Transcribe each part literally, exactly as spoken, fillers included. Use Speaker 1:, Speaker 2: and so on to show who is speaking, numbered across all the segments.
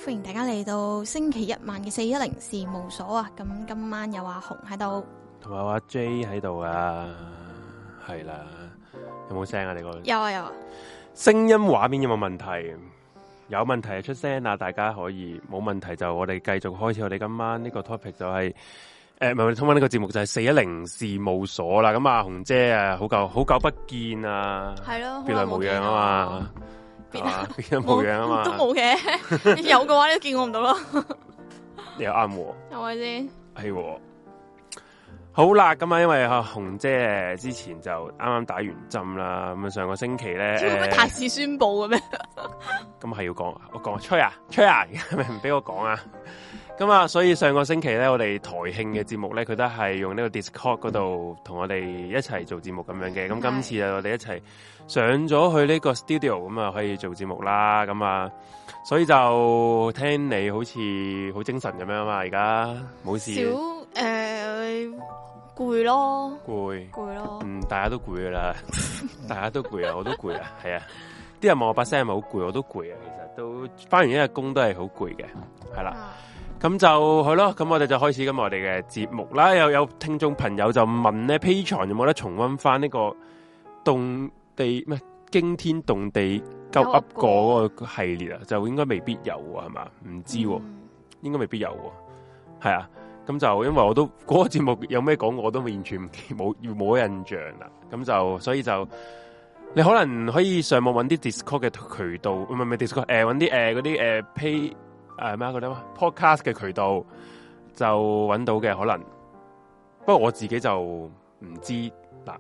Speaker 1: 歡迎大家嚟到星期一晚嘅四一零事務所啊！咁今晚有阿紅喺度，
Speaker 2: 同埋阿 J 喺度啊，係啦，有冇聲啊？你個
Speaker 1: 有啊有啊，
Speaker 2: 聲音畫面有冇問題？有問題就出聲啊！大家可以，冇問題就我哋繼續開始我哋今晚呢個 topic 就係、是。誒，唔係我哋通翻呢個節目就係四一零事務所啦。咁啊，紅姐啊，好久好久不見啊，
Speaker 1: 係咯，
Speaker 2: 別來無恙啊嘛，
Speaker 1: 別
Speaker 2: 來別來無恙啊嘛，
Speaker 1: 都冇嘅，有嘅話你都見我唔到咯。
Speaker 2: 你又啱喎，
Speaker 1: 係咪先？
Speaker 2: 係喎。好啦，咁啊，因為啊紅姐之前就啱啱打完針啦，咁啊上個星期咧，
Speaker 1: 做咩太事宣布嘅咩？
Speaker 2: 咁係要講，我講吹啊吹啊，係咪唔俾我講啊？咁啊，所以上個星期咧，我哋台慶嘅節目咧，佢都係用呢個 Discord 嗰度同我哋一齊做節目咁樣嘅。咁今次啊，我哋一齊上咗去呢個 studio，咁啊可以做節目啦。咁啊，所以就聽你好似好精神咁樣啊嘛，而家冇事。
Speaker 1: 少誒攰咯，
Speaker 2: 攰
Speaker 1: 攰咯。
Speaker 2: 嗯，大家都攰噶啦，大家都攰啊，我都攰啊，係啊。啲人問我把聲係咪好攰，我都攰啊。其實都翻完一日工都係好攰嘅，係啦。啊咁就係咯，咁我哋就開始今日我哋嘅節目啦。有有聽眾朋友就問咧，Patreon 有冇得重溫翻呢個動地咩驚天動地鳩噏過嗰個系列啊？就應該未必有啊，係嘛？唔知喎、啊嗯，應該未必有喎。係啊，咁就因為我都嗰、嗰個節目有咩講，我都完全冇冇印象啦。咁就所以就你可能可以上網揾啲 Discord 嘅渠道，唔係唔係 Discord， 誒揾啲誒嗰啲誒 Pay。誒咩嗰啲 podcast 嘅渠道就揾到嘅可能，不過我自己就唔知嗱。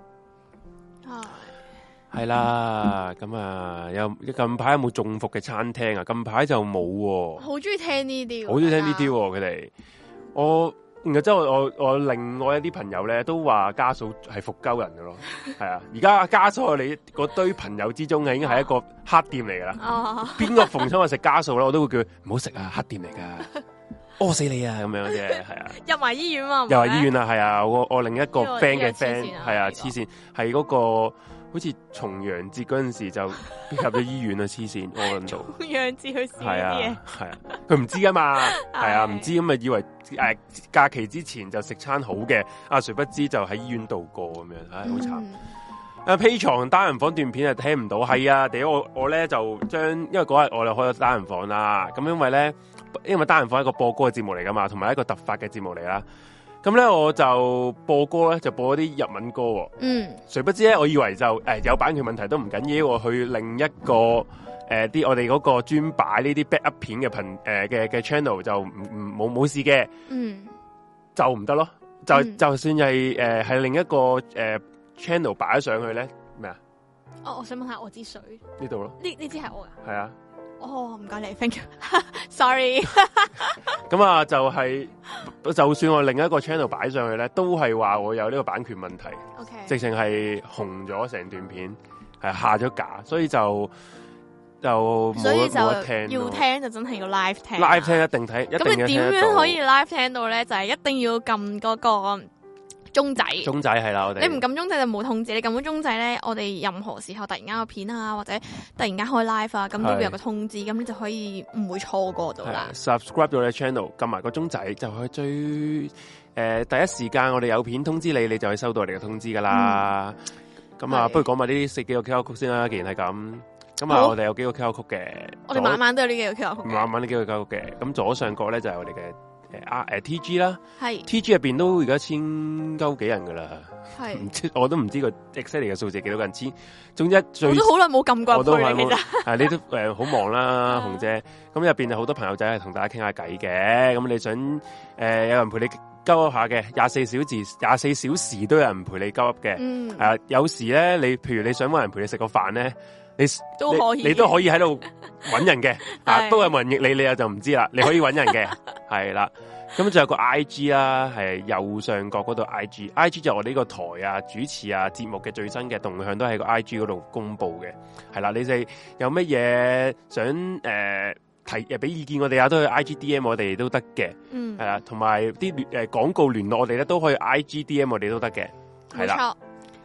Speaker 2: 係啦，咁啊，有近排有冇中伏嘅餐廳啊？近排就冇喎。好中意聽呢啲，好中意聽呢啲佢哋。我然後之後我我另外一啲朋友咧都話家嫂係伏鳩人嘅咯，係啊！而家家嫂你嗰堆朋友之中係已經係一個黑店嚟噶啦，邊個逢親我食家嫂咧，我都會叫佢唔好食啊，黑店嚟噶，屙死你啊咁樣啫，係啊！入埋醫院嘛，入埋醫院啊，係啊！我我另一個 friend 嘅 friend 係啊，黐線係嗰個。好似重陽節嗰陣時就入咗醫院啊！黐線，我諗到重陽節去試啲嘢，係啊，佢唔知噶嘛，係啊，唔知咁啊，以為誒、呃、假期之前就食餐好嘅，啊，誰不知就喺醫院度過咁樣，唉，好慘。啊，Patreon單人房段片啊聽唔到，係啊，屌我我咧就將，因為嗰日我哋開咗單人房啦，咁因為咧，因為單人房係一個播歌嘅節目嚟噶嘛，同埋一個突發嘅節目嚟啦。咁咧我就播歌咧，就播一啲日文歌、哦。嗯，誰不知咧，我以為就誒、呃、有版權問題都唔緊要，我去另一個誒啲、呃、我哋嗰個專擺呢啲 backup 片嘅頻誒嘅嘅 channel 就唔唔冇冇事嘅。嗯，就唔得咯，就、嗯、就算係誒係另一個誒、呃、channel 擺咗上去咧咩啊？哦，我想問下我支水呢度咯，呢呢支係我噶，係啊。哦，唔該你 ，thank you，sorry。咁啊，就係、是、就算我另一個 channel 擺上去咧，都係話我有呢個版權問題。OK，直情係紅咗成段片，係下咗架，所以就就冇得冇得聽。要聽就真係要 live 聽。live 聽一定睇，一定聽得到。咁你點樣可以 live 聽到咧？就係、是、一定要撳嗰個鐘仔，鐘仔係啦，我哋你唔撳鐘仔就冇通知，你撳咗鐘仔咧，我哋任何時候突然間有片啊，或者突然間開 live 啊，咁都會有個通知，咁你就可以唔會錯過到啦。subscribe 到你 channel，撳埋個鐘仔就可以最誒、呃、第一時間我哋有片通知你，你就可以收到我哋嘅通知噶啦。咁、嗯、啊，不如講埋呢四幾個 Q R 曲先啦，既然係咁，咁啊，我哋有幾個 Q R 曲嘅，我哋晚晚都有呢幾個 Q R 曲，晚晚呢幾個 Q R 曲嘅，咁左上角咧就係、是、我哋嘅。誒啊誒 T G 啦，係 T G 入邊都而家千鳩幾人噶啦，係唔知我都唔知個 exactly 嘅數字幾多個人千，總之最我都好耐冇撳過入去其實，係你都誒好忙啦，紅姐，咁入邊有好多朋友仔係同大家傾下偈嘅，咁你想誒、呃、有人陪你鳩噏下嘅，廿四小時廿四小時都有人陪你鳩噏嘅，嗯，係、啊、有時咧你譬如你想搵人陪你食個飯咧，你都可以，你都可以喺度搵人嘅，啊，不過有冇人應你，你又就唔知啦。你可以搵人嘅，係啦。咁仲有個 I G 啦，係右上角嗰度 I G，I G 就我哋呢個台啊、主持啊、節目嘅最新嘅動向都喺個 I G 嗰度公布嘅。係啦，你哋有乜嘢想誒、呃、提誒俾意見我哋啊，都去 I G D M 我哋都得嘅。嗯，係啦，同埋啲誒廣告聯絡我哋咧都可以 I G D M 我哋都得嘅。係啦。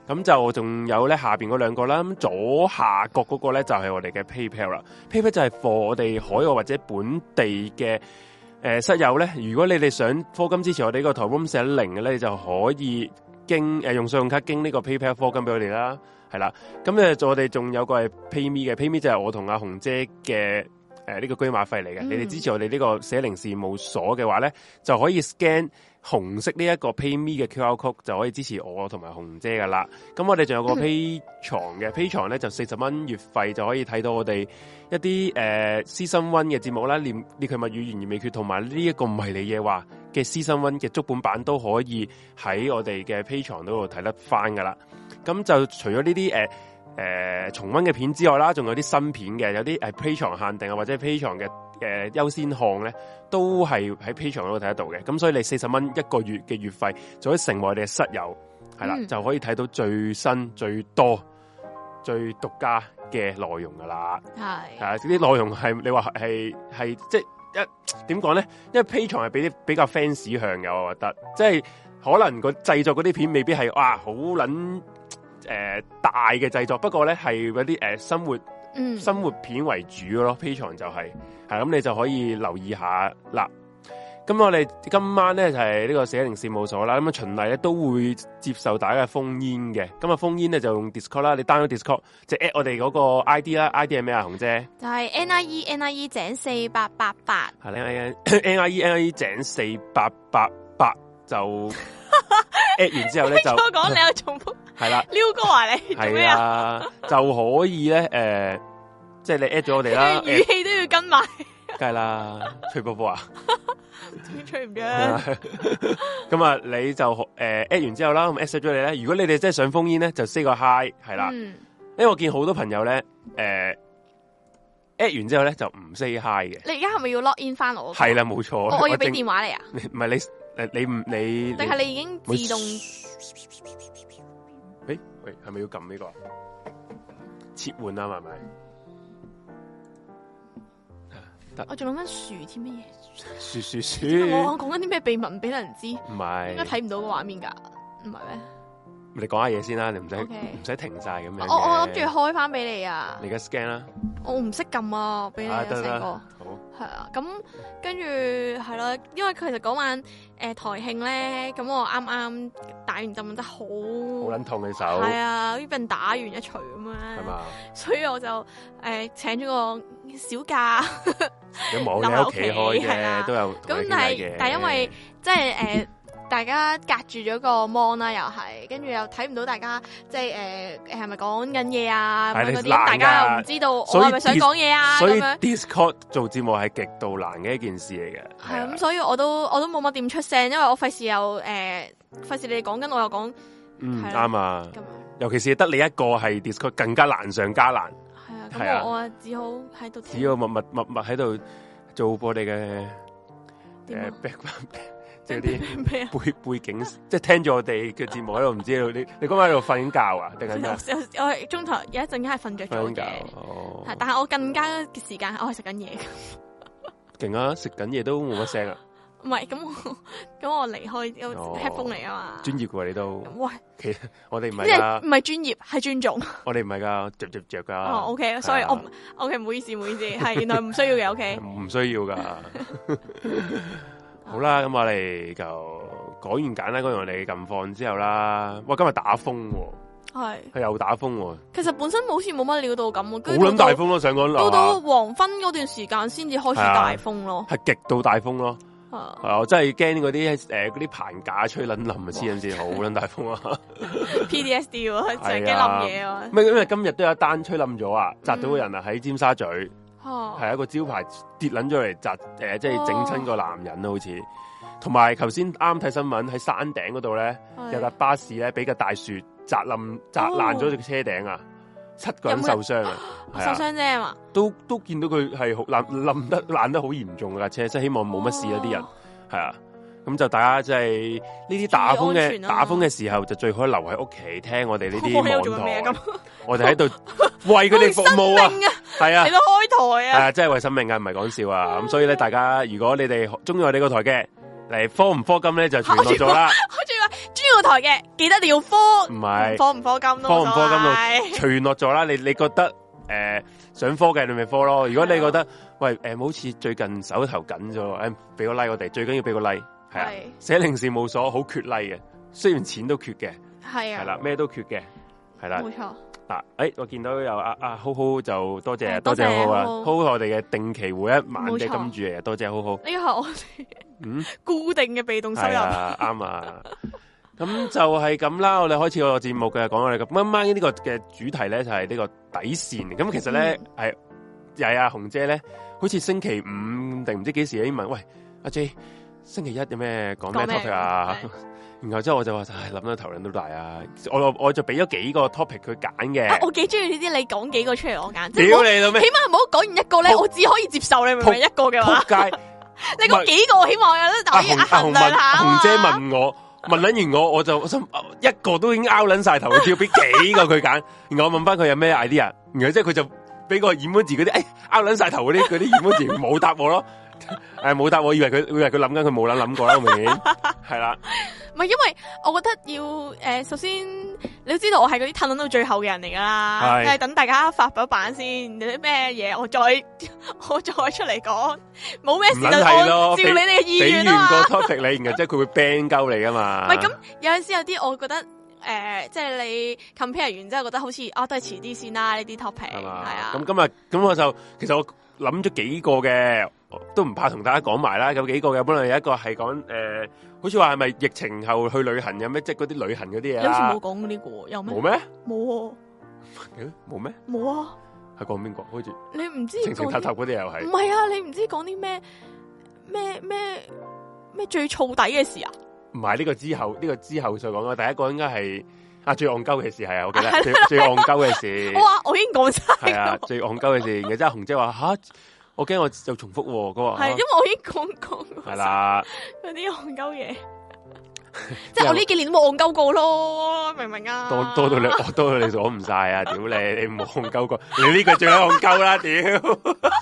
Speaker 2: 咁就仲有咧下邊嗰兩個啦，咁左下角嗰個咧就係、是、我哋嘅 PayPal 啦。PayPal 就係 for 我哋海外或者本地嘅誒、呃、室友咧，如果你哋想課金支持我哋呢個台 room 四一零嘅咧，你就可以經誒、呃、用信用卡經呢個 PayPal 課金俾我哋啦，係啦。咁咧我哋仲有個係 PayMe 嘅 ，PayMe 就係我同阿紅姐嘅誒呢個居馬費嚟嘅。嗯、你哋支持我哋呢個四一零事務所嘅話咧，就可以 scan。紅色呢一個 PayMe 嘅 Q R code 就可以支持我同埋紅姐噶啦。咁我哋仲有個 Patreon 嘅 Patreon 咧就四十蚊月費就可以睇到我哋一啲誒 Season One 嘅節目啦，獵獵奇物語懸而未決同埋呢一個唔係你嘢話嘅 Season One 嘅足本版都可以喺我哋嘅 Patreon 嗰度睇得翻噶啦。咁就除咗呢啲誒誒重溫嘅片之外啦，仲有啲新片嘅，有啲係 Patreon 限定啊或者 Patreon 嘅。誒，優先項咧都係喺 Patreon 嗰度睇得到嘅，咁所以你四十蚊一個月嘅月費就可以成為我哋嘅室友，係啦，嗯、就可以睇到最新、最多、最獨家嘅內容噶啦。係係啊，啲內容係你話係係即係一點講咧？因為 Patreon 係比啲比較 fans 向嘅，我覺得，即係可能個製作嗰啲片未必係哇好捻誒大嘅製作，不過咧係嗰啲誒生活。嗯，生活片為主咯 ，Patreon 就係、是，係咁你就可以留意下啦。咁我哋今晚咧就係、是、呢個四一零事務所啦。咁啊循例咧都會接受大家嘅封煙嘅。咁啊封煙咧就用 Discord 啦，你 download Discord 即係 at 我哋嗰個 I D 啦 ，I D 係咩啊，紅姐？
Speaker 1: 就係 N I E N I E 井四八八八。
Speaker 2: 係 N I E N I E N I E 井四八八八就 at 完之後咧就。
Speaker 1: 我講你有重複。
Speaker 2: 係啦，
Speaker 1: 撩哥話你做咩啊？
Speaker 2: 就可以咧，誒、呃，即係你 at 咗我哋啦，
Speaker 1: 語氣都要跟埋，
Speaker 2: 梗係啦，吹波波啊，
Speaker 1: 吹唔咗。
Speaker 2: 咁啊，你就誒 at 完之後啦，咁 at 咗你咧。如果你哋真係想封煙咧，就 say 個 hi 係啦。嗯、因為我見好多朋友咧，誒、呃、at 完之後咧就唔 say hi 嘅。
Speaker 1: 你而家係咪要 log in 翻我？
Speaker 2: 係啦，冇錯。
Speaker 1: 我我要俾電話你啊？
Speaker 2: 唔係你誒，你唔你？
Speaker 1: 定係你已經自動？
Speaker 2: 誒，喂，係咪要撳呢個切換啊？係咪？
Speaker 1: 我仲諗緊樹添乜嘢？
Speaker 2: 樹樹樹！
Speaker 1: 我講緊啲咩秘密唔俾人知？
Speaker 2: 唔係，
Speaker 1: 應該睇唔到個畫面噶，唔係咩？
Speaker 2: 你講下嘢先啦，你唔使唔使停晒咁樣。
Speaker 1: 我我諗住開翻俾你啊！
Speaker 2: 你而家 scan 啦。我
Speaker 1: 唔識撳啊，俾你啊，成個。
Speaker 2: 好。
Speaker 1: 係啊，咁跟住係咯，因為其實嗰晚誒、呃、台慶咧，咁我啱啱打完針，真係好好
Speaker 2: 撚痛嘅手。係
Speaker 1: 啊，呢邊打完一錘咁樣。係嘛？所以我就誒、呃、請咗個小假。
Speaker 2: 有冇喺屋企開嘅都有。
Speaker 1: 咁但係但係因為即係誒。大家隔住咗個 mon 啦，又係，跟住又睇唔到大家，即係誒誒係咪講緊嘢啊？咁嗰啲，大家又唔知道我係咪想講嘢啊？
Speaker 2: 所以 Discord 做節目係極度難嘅一件事嚟嘅。
Speaker 1: 係咁，所以我都我都冇乜點出聲，因為我費事又誒，費事你哋講緊，我又講。
Speaker 2: 嗯，啱啊。尤其是得你一個係 Discord 更加難上加難。
Speaker 1: 係啊，咁我我只好喺度。
Speaker 2: 只要默默默默喺度做我哋嘅誒 background。即係啲背背景，即係聽住我哋嘅節目喺度，唔知道你你今晚喺度瞓緊覺啊？定係咩？
Speaker 1: 我係中途有一陣間係瞓着咗嘅，係，但係我更加嘅時間我係食緊嘢。
Speaker 2: 勁啊！食緊嘢都冇乜聲啊！
Speaker 1: 唔係，咁我咁我離開有 headphone 嚟啊嘛。專
Speaker 2: 業嘅你都，
Speaker 1: 喂，
Speaker 2: 其實我哋唔係噶，
Speaker 1: 唔係專業，係尊重。我
Speaker 2: 哋唔係噶，着着着噶。
Speaker 1: 哦，OK，所以我 OK，唔好意思，唔好意思，係原來唔需要嘅，OK，
Speaker 2: 唔需要噶。好啦，咁我哋就講完簡單講完我哋嘅近況之後啦。哇，今日打風喎，係係又打風喎。
Speaker 1: 其實本身好似冇乜料到咁，好
Speaker 2: 撚大風咯，上講
Speaker 1: 到到黃昏嗰段時間先至開始大風咯，
Speaker 2: 係極度大風咯。係我真係驚嗰啲誒嗰啲棚架吹撚冧啊，黐緊線，好撚大風啊
Speaker 1: ！P D S D 喎，成日驚冧嘢啊！
Speaker 2: 咩？因為今日都有一單吹冧咗啊，砸到個人啊喺尖沙咀。係一個招牌跌撚咗嚟砸誒，即係整親個男人咯，好似。同埋頭先啱睇新聞喺山頂嗰度咧，有架巴士咧俾個大樹砸冧砸爛咗隻車頂啊，七個人受傷啊，
Speaker 1: 受傷啫係嘛？
Speaker 2: 都都見到佢係好冧冧得爛得好嚴重架車，即係希望冇乜事啊啲人係啊。咁就大家即係呢啲打風嘅打風嘅時候，就最好留喺屋企聽我哋呢啲網台。我哋喺度為佢哋服務啊，係啊，
Speaker 1: 嚟到開台啊，
Speaker 2: 係啊，真係為生命啊，唔係講笑啊。咁所以咧，大家如果你哋中意我哋個台嘅嚟科唔科金咧，就全部做啦。
Speaker 1: 我仲話中意我台嘅，記得你要科，
Speaker 2: 唔係
Speaker 1: 科唔科金咯，
Speaker 2: 科唔科金咯，隨落咗啦。你你覺得誒、呃、想科嘅你咪科咯。如果你覺得喂誒好似最近手頭緊咗，誒俾個 like 我哋，最緊要俾個 like 係啊。寫零事務所好缺 like 嘅，雖然錢都缺嘅，係啊，係啦，咩都缺嘅，係啦，冇錯。嗱，誒，我見到有阿阿浩浩就多謝多謝浩浩啊，浩浩我哋嘅定期每一晚嘅金主嚟，多謝浩浩。呢個係我哋嗯固定嘅被動收入，啱啊。咁就係咁啦，我哋開始個節目嘅，講我哋咁啱啱呢個嘅主題咧就係呢個底線。咁其實咧係又係阿紅姐咧，好似星期五定唔知幾時已經問，喂阿 J，星期一有咩講咩 topic 啊？然後之後我就話，唉，諗到頭撚都大啊！我我就俾咗幾個 topic 佢揀嘅。我幾中意呢啲，你講幾個出嚟我揀。屌你老味！起碼唔好講完一個咧，我只可以接受你明唔明？一個嘅話，仆街！你講幾個，起碼我有得可以衡量下啊嘛。紅姐問我，問撚完我，我就我心一個都已經拗撚晒頭，只要俾幾個佢揀。然後我問翻佢有咩 idea，然後即係佢就俾個 emoji 嗰啲，誒拗撚晒頭嗰啲嗰啲 emoji 冇答我咯。誒冇答我，以為佢以為佢諗緊，佢冇諗諗過啦，明顯係啦。唔係，因為我覺得要誒、呃，首先你都知道我係嗰啲褪到最後嘅人嚟噶啦，係等大家發表版先，有啲咩嘢我再我再出嚟講，冇咩事就按照你哋嘅意願啊嘛。俾完個 topic 你，然後即係佢會 ban 鳩你噶嘛。唔係咁，有陣時有啲我覺得誒、呃，即係你 compare 完之後覺得好似啊，都係遲啲先啦呢啲 topic 係啊。咁今日咁我就其實我諗咗幾個嘅。都唔怕同大家講埋啦，有幾個嘅，本來有一個係講誒，好似話係咪疫情後去旅行有咩，即係嗰啲旅行嗰啲嘢啦。你好似冇講呢個，有咩？冇咩？冇。冇咩？冇啊。係講邊個？好似你唔知情情塔塔嗰啲又係。唔係啊，你唔知講啲咩咩咩咩最燥底嘅事啊？唔係呢個之後，呢、這個之後再講啦。第一個應該係啊最戇鳩嘅事係啊，我記得最最戇鳩嘅事。哇！我已經講晒。係啊，最戇鳩嘅事，然之後紅姐話吓。我驚我又重複喎，佢話係，因為我已經講講係啦，嗰啲戇鳩嘢，即係我呢幾年都冇戇鳩過咯，明唔明啊？多多到你，多到你數唔晒啊！屌你，你冇戇鳩過，你呢個最戇鳩啦！屌，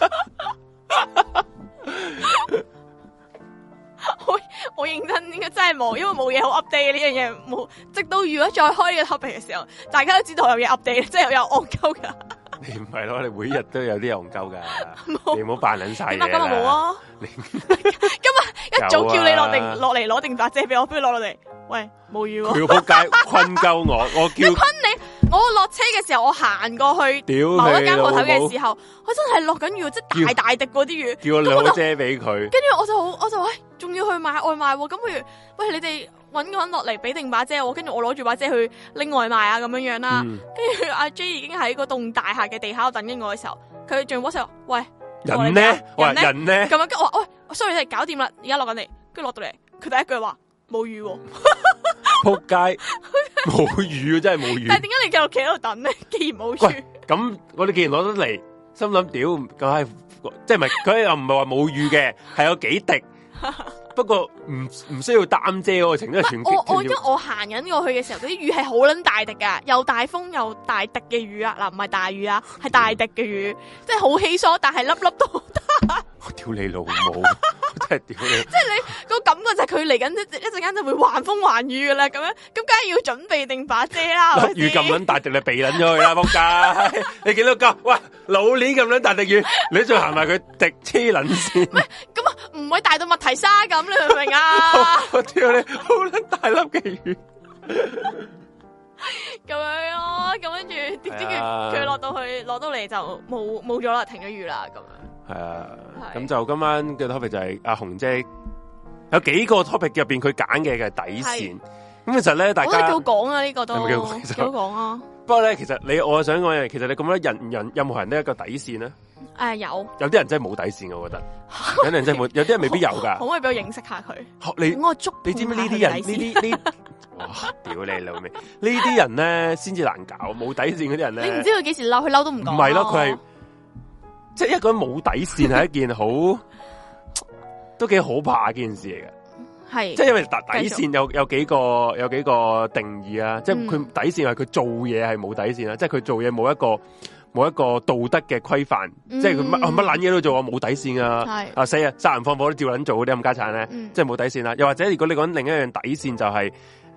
Speaker 2: 我我認真應該真係冇，因為冇嘢好 update 呢樣嘢冇，直到如果再開呢個 topic 嘅時候，大家都知道有嘢 update，即係有戇鳩噶。你唔係咯，你每日都有啲戇鳩噶，你唔好扮撚晒嘢啦。今日冇啊！今日一早叫你落定落嚟攞定把遮俾我，不如落落嚟。喂，冇雨喎。佢仆街困鳩我，我叫佢困你。我落車嘅時候，我行過去某一間鋪頭嘅時候，我真係落緊雨，即係大大滴嗰啲雨。叫我攞遮俾佢。跟住我就好，我就喂，仲要去買外賣喎。咁不如，喂你哋。搵個人落嚟俾定把遮我，跟住我攞住把遮去拎外賣啊咁樣樣啦。跟住阿 J 已經喺嗰棟大廈嘅地下度等緊我嘅時候，佢仲 WhatsApp喂人呢？人呢？人呢？咁樣跟住我話喂，sorry，你搞掂啦，而家落緊嚟。跟住落到嚟，佢第一句話冇雨喎，仆街冇雨真係冇雨。但係點解你繼續企喺度等咧？既然冇雨，咁我哋既然攞得嚟，心諗屌咁係，即係唔係佢又唔係話冇雨嘅，係有幾滴。不過唔唔需要擔遮嗰個程度，全我我因為我行緊過去嘅時候，嗰啲雨係好撚大滴噶，又大風又大滴嘅雨啊！嗱，唔係大雨啊，係大滴嘅雨，即係好稀疏，但係粒粒都好大。我屌你老母，真係屌你！即係你個感覺就係佢嚟緊一一陣間就會橫風橫雨噶啦，咁樣咁梗係要準備定把遮啦。粒雨咁撚大滴，你避撚咗佢啦，仆街！你見到個喂老年咁撚大滴雨，你再行埋佢滴黐撚線。唔係咁啊，唔會大到麥提沙咁，你明唔明啊？我屌你，好撚大粒嘅雨。咁樣咯，咁跟住點知佢佢落到去落到嚟就冇冇咗啦，停咗雨啦咁樣。係啊，咁就今晚嘅 topic 就係阿紅姐有幾個 topic 入邊佢揀嘅嘅底線。咁其實咧，大家我覺得幾好講啊，呢個都幾好講啊。不過咧，其實你我想講嘅，其實你咁多人人任何人都有一個底線咧。誒，有有啲人真係冇底線嘅，我覺得有啲人真係冇，有啲人未必有噶。可唔可以俾我認識下佢？你我捉你知唔知呢啲人呢啲呢？哇！屌你老味，呢啲人咧先至難搞，冇底線嗰啲人咧。你唔知佢幾時嬲，佢嬲都唔講。唔係咯，佢係即係一個人冇底線係一件好都幾可怕嘅件事嚟嘅。係即係因為底底線有有幾個有幾個定義啊，即係佢底線係佢做嘢係冇底線啦，即係佢做嘢冇一個。冇一個道德嘅規範，嗯、即係佢乜乜撚嘢都做，我冇底線啊！啊死啊！殺人放火都照撚做嗰啲咁家產咧，嗯、即係冇底線啦。又或者如果你講另一樣底線就係、是，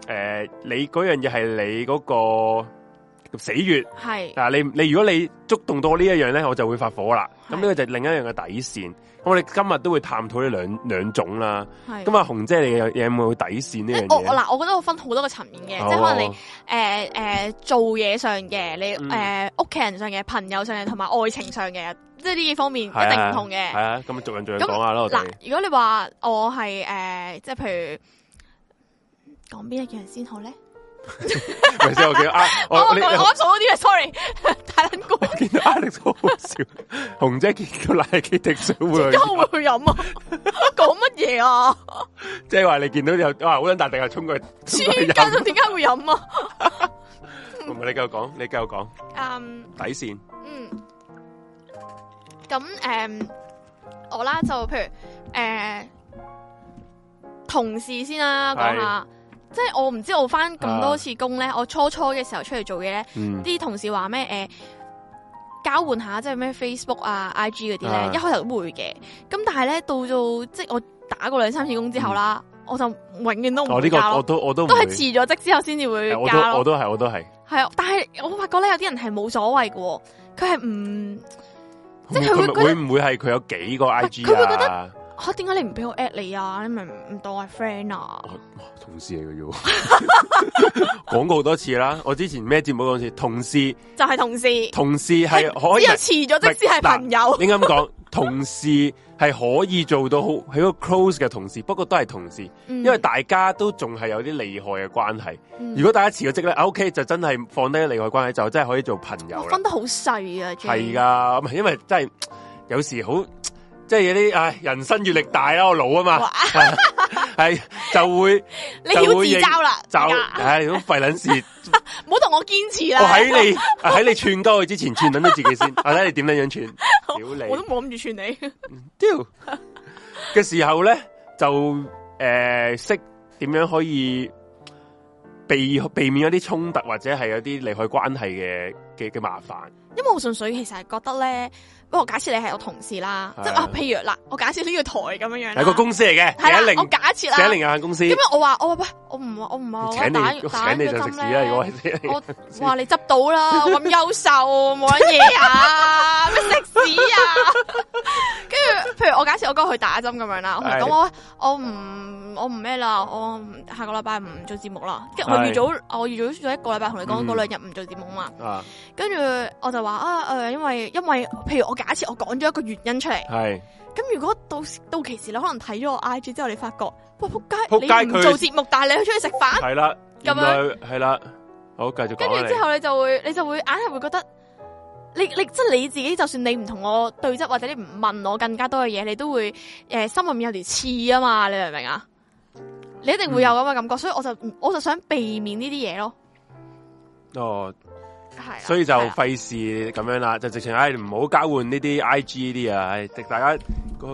Speaker 2: 呃，你嗰樣嘢係你嗰個死穴，
Speaker 1: 係
Speaker 2: 嗱，你你如果你觸動到呢一樣咧，我就會發火啦。咁呢個就係另一樣嘅底線。我哋今日都會探討呢兩兩種啦。咁啊，紅姐你有有冇底線呢樣嘢？
Speaker 1: 我嗱，我覺得我分好多個層面嘅，即係可能你誒誒、呃呃、做嘢上嘅，你誒屋企人上嘅，朋友上嘅，同埋愛情上嘅，即係呢幾方面一定唔同嘅。
Speaker 2: 係啊，咁逐樣逐樣講下咯。
Speaker 1: 嗱，如果你話我係誒、呃，即係譬如講邊一樣先好咧？
Speaker 2: 咪先我見啊，我我我
Speaker 1: 啱數嗰啲啊 ，sorry， 太撚過。
Speaker 2: 見到 Alex 好好笑，紅姐見到奶基滴水會去，
Speaker 1: 點解會去飲啊？講乜嘢啊？
Speaker 2: 即係話你見到有哇好撚大定係衝過去，
Speaker 1: 黐筋，點解會飲啊？
Speaker 2: 唔係你繼續講，你繼續講。嗯，底線。
Speaker 1: 嗯。咁誒、嗯，我啦就譬如誒、呃、同事先啦，講下。即係我唔知我翻咁多次工咧、啊，我初初嘅時候出嚟做嘢咧，啲、嗯、同事話咩誒交換下即係咩 Facebook 啊 I G 嗰啲咧，一開頭都會嘅。咁但係咧到到即係我打過兩三次工之後啦、嗯，我就永遠都唔會交咯。哦，呢個我都我都都係辭咗職之後先至會交咯。
Speaker 2: 我都係我都係。係啊，
Speaker 1: 但係我發覺咧有啲人係冇所謂嘅，佢係唔即係佢會覺得會唔會係佢有幾個 I G 啊？佢會覺得。吓，點解你唔俾我 at 你啊？你咪唔當我係 friend 啊？
Speaker 2: 同事嚟嘅啫，講過好多次啦。我之前咩節目嗰次，同事
Speaker 1: 就係同事，
Speaker 2: 同事係可以，只有
Speaker 1: 辭咗即係朋友。應該咁講，
Speaker 2: 同事係可以做到好係個 close 嘅同事，不過都係同事、嗯，因為大家都仲係有啲利害嘅關係、嗯。如果大家辭咗職咧 ，OK 就真係放低利害關係，就真係可以做朋友。
Speaker 1: 分得好細啊，
Speaker 2: 係噶，因為真係有時好。即係有啲唉，人生閱歷大啦，我老啊嘛，係就會
Speaker 1: 你要自嘲啦，
Speaker 2: 就唉咁廢撚事，
Speaker 1: 唔好同我堅持啦。
Speaker 2: 我喺你喺你串鳩佢之前，串撚到自己先，我睇你點樣樣串，屌你，
Speaker 1: 我都冇諗住串你。
Speaker 2: 屌嘅時候咧，就誒識點樣可以避避免一啲衝突或者係有啲利害關係嘅嘅嘅麻煩。
Speaker 1: 因為我純粹其實係覺得咧。不過假設你係我同事啦，即係啊，譬如嗱，我假設呢個台咁樣樣，
Speaker 2: 係個公司嚟嘅，
Speaker 1: 係啦，我假設啦，
Speaker 2: 寫零有限公司。咁
Speaker 1: 樣我話我話喂，我唔我唔係我
Speaker 2: 請你
Speaker 1: 打
Speaker 2: 請你就食屎啦！如果
Speaker 1: 我話你執到啦，我咁優秀冇乜嘢啊，咩食屎啊！跟住譬如我假設我哥去打針咁樣啦，我同佢講我我唔我唔咩啦，我下個禮拜唔做節目啦。跟住我預早我預早咗一個禮拜同你講嗰兩日唔做節目嘛。跟住我就話啊誒，因為因為譬如我。假設我講咗一個原因出嚟，係咁如果到到期時你可能睇咗我 I G 之後，你發覺哇仆街，你唔做節目，但係你去出去食飯，係啦，咁樣係啦，好繼續講。跟住之後你就會你就會硬係會覺得，你你即係你自己，就算你唔同我對質或者你唔問我更加多嘅嘢，你都會誒、呃、心入面有條刺啊嘛，你明唔明啊？你一定會有咁嘅感覺、嗯，所以我就我就想避免呢啲嘢咯。哦。係，
Speaker 2: 所以就費事咁樣啦，就直情唉唔好交換呢啲 I G 啲啊，唉，大家嗰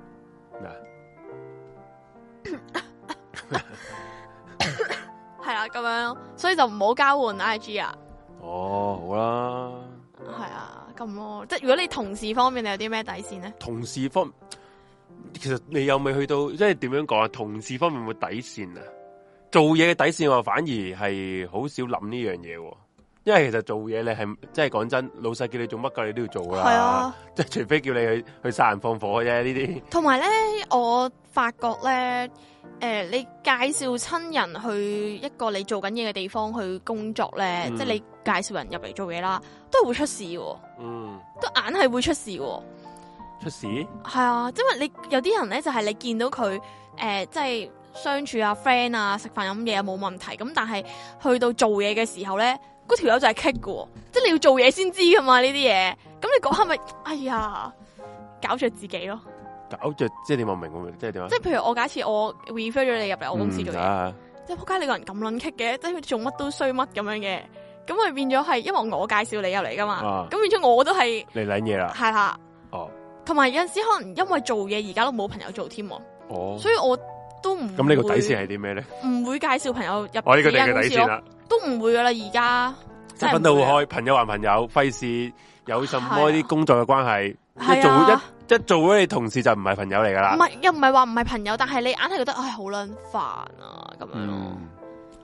Speaker 1: 係啦咁樣，所以就唔好交換 I G 啊。
Speaker 2: 哦，好啦，
Speaker 1: 係啊，咁咯，即係如果你同事方面你有啲咩底線咧？
Speaker 2: 同事方，其實你有未去到，即係點樣講啊？同事方面冇底線啊？做嘢嘅底線我反而係好少諗呢樣嘢。因為其實做嘢你係即係講真，老細叫你做乜嘅你都要做啦。係啊，即係除非叫你去去殺人放火啫呢啲。
Speaker 1: 同埋咧，我發覺咧，誒、呃，你介紹親人去一個你做緊嘢嘅地方去工作咧，嗯、即係你介紹人入嚟做嘢啦，都係會出事喎。嗯，都硬係會出事喎。
Speaker 2: 出事？
Speaker 1: 係啊，因為你有啲人咧就係、是、你見到佢誒、呃，即係相處啊、friend 啊、食飯飲嘢啊冇問題，咁但係去到做嘢嘅時候咧。嗰條友就係棘嘅，即係你要做嘢先知噶嘛呢啲嘢。咁你講係咪？哎呀，搞着自己咯。
Speaker 2: 搞着，即係你明唔明？即係點啊？
Speaker 1: 即係譬如我假設我 refer 咗你入嚟我公司做嘢、嗯，即係仆街你個人咁撚棘嘅，即係做乜都衰乜咁樣嘅。咁咪變咗係，因為我介紹你入嚟噶嘛。咁、啊、變咗我都係
Speaker 2: 你撚嘢啦。
Speaker 1: 係啦。哦。同埋有陣時可能因為做嘢而家都冇朋友做添。哦。所以我都唔。咁呢個底線係啲咩咧？唔會介紹朋友入。我呢個嘅底線啦。都唔會噶啦，而家即係分得好開，朋友還朋友，費事有什麼啲工作嘅關係。一做一一做咗你同事就唔係朋友嚟噶啦。唔係又唔係話唔係朋友，但係你硬係覺得唉好撚煩啊咁樣。嗯，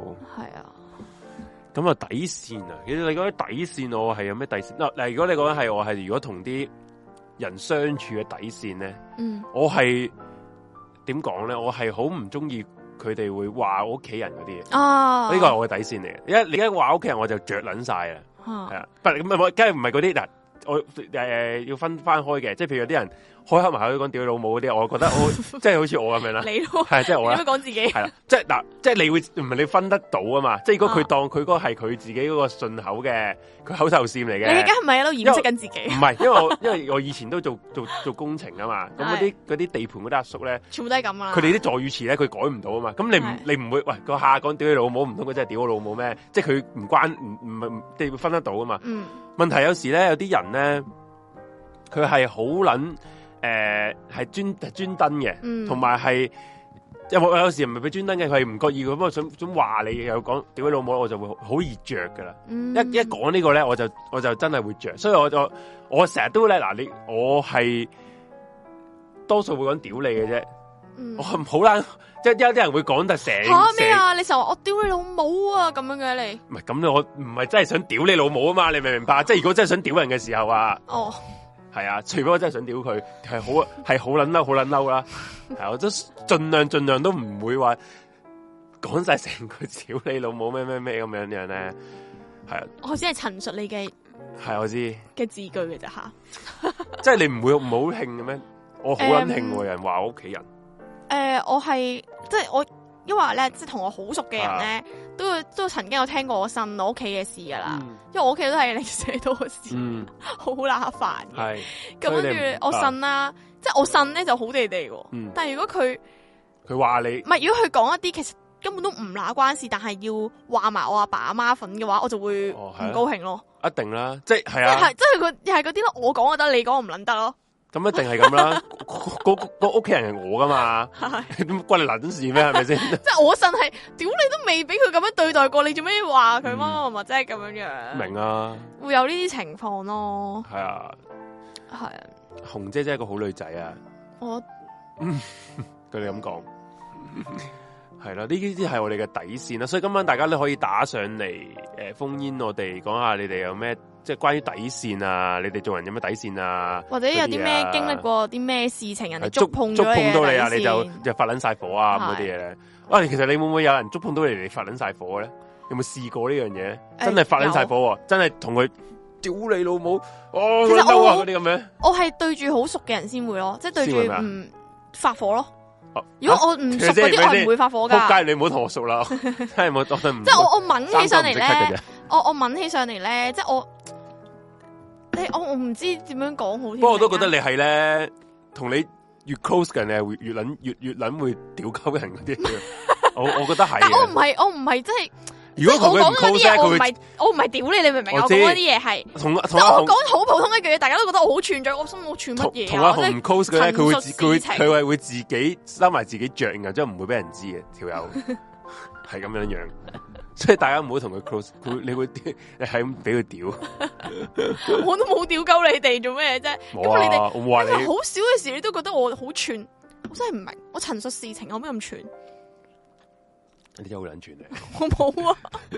Speaker 1: 係啊。
Speaker 2: 咁啊底線啊，其實你講啲底線，我係有咩底線？嗱嗱，如果你講係我係如果同啲人相處嘅底線咧，嗯，我係點講咧？我係好唔中意佢哋會話我屋企人嗰啲嘢。哦，呢個係我嘅底線嚟嘅。而家你而家話屋企人，我就着捻晒啦。係啊，不咁啊，梗係唔係嗰啲嗱。我誒、呃、要分翻開嘅，即係譬如有啲人開口埋口講屌你老母嗰啲，我覺得我即係好似我咁樣啦，
Speaker 1: 你咯，
Speaker 2: 係即係我啦，
Speaker 1: 點樣講自己？係
Speaker 2: 啦，即係嗱，即係你會唔係你分得到啊嘛？即係如果佢當佢嗰個係佢自己嗰個順口嘅，佢口頭禪嚟嘅，
Speaker 1: 你而家係咪喺度掩飾緊自己？
Speaker 2: 唔係，因為我因為我以前都做做做工程啊嘛，咁嗰啲嗰啲地盤嗰啲阿叔咧，
Speaker 1: 全部都係咁啊！
Speaker 2: 佢哋啲助語詞咧，佢改唔到啊嘛，咁你唔你唔會喂個下講屌你老母，唔通佢真係屌我老母咩？即係佢唔關唔唔係即係會分得到啊嘛。嗯，問題有時咧有啲人咧。佢係好撚誒，係專專登嘅，同埋係有冇有時唔係俾專登嘅，佢係唔覺意咁啊，想想話你又講屌你老母，我就會好易着噶啦。嗯、一一講呢個咧，我就我就真係會着，所以我就我成日都咧嗱，你我係多數會講屌你嘅啫，嗯、我好撚即係有啲人會講得成
Speaker 1: 吓咩啊？你成日話我屌你老母啊咁樣嘅你？
Speaker 2: 唔係咁，我唔係真係想屌你老母啊嘛，你明唔明白？即係如果真係想屌人嘅時候啊，哦。係啊，除非我真係想屌佢，係好係好撚嬲，好撚嬲啦。係，我都盡量盡量都唔會話講晒成句屌你老母咩咩咩咁樣樣咧。係啊，我只係陳述你嘅係我知嘅字句嘅啫吓。即係你唔會唔好興嘅咩？我好撚興喎，人話我屋企人。誒、呃，我係即係我。因為咧，即係同我好熟嘅人咧，都都曾經有聽過我呻我屋企嘅事噶啦。嗯、因為我屋企都係零舍多嘅事，好乸煩嘅。咁跟住我呻啦，即係我呻咧就好地地喎。嗯、但係如果佢佢話你，唔係如果佢講一啲其實根本都唔乸關事，但係要話埋我阿爸阿媽份嘅話，我就會唔高興咯。哦、一定啦，即係係啊，即係佢又係嗰啲咯，我講就得，你講唔撚得咯。咁一定係咁啦，個個屋企人係我噶嘛，點關你撚事咩？係咪先？即係我信係，屌你都未俾佢咁樣對待過，你做咩話佢乜乜乜？即係咁樣樣。明啊，會有呢啲情況咯。係啊，係啊。紅姐真係一個好女仔啊！我，佢哋咁講，係啦，呢啲啲係我哋嘅底線啦。所以今晚大家都可以打上嚟，誒，烽煙我哋講下你哋有咩？即係關於底線啊，你哋做人有咩底線啊？或者有啲咩、啊、經歷過啲咩事情，人哋觸碰觸碰到你啊，你就就發撚晒火啊咁嗰啲嘢咧。啊，其實你會唔會有人觸碰到你嚟發撚晒火咧？有冇試過呢樣嘢？真係發撚晒火、啊，真係同佢屌你老母哦！其實我嗰啲咁樣，我係對住好熟嘅人先會咯，即係對住唔發火咯。如果我唔熟嗰啲，我唔會發火噶。仆街，你唔好同我熟啦，真係冇，我唔即係我我吻起上嚟咧，我我吻起上嚟咧，即係我。我我唔知點樣講好。不過我都覺得你係咧，同你越 close 嘅人，你係會越捻越越捻會屌鳩人嗰啲。我我覺得係。但我唔係，我唔係即係。如果我講嗰啲嘢，我唔係我唔係屌你，你明唔明？我講嗰啲嘢係。同同我講好普通一句嘢，大家都覺得我好串嘴，我心我串乜嘢？同阿紅唔 close 嘅咧，佢會佢佢係會自己收埋自己着，然後即係唔會俾人知嘅條友，係咁樣樣。所以大家唔好同佢 close，佢你會你係咁俾佢屌，我都冇屌鳩你哋做咩啫？因為你哋因為好少嘅事，你都覺得我好串，我真係唔明。我陳述事情，我咩咁串？你真係好撚串嚟，我冇啊。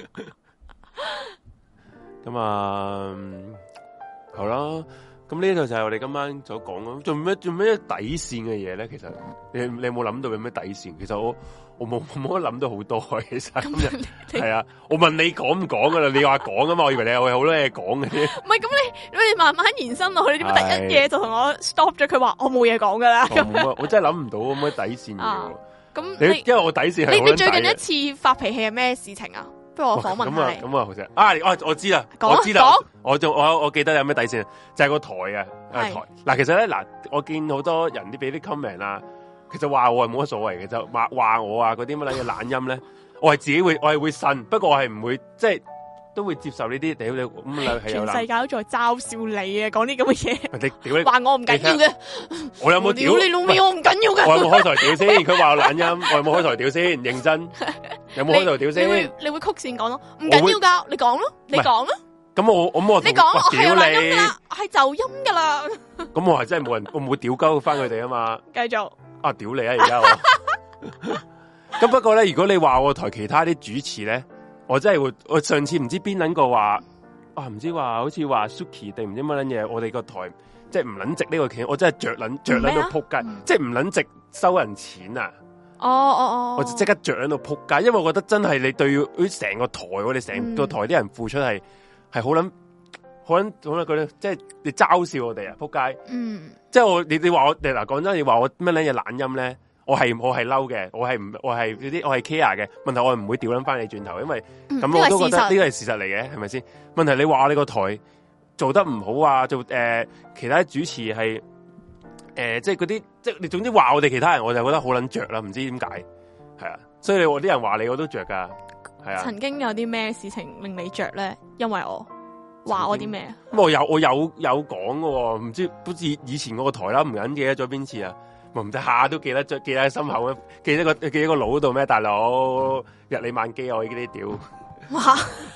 Speaker 2: 咁啊，好啦。咁呢度就係我哋今晚所講咯。做咩做咩底線嘅嘢咧？其實你你有冇諗到有咩底線？其實我我冇冇得諗到好多。其實今日係啊，我問你講唔講噶啦？你話講噶嘛？我以為你有好多嘢講嘅啫。唔係咁，你你慢慢延伸落去，你點解第一嘢就同我 stop 咗？佢話我冇嘢講噶啦。我我真係諗唔到有咩底線嘅。咁你因為我底線係你你最近一次發脾氣係咩事情啊？不如我訪問下你。咁啊，好正啊！我我知啦，我知啦，我仲我我記得有咩底線，就係個台啊，台嗱。其實咧嗱，我見好多人啲俾啲 comment 啦，其實話我係冇乜所謂嘅，就話話我啊嗰啲乜嘢懶音咧，我係自己會我係會信，不過我係唔會即係都會接受呢啲屌你咁。全世界都在嘲笑你啊！講啲咁嘅嘢，你屌你話我唔緊要嘅，我有冇屌你老味？我唔緊要嘅，我有冇開台屌先？佢話我懶音，我有冇開台屌先？認真。有冇開台屌先？你會你會曲線講咯，唔緊要噶，你講咯，你講咯。咁我我我你講我係有懶音噶啦，係就音噶啦。咁我係真係冇人，我唔會屌鳩翻佢哋啊嘛。繼續啊，屌你啊！而家我咁不過咧，如果你話我台其他啲主持咧，我真係會，我上次唔知邊撚個話，啊唔知話好似話 Suki 定唔知乜撚嘢，我哋個台即係唔撚值呢個錢，我真係着撚着撚到撲街，即係唔撚值收人錢啊！
Speaker 1: 哦哦哦，
Speaker 2: 我就即刻着喺度撲街，因為我覺得真係你對成個台，我哋成個台啲人付出係係好撚好撚好撚嗰啲，即係你嘲笑我哋啊撲街。嗯，即係我你你話我你嗱講真，你話我乜撚嘢懶音咧，我係我係嬲嘅，我係唔我係嗰啲我係 care 嘅問題，我係唔會調撚翻你轉頭，因為咁、嗯、我都覺得呢個係事實嚟嘅，係咪先？問題你話你個台做得唔好啊，做誒、呃、其他主持係。誒、呃，即係嗰啲，即係你總之話我哋其他人，我就覺得好撚着啦，唔知點解，係啊，所以你我啲人話你，我都着噶，係啊。曾經有啲咩事情令你着咧？因為我話我啲咩啊？咁我有我有有講嘅，唔知好似以前嗰個台啦，唔緊記得咗邊次啊？唔得下都記得，記得喺心口，記得個記喺個腦度咩？大佬日理萬機，我呢啲屌。哇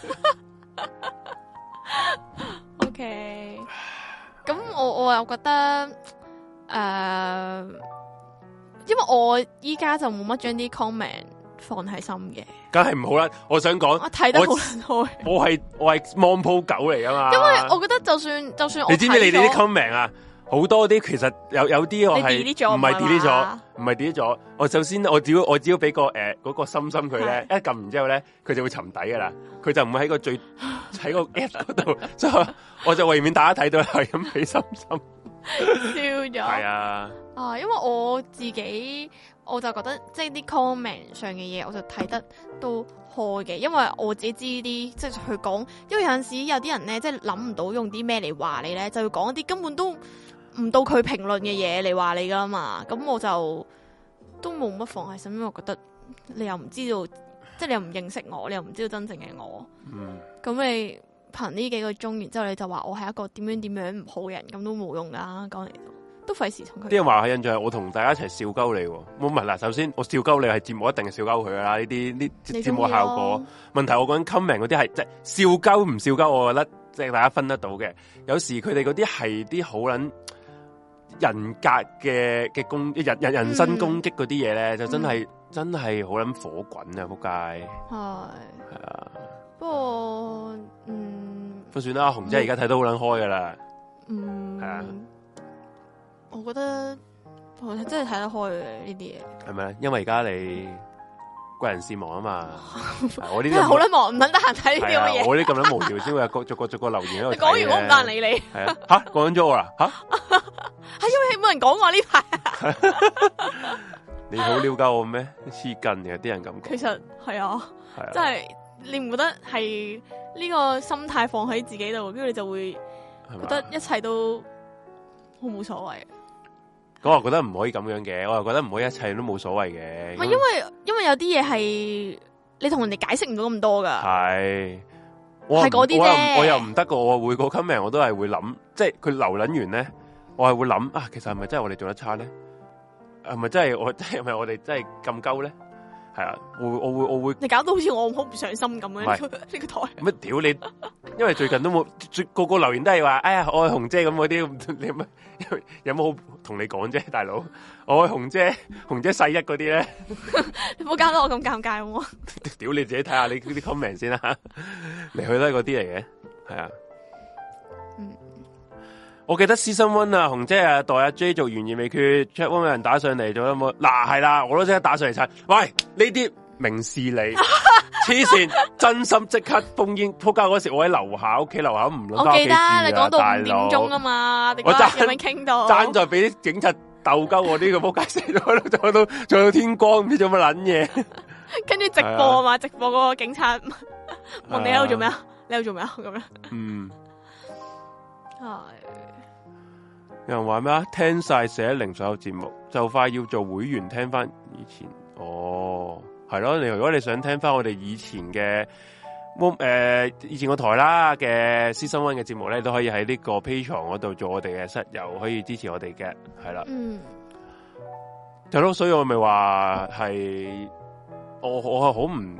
Speaker 2: ！OK，咁我我又覺得。誒、uh，因為我依家就冇乜將啲 comment 放喺心嘅，梗係唔好啦。我想講，我睇得好開，我係我係 mon 鋪狗嚟噶嘛。因為我覺得就算就算我，你知唔知你哋啲 comment 啊？好多啲其實有有啲我係唔係 delete 咗，唔係 delete 咗。我首先我只要我只要俾個誒嗰、呃那個心心佢咧，一撳完之後咧，佢就會沉底噶啦。佢就唔會喺個最喺個 app 嗰度，所以我就為免大家睇到係咁俾心心。笑咗係啊，啊，因為我自己我就覺得即係啲 comment 上嘅嘢，我就睇得都開嘅，因為我自己知啲即係佢講，因為有陣時有啲人咧，即係諗唔到用啲咩嚟話你咧，就會講一啲根本都唔到佢評論嘅嘢嚟話你噶嘛，咁我就都冇乜放喺心，因為我覺得你又唔知道，即係你又唔認識我，你又唔知道真正嘅我，嗯，咁你。憑呢幾個鐘，然之後你就話我係一個點樣點樣唔好嘅人，咁都冇用噶，講嚟都費事同佢。啲人話係印象係我同大家一齊笑鳩你，冇問嗱。首先我笑鳩你係節目一定係笑鳩佢噶啦，呢啲呢節目效果。問題我講緊 comment 嗰啲係即係笑鳩唔笑鳩，我覺得即係大家分得到嘅。有時佢哋嗰啲係啲好撚人格嘅嘅攻人人人身攻擊嗰啲嘢咧，就真係、嗯、真係好撚火滾啊！仆街係係啊。不過，嗯，都算啦。紅姐而家睇到好撚開噶啦，嗯，係啊。我覺得我真係睇得開嘅呢啲嘢。係咪？因為而家你貴人事忙啊嘛。我呢啲好撚忙，唔撚得閒睇呢啲咁嘅嘢。我呢啲咁撚無聊先會逐個逐個留言喺度。講完我唔得閒理你。係啊，吓講咗我啦，吓係因為冇人講我呢排。你好了解我咩？黐筋嘅啲人咁講。其實係啊，係啊，真係。你唔覺得係呢個心態放喺自己度，跟住你就會覺得一切都好冇所謂。咁我覺得唔可以咁樣嘅，我又覺得唔可以一切都冇所謂嘅。唔係因為因為有啲嘢係你同人哋解釋唔到咁多噶。係，係嗰啲啫。我又唔得噶，我每個 comment 我都係會諗，即係佢留撚完咧，我係會諗啊，其實係咪真係我哋做得差咧？係咪真係我係咪我哋真係咁鳩咧？係啊，我我會我會，你搞到好似我好唔上心咁樣呢個台。乜屌你？因為最近都冇，個個留言都係話，哎呀，我係紅姐咁嗰啲，你乜有冇好同你講啫，大佬？我係紅姐，紅姐細一嗰啲咧，你唔好搞到我咁尷尬好唔好？屌你自己睇下你啲 comment 先啦，嚟去都係嗰啲嚟嘅，係啊。嗯，我記得 Season One 啊，紅姐啊，代阿 J 做懸疑未決 ，chat one 有人打上嚟，仲有冇？嗱係啦，我都即刻打上嚟猜。喂，呢啲明事理，黐線，真心即刻封煙。撲街嗰時我喺樓下屋企樓下唔諗。我記得你講到五點鐘啊嘛，我爭有冇傾到？爭在俾啲警察鬥鳩我呢個撲街，死咗喺度，做到做到天光，唔知做乜撚嘢。跟住直播啊嘛，直播嗰個警察問你喺度做咩啊？你喺度做咩啊？咁樣。嗯。係。有人話咩啊？聽晒四一零所有節目，就快要做會員聽翻以前。哦，係咯。你如果你想聽翻我哋以前嘅，誒、呃，以前個台啦嘅 Season One 嘅節目咧，都可以喺呢個 Patreon 嗰度做我哋嘅室友，可以支持我哋嘅，係啦。嗯。係咯，所以我咪話係，我我係好唔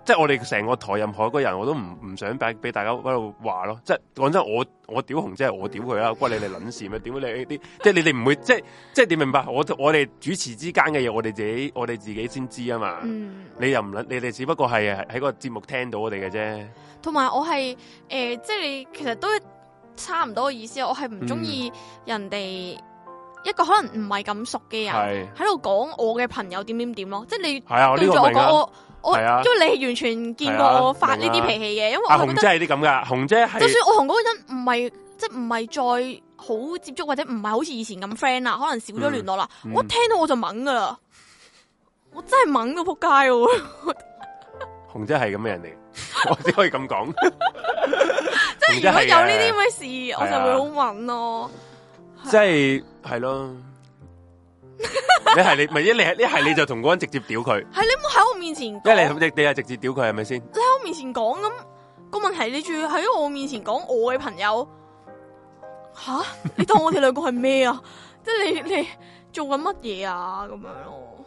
Speaker 2: 即係我哋成個台任何一個人，我都唔唔想俾俾大家喺度話咯。即係講真，我我屌紅姐係我屌佢啦，關你哋撚事咩？點解你呢啲？即係你哋唔會即係即係點明白？我我哋主持之間嘅嘢，我哋自己我哋自己先知啊嘛。嗯、你又唔撚？你哋只不過係喺個節目聽到我哋嘅啫。
Speaker 1: 同埋我係誒、呃，即係你其實都差唔多嘅意思。我係唔中意人哋。嗯一個可能唔係咁熟嘅人喺度講我嘅朋友點點點咯，即係你對住我講我我，因為你完全見過我發呢啲脾氣嘅，因為我覺得
Speaker 2: 紅姐係啲咁噶，紅姐係
Speaker 1: 就算我同嗰個人唔係即係唔係再好接觸或者唔係好似以前咁 friend 啦，可能少咗聯絡啦，嗯嗯、我一聽到我就懵噶啦，我真係懵到仆街喎！
Speaker 2: 紅姐係咁嘅人嚟，我只可以咁講。
Speaker 1: 即係如果有呢啲咁嘅事，我就會好懵咯。
Speaker 2: 即係係咯，你係你，唔係一你係一係你就同嗰人直接屌佢，係
Speaker 1: 你冇喺我面前，一
Speaker 2: 你你你係直接屌佢係咪先？
Speaker 1: 你喺我面前講咁個問題，你仲要喺我面前講我嘅朋友，吓你當我哋兩個係咩啊？即係你你做緊乜嘢啊？咁樣咯，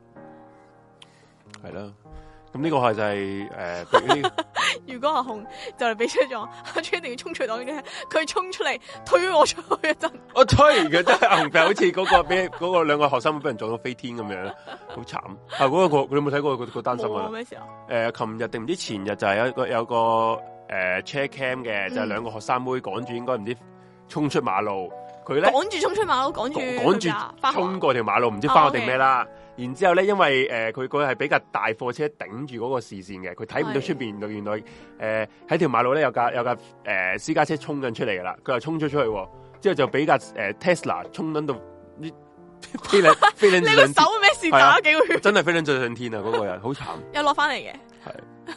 Speaker 2: 係咯。咁呢個係就係、是、誒，呃、
Speaker 1: 如果阿紅就嚟俾出咗，阿朱一定要衝出檔嘅，佢衝出嚟推我出去一陣，
Speaker 2: 我推嘅真係阿紅，好似嗰個俾嗰個兩個學生俾人撞到飛天咁樣，好慘。啊，嗰、那個你有冇睇過嗰個單新聞啊？咩時候？誒、呃，琴日定唔知前日就係有一個有個誒 check cam 嘅，就係、是、兩個學生妹趕住應該唔知衝出馬路，佢咧
Speaker 1: 趕住衝出馬路，趕住
Speaker 2: 趕住衝過條馬路，唔知翻學定咩啦。哦 okay. 然之後咧，因為誒佢佢係比較大貨車頂住嗰個視線嘅，佢睇唔到出邊。原來誒喺、呃、條馬路咧有架有架誒、呃、私家車衝緊出嚟噶啦，佢又衝咗出去，之後就俾架誒 Tesla 衝緊到飛兩飛兩。你個手咩事打咗幾個圈？真係飛兩最上天啊！嗰、那個人好慘，
Speaker 1: 又落翻嚟嘅。
Speaker 2: 係。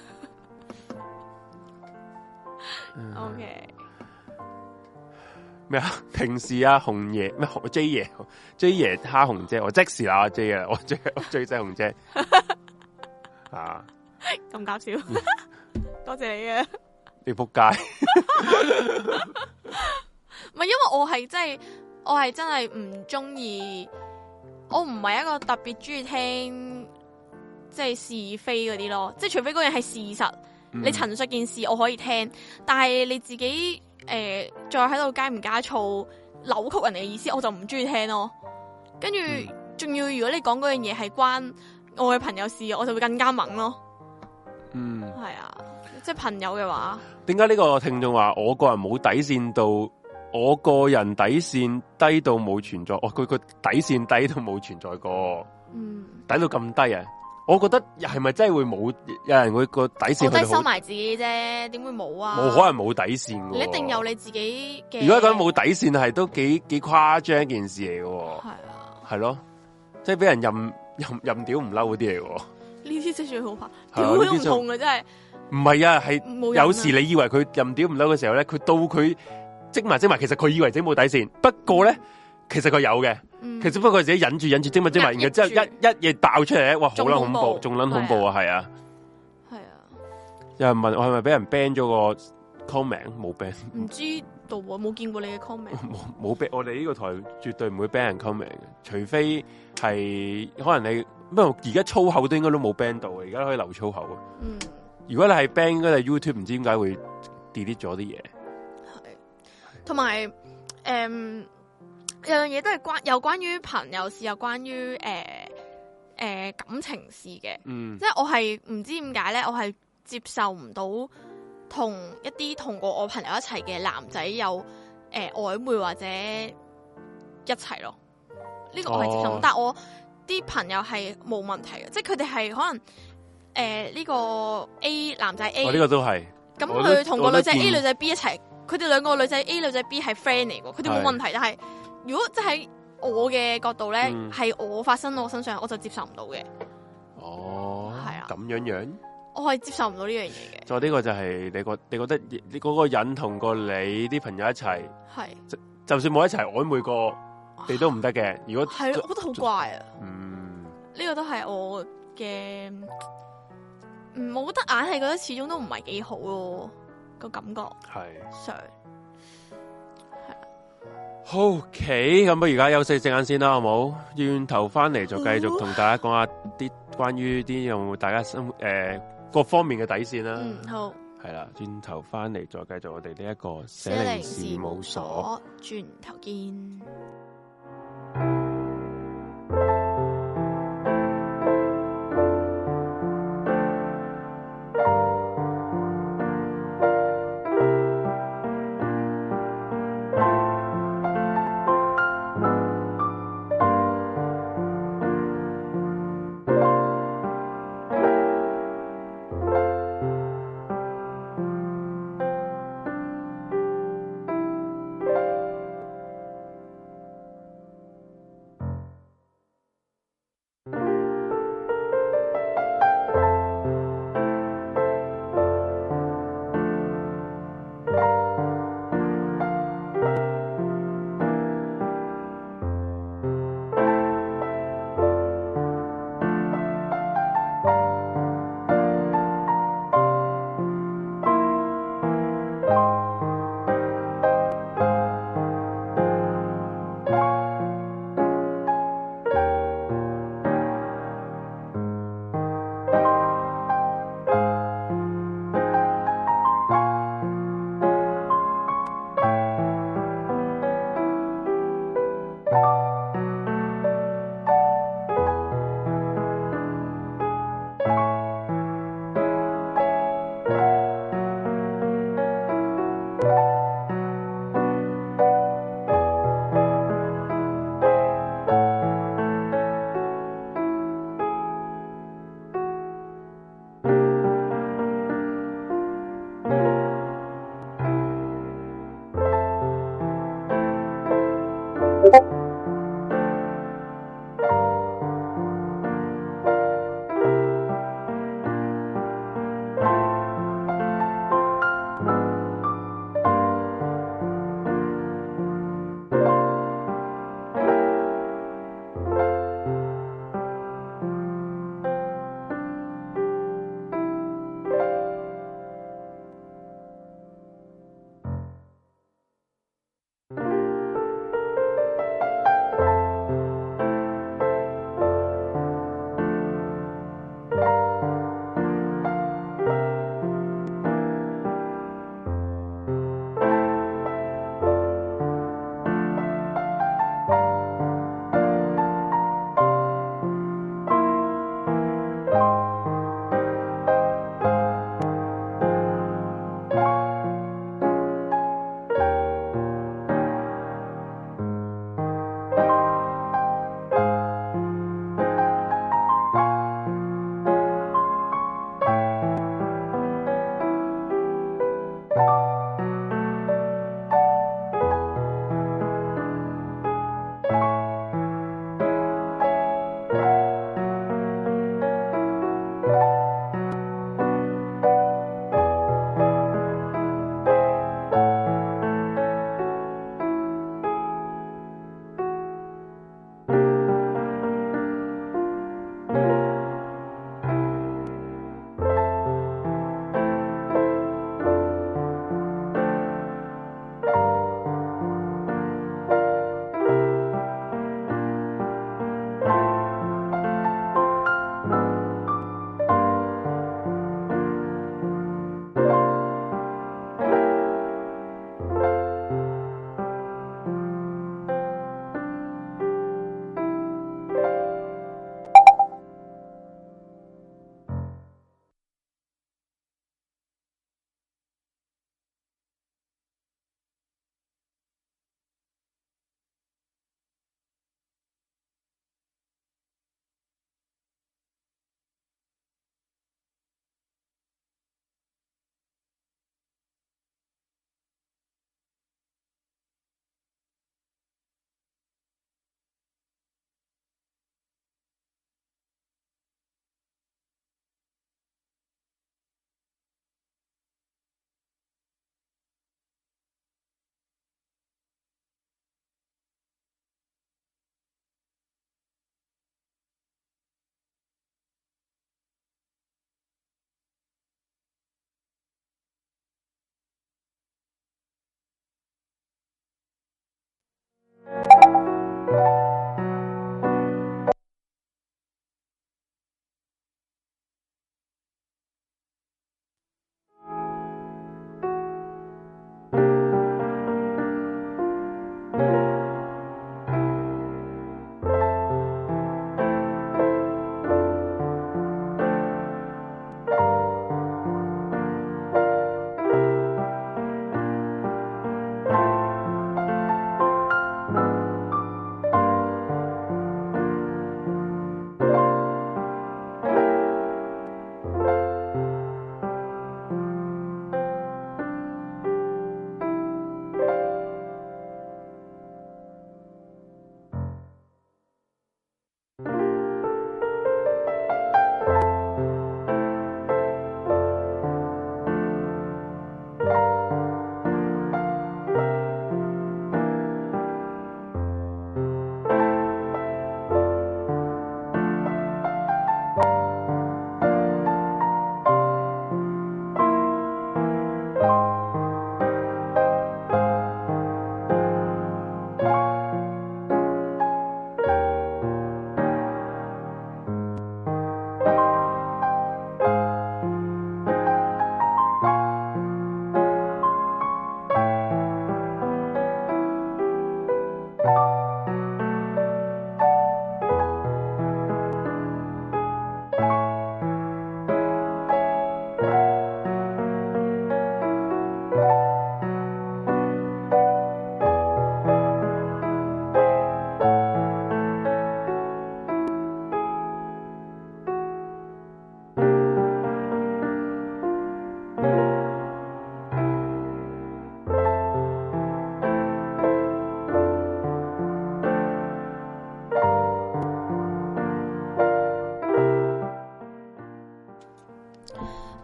Speaker 1: O K。
Speaker 2: 咩啊？平時啊，紅爺咩？J 爺 J 爺蝦紅姐，我即時啦 J 啊，我最我最憎紅姐啊！
Speaker 1: 咁搞笑，多謝你嘅。
Speaker 2: 你仆街，
Speaker 1: 唔係因為我係真係，我係真係唔中意，我唔係一個特別中意聽即係是非嗰啲咯，即係除非嗰樣係事實，嗯、你陳述件事我可以聽，但係你自己。誒、呃，再喺度加唔加醋扭曲人哋嘅意思，我就唔中意聽咯。跟住仲要，如果你講嗰樣嘢係關我嘅朋友事，我就會更加猛咯。嗯，係啊，即係朋友嘅話。點
Speaker 2: 解呢個聽眾話我個人冇底線到，我個人底線低到冇存在？哦，佢個底線低到冇存在過。嗯，低到咁低啊！我覺得係咪真係會冇有人會個底線？我
Speaker 1: 都係收埋自己啫，點會冇啊？
Speaker 2: 冇可能冇底線嘅。
Speaker 1: 你一定有你自己嘅。
Speaker 2: 如果講冇底線，係都幾幾誇張一件事嚟嘅。係啊，係咯，即係俾人任任任屌唔嬲嗰啲嚟嘅。
Speaker 1: 呢啲真係最好怕，屌都唔痛嘅真係。
Speaker 2: 唔係啊，係有時你以為佢任屌唔嬲嘅時候咧，佢到佢積埋積埋，其實佢以為自己冇底線，不過咧，其實佢有嘅。嗯、其實不過佢自己忍住忍住，精密精密，然後之後一一嘢爆出嚟，哇，好撚恐怖，仲撚恐怖啊，係啊，
Speaker 1: 係啊。
Speaker 2: 有人問我係咪俾人 ban 咗個 comment？ 冇 ban，
Speaker 1: 唔知道啊，冇見過你嘅 comment。
Speaker 2: 冇冇 ban，我哋呢個台絕對唔會 ban 人 comment 嘅，除非係可能你，不過而家粗口都應該都冇 ban 到嘅，而家可以留粗口啊。嗯，如果你係 ban，應該係 YouTube 唔知點解會 delete 咗啲嘢。係，
Speaker 1: 同埋誒。有樣嘢都係關有關於朋友事，有關於誒誒感情事嘅，嗯、即係我係唔知點解咧，我係接受唔到同一啲同過我朋友一齊嘅男仔有誒曖、呃、昧或者一齊咯。呢、這個我係接受唔到，哦、但係我啲朋友係冇問題嘅，即係佢哋係可能誒呢、呃這個 A 男仔 A，
Speaker 2: 呢、哦這個都係
Speaker 1: 咁佢同個女仔 A 女仔 B 一齊，佢哋兩個女仔 A 女仔 B 係 friend 嚟嘅，佢哋冇問題，但係。如果即係我嘅角度咧，係、嗯、我發生到我身上，我就接受唔到嘅。哦，係啊，
Speaker 2: 咁樣樣，
Speaker 1: 我係接受唔到呢樣嘢嘅。
Speaker 2: 就呢個就係你覺，你覺得你嗰個人同過你啲朋友一齊，係就，就算冇一齊曖昧過，你都唔得嘅。如果
Speaker 1: 係，我覺得好怪啊。嗯，呢個都係我嘅，嗯，我覺得硬係覺得始終都唔係幾好咯，個感覺係上。
Speaker 2: OK，咁不如而家休息陣間先啦，好冇？轉頭翻嚟就繼續同大家講下啲關於啲有冇大家生誒各方面嘅底線啦。
Speaker 1: 嗯，好。
Speaker 2: 係啦，轉頭翻嚟再繼續我哋呢一個寫靈事務所，
Speaker 1: 轉頭見。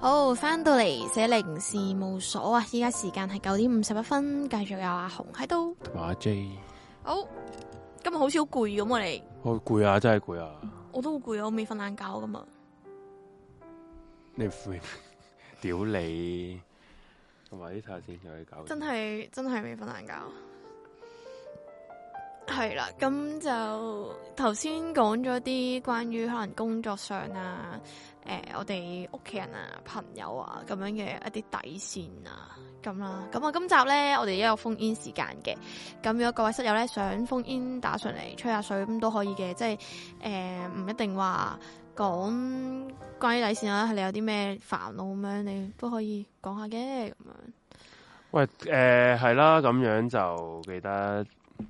Speaker 1: 好，翻到嚟寫零事務所啊！依家時間係九點五十一分，繼續有阿紅喺度，
Speaker 2: 同埋阿 J。
Speaker 1: 好，今日好似好攰咁，我哋
Speaker 2: 好攰啊，真係攰啊！
Speaker 1: 我都好攰啊，我未瞓晏覺噶嘛。
Speaker 2: 你瞓？屌你！同埋呢睇下先，有嘢搞。真
Speaker 1: 係真係未瞓晏覺。係啦，咁就頭先講咗啲關於可能工作上啊，誒、呃，我哋屋企人啊、朋友啊咁樣嘅一啲底線啊，咁啦。咁啊，今集咧，我哋都有封煙時間嘅。咁如果各位室友咧想封煙打上嚟吹下水咁都可以嘅，即係誒唔一定話講關於底線啦，係你有啲咩煩惱咁樣，你都可以講下嘅咁樣。
Speaker 2: 喂，誒係啦，咁樣就記得。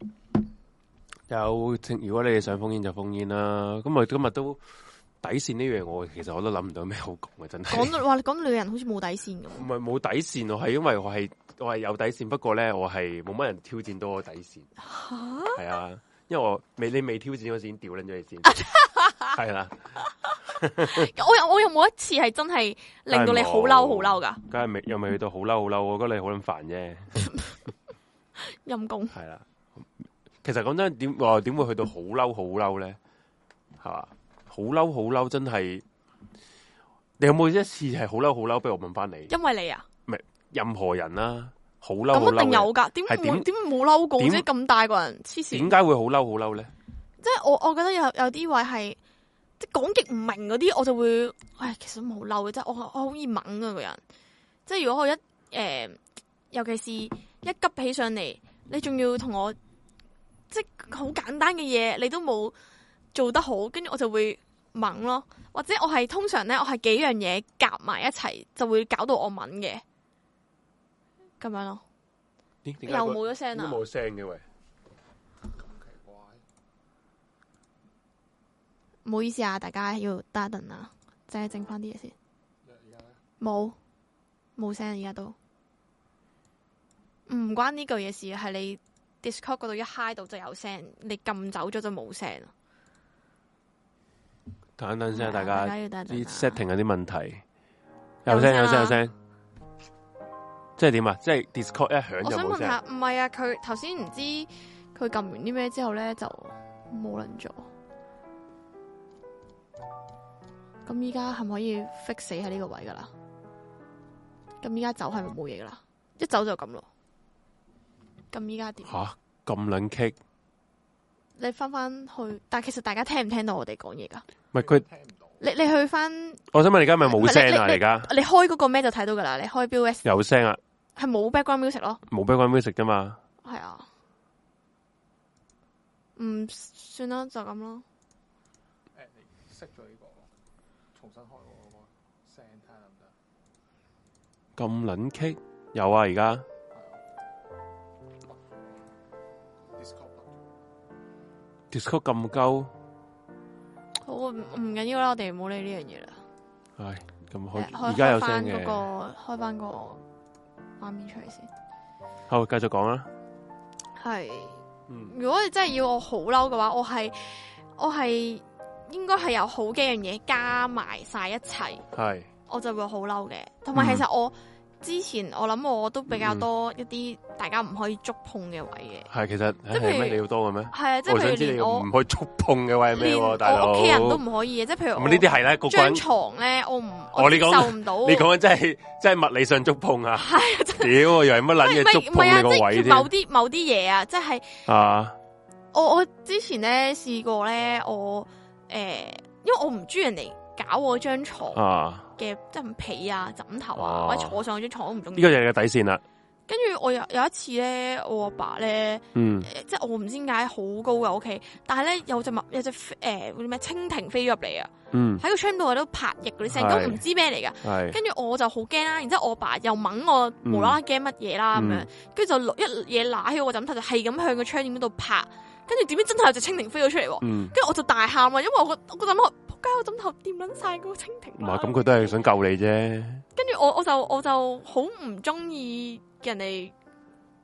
Speaker 2: 有，如果你哋想封煙就封煙啦。咁我今日都底線呢樣，我其實我都諗唔到咩好講嘅，真係。講到話，講女人好似冇底線咁。唔係冇底線，我係因為我係我係有底線，不過咧我係冇乜人挑戰到我底線。吓？係啊，因為我未你未挑戰嗰時已經掉撚咗你先。係啦。我又我又冇一次係真係令到你好嬲好嬲噶。梗係未又未去到好嬲好嬲，我覺得你好撚煩啫。陰公。係啦。其實講真，點話點會去到好嬲好嬲咧？係嘛，好嬲好嬲，真係你有冇一次係好嬲好嬲？俾我問翻你，因為你啊，唔係任何人啦，好嬲咁一定有噶，點會點冇嬲過？即係咁大個人，黐線，點解會好嬲好嬲咧？即係我我覺得有有啲位係即係講極唔明嗰啲，我就會，唉，其實都冇嬲嘅，即係我我好易猛啊個人。即係如果我一誒、呃，尤其是一急起上嚟，你仲要同我。即係好簡單嘅嘢，你都冇做得好，跟住我就會猛咯。或者我係通常咧，我係幾樣嘢夾埋一齊，就會搞到我猛嘅咁樣咯。又冇咗聲啊！都冇聲嘅喂，咁奇怪。唔好意思啊，大家要等一等啊，即係整翻啲嘢先。而家咧冇冇聲，而家都唔關呢句嘢事，係你。Discord 嗰度一 high 到就有聲，你撳走咗就冇聲啦。等等先，大家啲 setting 有啲問題，有聲有聲有聲，即係點啊？即係 Discord 一響就冇聲。我想問下，唔係啊？佢頭先唔知佢撳完啲咩之後咧就冇撚咗。咁依家係咪可以 fix 死喺呢個位噶啦？咁依家走係咪冇嘢噶啦？一走就咁咯。咁依家點？吓咁撚棘！你翻翻去，但係其實大家聽唔聽到我哋講嘢噶？唔係佢聽唔到。你你去翻，我想問你而家咪冇聲啊？而家你開嗰個咩就睇到噶啦？你開 B O S 有聲啊？係冇 background music 咯？冇 background music 噶嘛？係啊。唔算啦，就咁咯。誒，你熄咗呢個，重新開我個聲睇下得唔得？咁撚棘？有啊，而家。Discord 咁高，好唔唔緊要啦，我哋唔好理呢樣嘢啦。係咁開，而家有聲嘅。開翻嗰個，開翻個畫面出嚟先。好，繼續講啦。係，嗯，如果你真係要我好嬲嘅話，我係我係應該係有好幾樣嘢加埋晒一齊，係，我就會好嬲嘅。同埋其實我。嗯之前我諗我都比較多一啲大家唔可以觸碰嘅位嘅，係、嗯、其實即係咩你要多嘅咩？係啊，即係譬如連我唔可以觸碰嘅位係咩？大佬，我屋企人都唔可以嘅，即係譬如咁呢啲係咧，個張床咧我唔我接受唔到。你講緊真係真係物理上觸碰啊？係啊，屌我以為乜撚嘢觸碰你個位添？某啲某啲嘢啊，即係啊，我我之前咧試過咧，我誒、呃，因為我唔中意人哋搞我張床啊。嘅即係被啊、枕頭啊，哦、或者坐上張床都唔中意。呢個就係個底線啦。跟住我有有一次咧，我阿爸咧，嗯，呃、即係我唔知點解好高嘅屋企，但係咧有隻物有隻誒嗰啲咩蜻蜓飛咗入嚟啊，嗯，喺個窗度喺度拍翼嗰啲聲，都唔知咩嚟噶。係，跟住我就好驚啦，然之後我阿爸又掹我，無啦啦驚乜嘢啦咁樣，跟住就一嘢揦起我個枕頭，就係咁向個窗簾嗰度拍，跟住點知真係有隻蜻蜓飛咗出嚟，跟住我就大喊啊，因為我個我個枕頭。我枕頭掂撚晒嗰個蜻蜓，唔係咁佢都係想救你啫。跟住我我就我就好唔中意人哋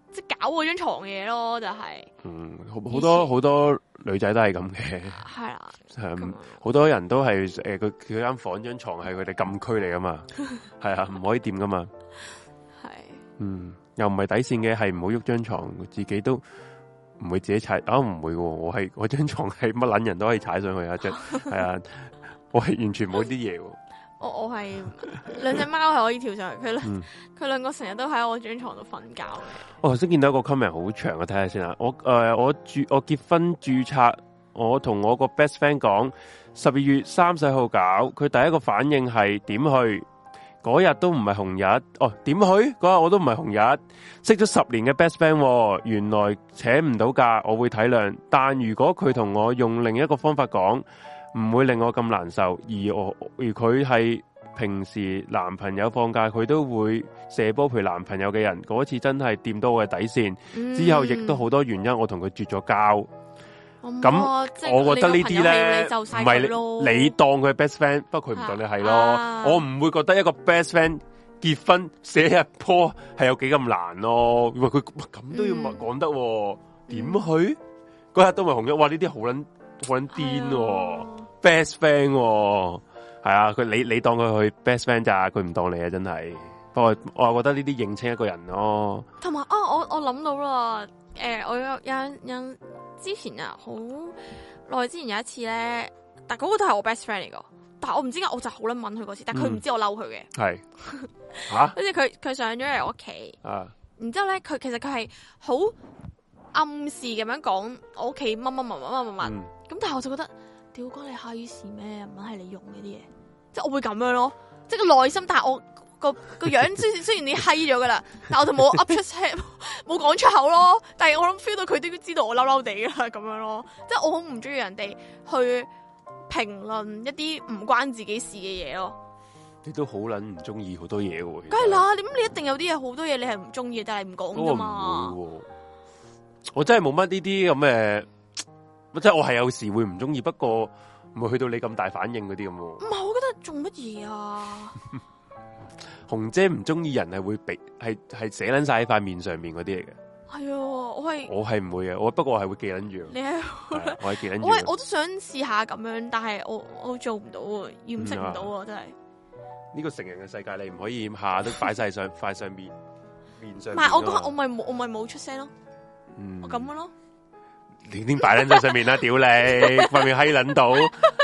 Speaker 1: 即係搞嗰張床嘅嘢咯，就係、是。
Speaker 2: 嗯，好好多好多女仔都係咁嘅。係啦，係好多人都係誒，佢佢間房張床係佢哋禁區嚟噶嘛，係啊，唔可以掂噶嘛。係。嗯，又唔係底線嘅，係唔好喐張床，自己都唔會自己踩。啊，唔會喎，我係我張床係乜撚人都可以踩上去啊！張係啊，我係完全冇啲嘢。
Speaker 1: 我我係兩隻貓係可以跳上去，佢兩佢兩個成日都喺我張床度瞓覺嘅。我頭先見到一個 comment 好長，我睇下先啊。我誒、呃、我注我結婚註冊，我同我個 best friend 講十二月三十號搞，佢第一個反應係點去？嗰日都唔係紅日，哦點去？嗰日我都唔係紅日，識咗十年嘅 best friend，哦、原來請唔到假，我會體諒。但如果佢同我用另一個方法講，唔會令我咁難受，而我而佢係平時男朋友放假佢都會射波陪男朋友嘅人，嗰次真係掂到我嘅底線。嗯、之後亦都好多原因，我同佢絕咗交。咁、嗯、我覺得呢啲咧唔係你當佢係 best friend，不過佢唔當你係咯。啊、我唔會覺得一個 best friend 結婚射一波係有幾咁難咯。因為佢咁都要講得，點、嗯、去嗰日都咪紅咗？哇！呢啲好撚好撚癲。best friend 係啊，佢你你當佢去 best friend 咋，佢唔當你啊，真係。不過我又覺得呢啲認清一個人咯。同埋啊，我我諗到啦，誒、呃，我有有有之前啊，好耐之前有一次咧，但嗰個都係我 best friend 嚟噶，但係我唔知點解我就好撚問佢嗰次，但係佢唔知我嬲佢嘅。係吓，跟住佢佢上咗嚟我屋企，啊，然之後咧佢其實佢係好暗示咁樣講我屋企乜乜乜乜乜乜乜，咁但係我就覺得。屌，關你閪事咩？唔係你用嗰啲嘢，即係我會咁樣咯，即係個內心。但係我個個樣雖雖然你閪咗噶啦，但係我就冇噏出聲，冇講出口咯。但係我諗 feel 到佢都知道我嬲嬲地啦，咁樣咯。即係我好唔中意人哋去評論一啲唔關自己事嘅嘢咯。你都好撚唔中意好多嘢喎。梗係啦，點你一定有啲嘢好多嘢你係唔中意，但係唔講噶嘛。我，我真係冇乜呢啲咁嘅。即係我係有時會唔中意，不過唔會去到你咁大反應嗰啲咁。唔係，我覺得做乜嘢啊？紅姐唔中意人係會俾係係寫捻晒喺塊面上面嗰啲嚟嘅。係啊，我係我係唔會嘅，我不過我係會記捻住。你係我係記捻住。我係我都想試下咁樣，但係我我做唔到啊，掩飾唔到啊，真係。呢個成人嘅世界，你唔可以下下都擺晒上塊上面面上。唔係，我嗰我咪冇我咪冇出聲咯。嗯，我咁嘅咯。你點擺捻喺上面啦？屌你，塊面閪捻到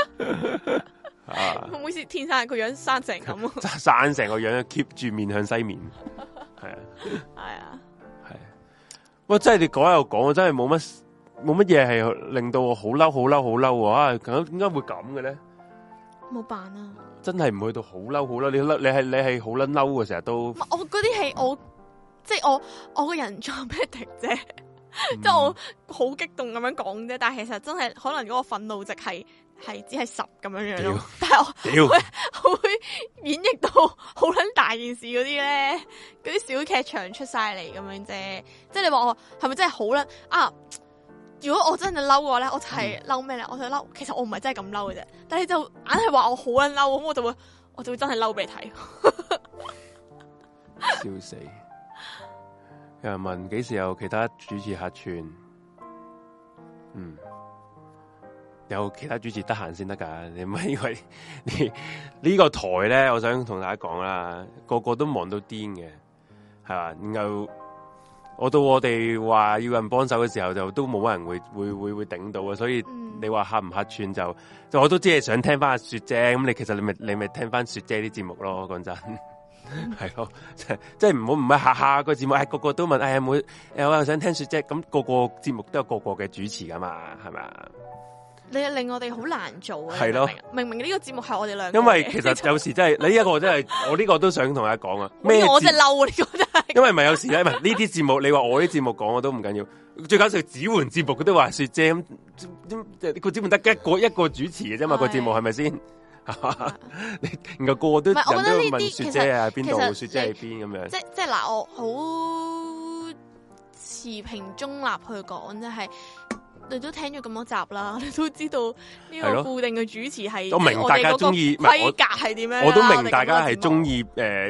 Speaker 1: 啊！會唔會似天生個樣生成咁？生成個樣 keep 住面向西面，係啊，係啊，係。喂，真係你講又講，我真係冇乜冇乜嘢係令到我好嬲、好嬲、好嬲啊！咁點解會咁嘅咧？冇辦啊！真係唔去到好嬲、好嬲，你嬲你係你係好撚嬲嘅，成日都。我嗰啲係我即係我我個人做咩敵啫？即係、嗯、我好激動咁樣講啫，但係其實真係可能嗰個憤怒值係係只係十咁樣樣咯。但係我我會，我會演繹到好撚大件事嗰啲咧，嗰啲小劇場出晒嚟咁樣啫。即係你話我係咪真係好撚啊？如果我真係嬲嘅話咧，我就係嬲咩咧？我就嬲，其實我唔係真係咁嬲嘅啫。但係就硬係話我好撚嬲，咁我就會我就會真係嬲俾你睇。笑死！有人問幾時有其他主持客串？嗯，有其他主持得閒先得噶，你唔係因為你呢個台咧，我想同大家講啦，個個都忙到癲嘅，係嘛？然後我到我哋話要人幫手嘅時候，就都冇乜人會會會會頂到啊，所以你話客唔客串就，就我都知係想聽翻阿雪姐，咁你其實你咪你咪聽翻雪姐啲節目咯，講真。係咯，即係即係唔好唔係下下個節目，係個個都問，哎呀冇，誒我又想聽雪姐，咁個個節目都有個個嘅主持噶嘛，係咪啊？你令我哋好難做啊！係咯，明明呢個節目係我哋兩個，因為其實有時真係你呢一個真係，我呢個都想同大家講啊。咩？我真係嬲啊！呢個真係，因為唔係有時咧，唔係呢啲節目，你話我啲節目講我都唔緊要。最搞笑指換節目，佢都話雪姐咁，個節目得一個一個主持嘅啫嘛，個節目係咪先？你然後個個都人都問雪姐啊，邊度雪姐喺邊咁樣？即即係嗱，我好持平中立去講，即係你都聽咗咁多集啦，你都知道呢個固定嘅主持係我明大家中意規格係點樣？我都明大家係中意誒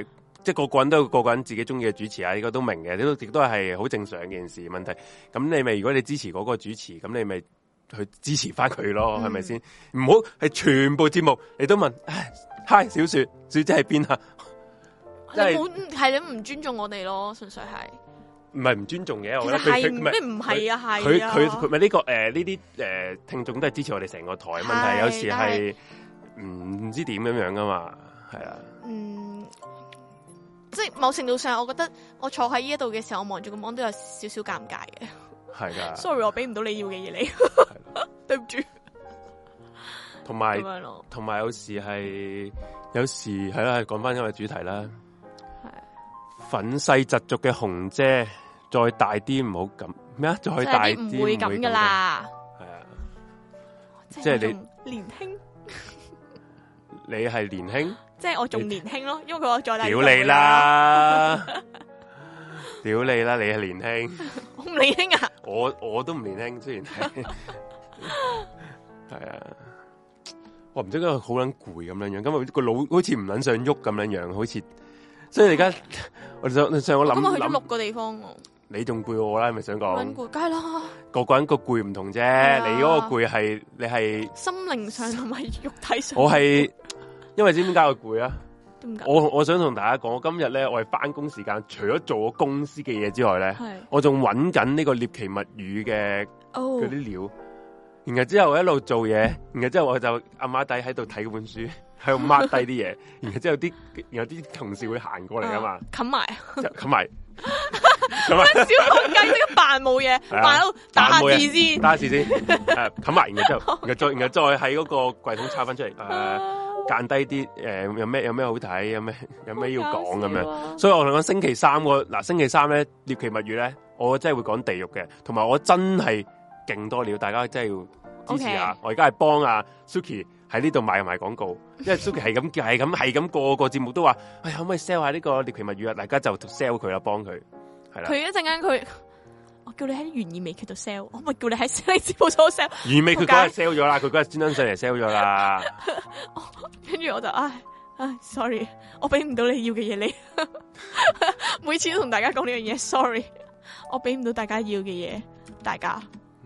Speaker 2: 即係個個人都有個個人自己中意嘅主持啊，呢個都明嘅，呢都亦都係好正常嘅件事問題。咁你咪如果你支持嗰個主持，咁你咪去支持翻佢咯，係咪先？唔好係全部節目你都問，唉，嗨，小雪小姐喺邊啊？
Speaker 1: 你冇係你唔尊重我哋咯，純粹係。
Speaker 2: 唔係唔尊重嘅，我覺得
Speaker 1: 佢咩唔係啊？係
Speaker 2: 佢佢佢咪呢個誒呢啲誒聽眾都係支持我哋成個台。問題有時係唔唔知點咁樣噶嘛，係啊。嗯，
Speaker 1: 即係某程度上，我覺得我坐喺呢一度嘅時候，我望住個 mon 都有少少尷尬嘅。
Speaker 2: 係噶。
Speaker 1: Sorry， 我俾唔到你要嘅嘢你，對唔住。
Speaker 2: 同埋同埋有時係有時係啦，講翻今日主題啦。憤世嫉俗嘅紅姐，再大啲唔好咁咩啊？再大啲唔
Speaker 1: 會咁噶啦。
Speaker 2: 係啊，即係你
Speaker 1: 年輕，
Speaker 2: 你係年輕，
Speaker 1: 即係我仲年輕咯，因為佢話再大。
Speaker 2: 屌你啦！屌你啦！你係年輕，
Speaker 1: 我唔年輕啊！
Speaker 2: 我我都唔年輕，雖然係係啊，我唔知點解好撚攰咁樣樣，咁啊個腦好似唔撚想喐咁樣樣，好似。所以而家我上上我諗，
Speaker 1: 咁我去咗六個地方，
Speaker 2: 你仲攰我啦，係咪想講？
Speaker 1: 攰，梗係啦。
Speaker 2: 個個人個攰唔同啫，你嗰個攰係你係
Speaker 1: 心靈上同埋肉體上。
Speaker 2: 我係因為知點解我攰啊？
Speaker 1: 點解？
Speaker 2: 我我想同大家講，我今日咧我係翻工時間，除咗做我公司嘅嘢之外咧，我仲揾緊呢個獵奇物語嘅嗰啲料。然後之後我一路做嘢，然後之後我就阿媽底喺度睇嗰本書。喺度 mark 低啲嘢，然後之後啲，有啲同事會行過嚟噶嘛，
Speaker 1: 冚埋，
Speaker 2: 冚埋，
Speaker 1: 咁啊小學雞識扮冇嘢，扮到打下字先，
Speaker 2: 打下字先，誒冚埋，然後之後，然後再，然後再喺嗰個櫃桶抄翻出嚟，誒間低啲，誒有咩有咩好睇，有咩有咩要講咁樣，所以我同你講星期三個嗱星期三咧獵奇物語咧，我真係會講地獄嘅，同埋我真係勁多料，大家真係要支持下，我而家係幫阿 Suki。喺呢度賣賣廣告，因為 Suki 係咁係咁係咁個個節目都話，哎可唔可以 sell 下呢個獵奇物語啊？大家就 sell 佢啦，幫佢係啦。
Speaker 1: 佢一陣間佢，我叫你喺懸疑美劇度 sell， 我咪叫你喺 sell 節目所 sell。
Speaker 2: 懸疑美劇佢嗰日 sell 咗啦，佢嗰日專登上嚟 sell 咗啦。
Speaker 1: 跟住我就唉唉 sorry， 我俾唔到你要嘅嘢你。每次都同大家講呢樣嘢 ，sorry， 我俾唔到大家要嘅嘢，大家。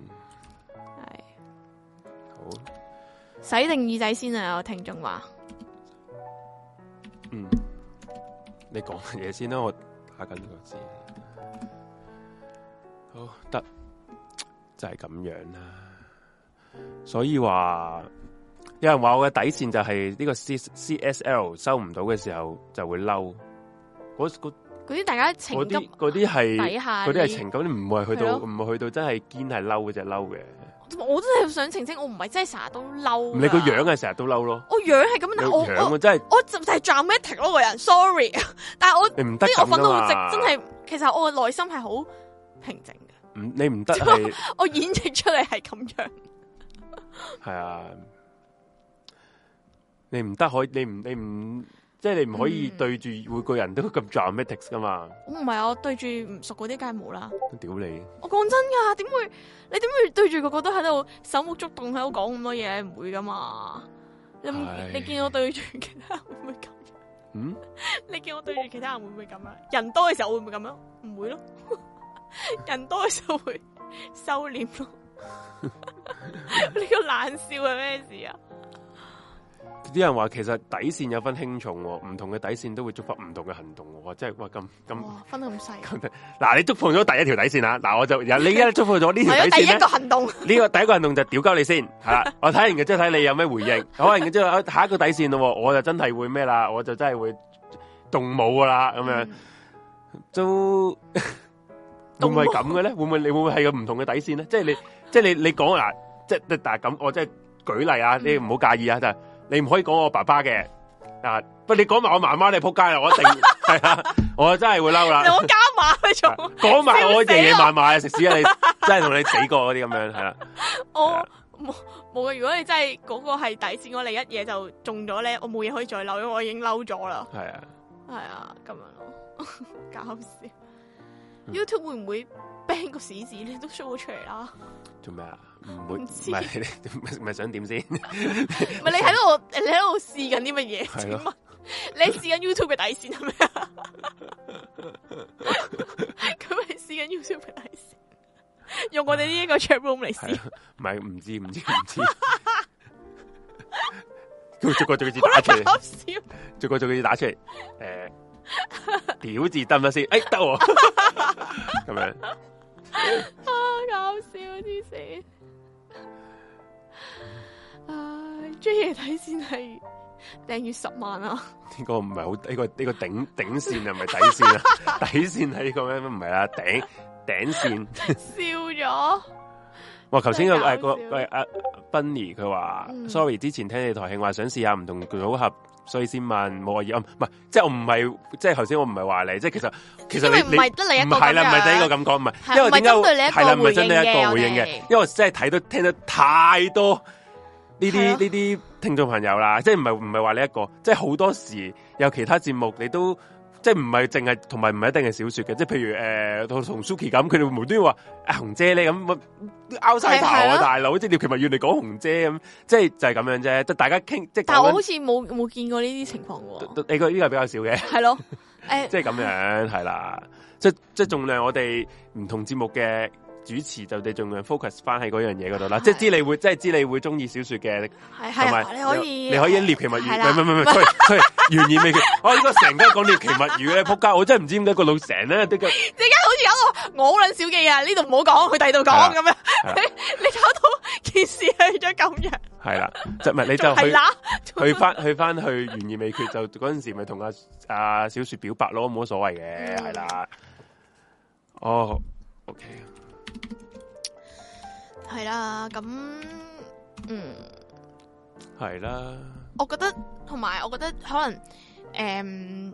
Speaker 1: 洗定耳仔先啊！有聽眾話，
Speaker 2: 嗯，你講嘢先啦，我打緊呢個字。好得，就係咁樣啦。所以話，有人話我嘅底線就係呢個 C C S L 收唔到嘅時候就會嬲。嗰嗰
Speaker 1: 啲大家情急，
Speaker 2: 嗰啲係
Speaker 1: 底下，
Speaker 2: 嗰啲係情感，唔係去到唔係去到真係堅係嬲嗰隻嬲嘅。
Speaker 1: 我真係想澄清，我唔係真係成日都嬲。
Speaker 2: 你個樣係成日都嬲咯。
Speaker 1: 我樣係咁，但係我
Speaker 2: 樣我真係
Speaker 1: 我就係 dramatic 咯個人 ，sorry。但係我
Speaker 2: 你唔得
Speaker 1: 咁我憤怒值真係，其實我嘅內心係好平靜嘅。
Speaker 2: 唔，你唔得係
Speaker 1: 我演繹出嚟係咁樣。
Speaker 2: 係啊，你唔得可以，你唔你唔。即係你唔可以對住每個人都咁 dramatic 噶嘛？我唔係啊，我對住唔熟嗰啲梗係冇啦。屌你！我講真噶，點會？你點會對住個個都喺度手舞足動喺度講咁多嘢？唔會噶嘛？你你見我對住其他人會唔會咁？嗯？你見我對住其他人會唔會咁啊？人多嘅時候會唔會咁樣？唔會咯。人多嘅時候會收斂咯。呢個冷笑係咩事啊？啲人話其實底線有分輕重，唔同嘅底線都會觸發唔同嘅行動。哇，真係哇咁咁分得咁細。嗱，你觸碰咗第一條底線啦，嗱，我就你而家觸碰咗呢條底線咧。第一個行動，呢個第一個行動就屌鳩你先，係啦。我睇完嘅之後睇你有咩回應。好，然之後下一個底線咯，我就真係會咩啦，我就真係會動武噶啦，咁樣都會唔會咁嘅咧？會唔會你會唔會係個唔同嘅底線咧？即係你即係你你講嗱，即係但係咁，我即係舉例啊，你唔好介意啊，就係。你唔可以講我爸爸嘅啊，不你講埋我媽媽，你仆街啦！我一定係啊，我真係會嬲啦！我加碼你仲講埋我爺爺嫲嫲啊，食屎啊！你真係同你死過嗰啲咁樣係啦。我冇冇嘅，如果你真係嗰個係底線，我你一嘢就中咗咧，我冇嘢可以再嬲，因為我已經嬲咗啦。係啊，係啊，咁樣咯，搞笑。嗯、YouTube 會唔會 ban 個屎字你都 show 咗出嚟啦？做咩啊？唔會，唔係唔係想點先？唔係你喺度，你喺度試緊啲乜嘢？係咯，
Speaker 1: 你試緊 YouTube 嘅底線係咪啊？佢咪試緊 YouTube 嘅底線，用我哋呢一個 chat room 嚟試。
Speaker 2: 唔係唔知唔知唔知。佢逐個逐個字打出嚟，逐個逐個字打出嚟。誒，屌字得唔得先？誒，得喎。咁樣。
Speaker 1: 啊，搞笑啲死！唉，追嘢睇先係訂閱十萬啊！
Speaker 2: 呢個唔係好呢個呢個頂頂線啊，唔係底線啊，底線係呢個咩？唔係啦，頂頂線。
Speaker 1: 笑咗。
Speaker 2: 哇！頭先個誒個誒阿 Bunny 佢話 sorry， 之前聽你台慶話想試下唔同組合，所以先問冇意。唔係，即係我唔係，即係頭先我唔係話你，即係其實其實你
Speaker 1: 唔係得你一個，
Speaker 2: 唔係啦，唔係第一個咁講，唔係，因為點解係啦，唔係真係一個回應嘅，因為我真係睇到聽得太多呢啲呢啲聽眾朋友啦，即係唔係唔係話你一個，即係好多時有其他節目你都。即係唔係淨係，同埋唔係一定係小說嘅，即係譬如誒，同、呃、同 Suki 咁，佢哋無端端話阿紅姐咧咁，拗晒頭啊大佬，即係廖其物要你講紅姐咁，即係就係咁樣啫，即係大家傾，即係。但係我好似冇冇見過呢啲情況喎。你個呢個比較少嘅。係咯，誒，即係咁樣係啦，即係即係盡量我哋唔同節目嘅。主持就哋盡量 focus 翻喺嗰樣嘢嗰度啦，即係知你會，即係知你會中意小說嘅，同埋你可以你可以獵奇物語，唔係唔係唔係，佢佢懸疑未決，我應該成日講獵奇物語咧，仆街！我真係唔知點解個腦成咧啲嘅，即係好似有個我好撚小記啊，呢度唔好講，去第二度講咁樣，你你搞到件事去咗咁樣，係啦，即係唔係你就去去翻去翻去懸疑未決，就嗰陣時咪同阿阿小說表白咯，冇乜所謂嘅，係啦，哦 ，OK。係啦，咁嗯，係啦。我覺得同埋，我覺得可能誒，嗯，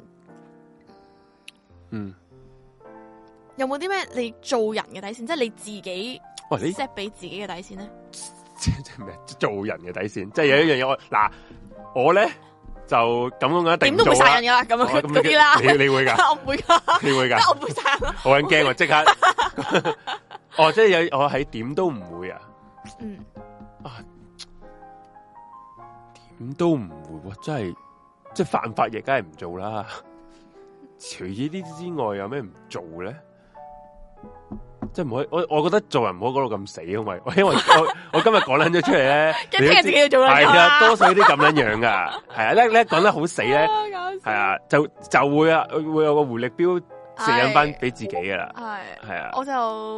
Speaker 2: 嗯有冇啲咩你做人嘅底線，即係你自己 set 俾自己嘅底線咧？即係咩？做人嘅底線，即係有一樣嘢我嗱，我咧就咁樣一定點都會殺人噶啦，咁樣嗰啲啦。你你會噶？我唔會噶。你會噶？我唔會殺人。好撚驚啊！即刻。哦，即係有我喺點都唔會啊。嗯。啊，點都唔會喎！真係，即係犯法亦梗係唔做啦。除咗呢啲之外，有咩唔做咧？即係唔可以，我我覺得做人唔好講到咁死，因為因為我我今日講捻咗出嚟咧，你聽日自己要做啦。係啊，多數啲咁樣樣噶，係啊，咧咧講得好死咧，係啊，就就會啊，會有個回力鏢成引翻俾自己噶啦，係係啊，我就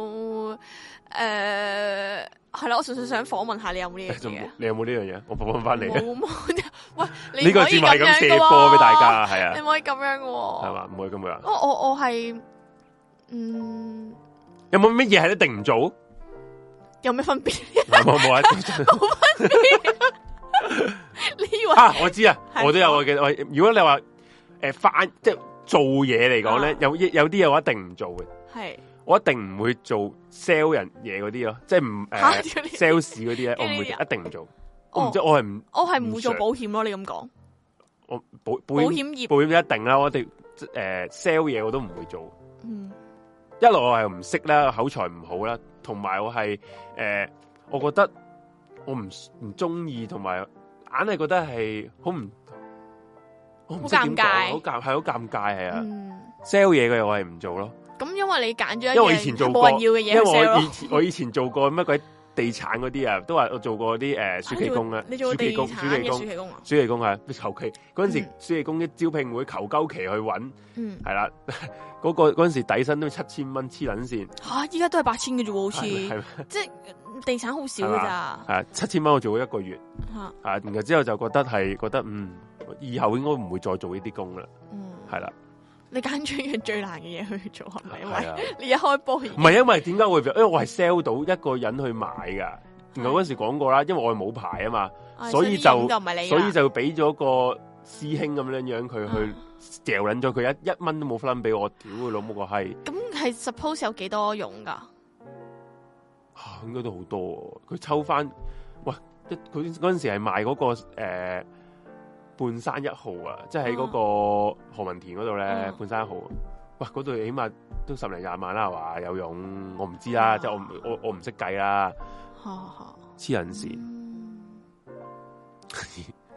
Speaker 2: 誒係啦，我純粹想訪問下你有冇呢樣嘢，你有冇呢樣嘢？我訪問翻你，冇冇，喂，呢個節目係咁射波俾大家，係啊，你唔可以咁樣嘅，係嘛，唔可以咁樣。我我我係嗯。有冇乜嘢係一定唔做？有咩分別？冇冇啊！冇分別。你以為啊？我知啊，我都有我嘅。我如果你話誒翻即係做嘢嚟講咧，有有啲嘢我一定唔做嘅。係我一定唔會做 sell 人嘢嗰啲咯，即係唔誒 sales 嗰啲咧，我唔會一定唔做。我唔知我係唔我係唔會做保險咯。你咁講，我保保險業保險一定啦。我哋誒 sell 嘢我都唔會做。嗯。一來我係唔識啦，口才唔好啦，同埋我係誒、呃，我覺得我唔唔中意，同埋硬係覺得係好唔好尷尬，好尷係好尷尬係啊 ！sell 嘢嘅我係唔做咯。咁因為你揀咗一樣因為我以前做過冇人要嘅嘢，因為我以前我以前做過乜鬼地產嗰啲啊，都話我做過啲誒暑期工啊，你做地產嘅暑期工啊，暑期工係求其嗰陣時暑期工啲招聘會求鳩期去搵，嗯，係啦。嗰、那個嗰陣時底薪都七千蚊黐撚線吓，依家都係八千嘅啫喎，好似即係地產好少㗎咋，係七千蚊我做咗一個月，啊，然後之後就覺得係覺得嗯，以後應該唔會再做呢啲工啦，嗯，係啦，你揀咗一樣最難嘅嘢去做係咪？因為你一開波唔係因為點解會？因為我係 sell 到一個人去買㗎，然後嗰陣時講過啦，因為我係冇牌啊嘛，所以就所以就俾咗個師兄咁樣樣佢去。掉捻咗佢一一蚊都冇分俾我，屌佢老母個閪！咁係 suppose 有幾多用噶？啊，應該都好多。佢抽翻，喂，一佢嗰陣時係賣嗰、那個誒、呃、半山一號啊，即係喺嗰個何文田嗰度咧，嗯、半山一號。喂，嗰度起碼都十零廿萬啦，係嘛？有用？我唔知啦，即係、啊、我我我唔識計啦。黐人線。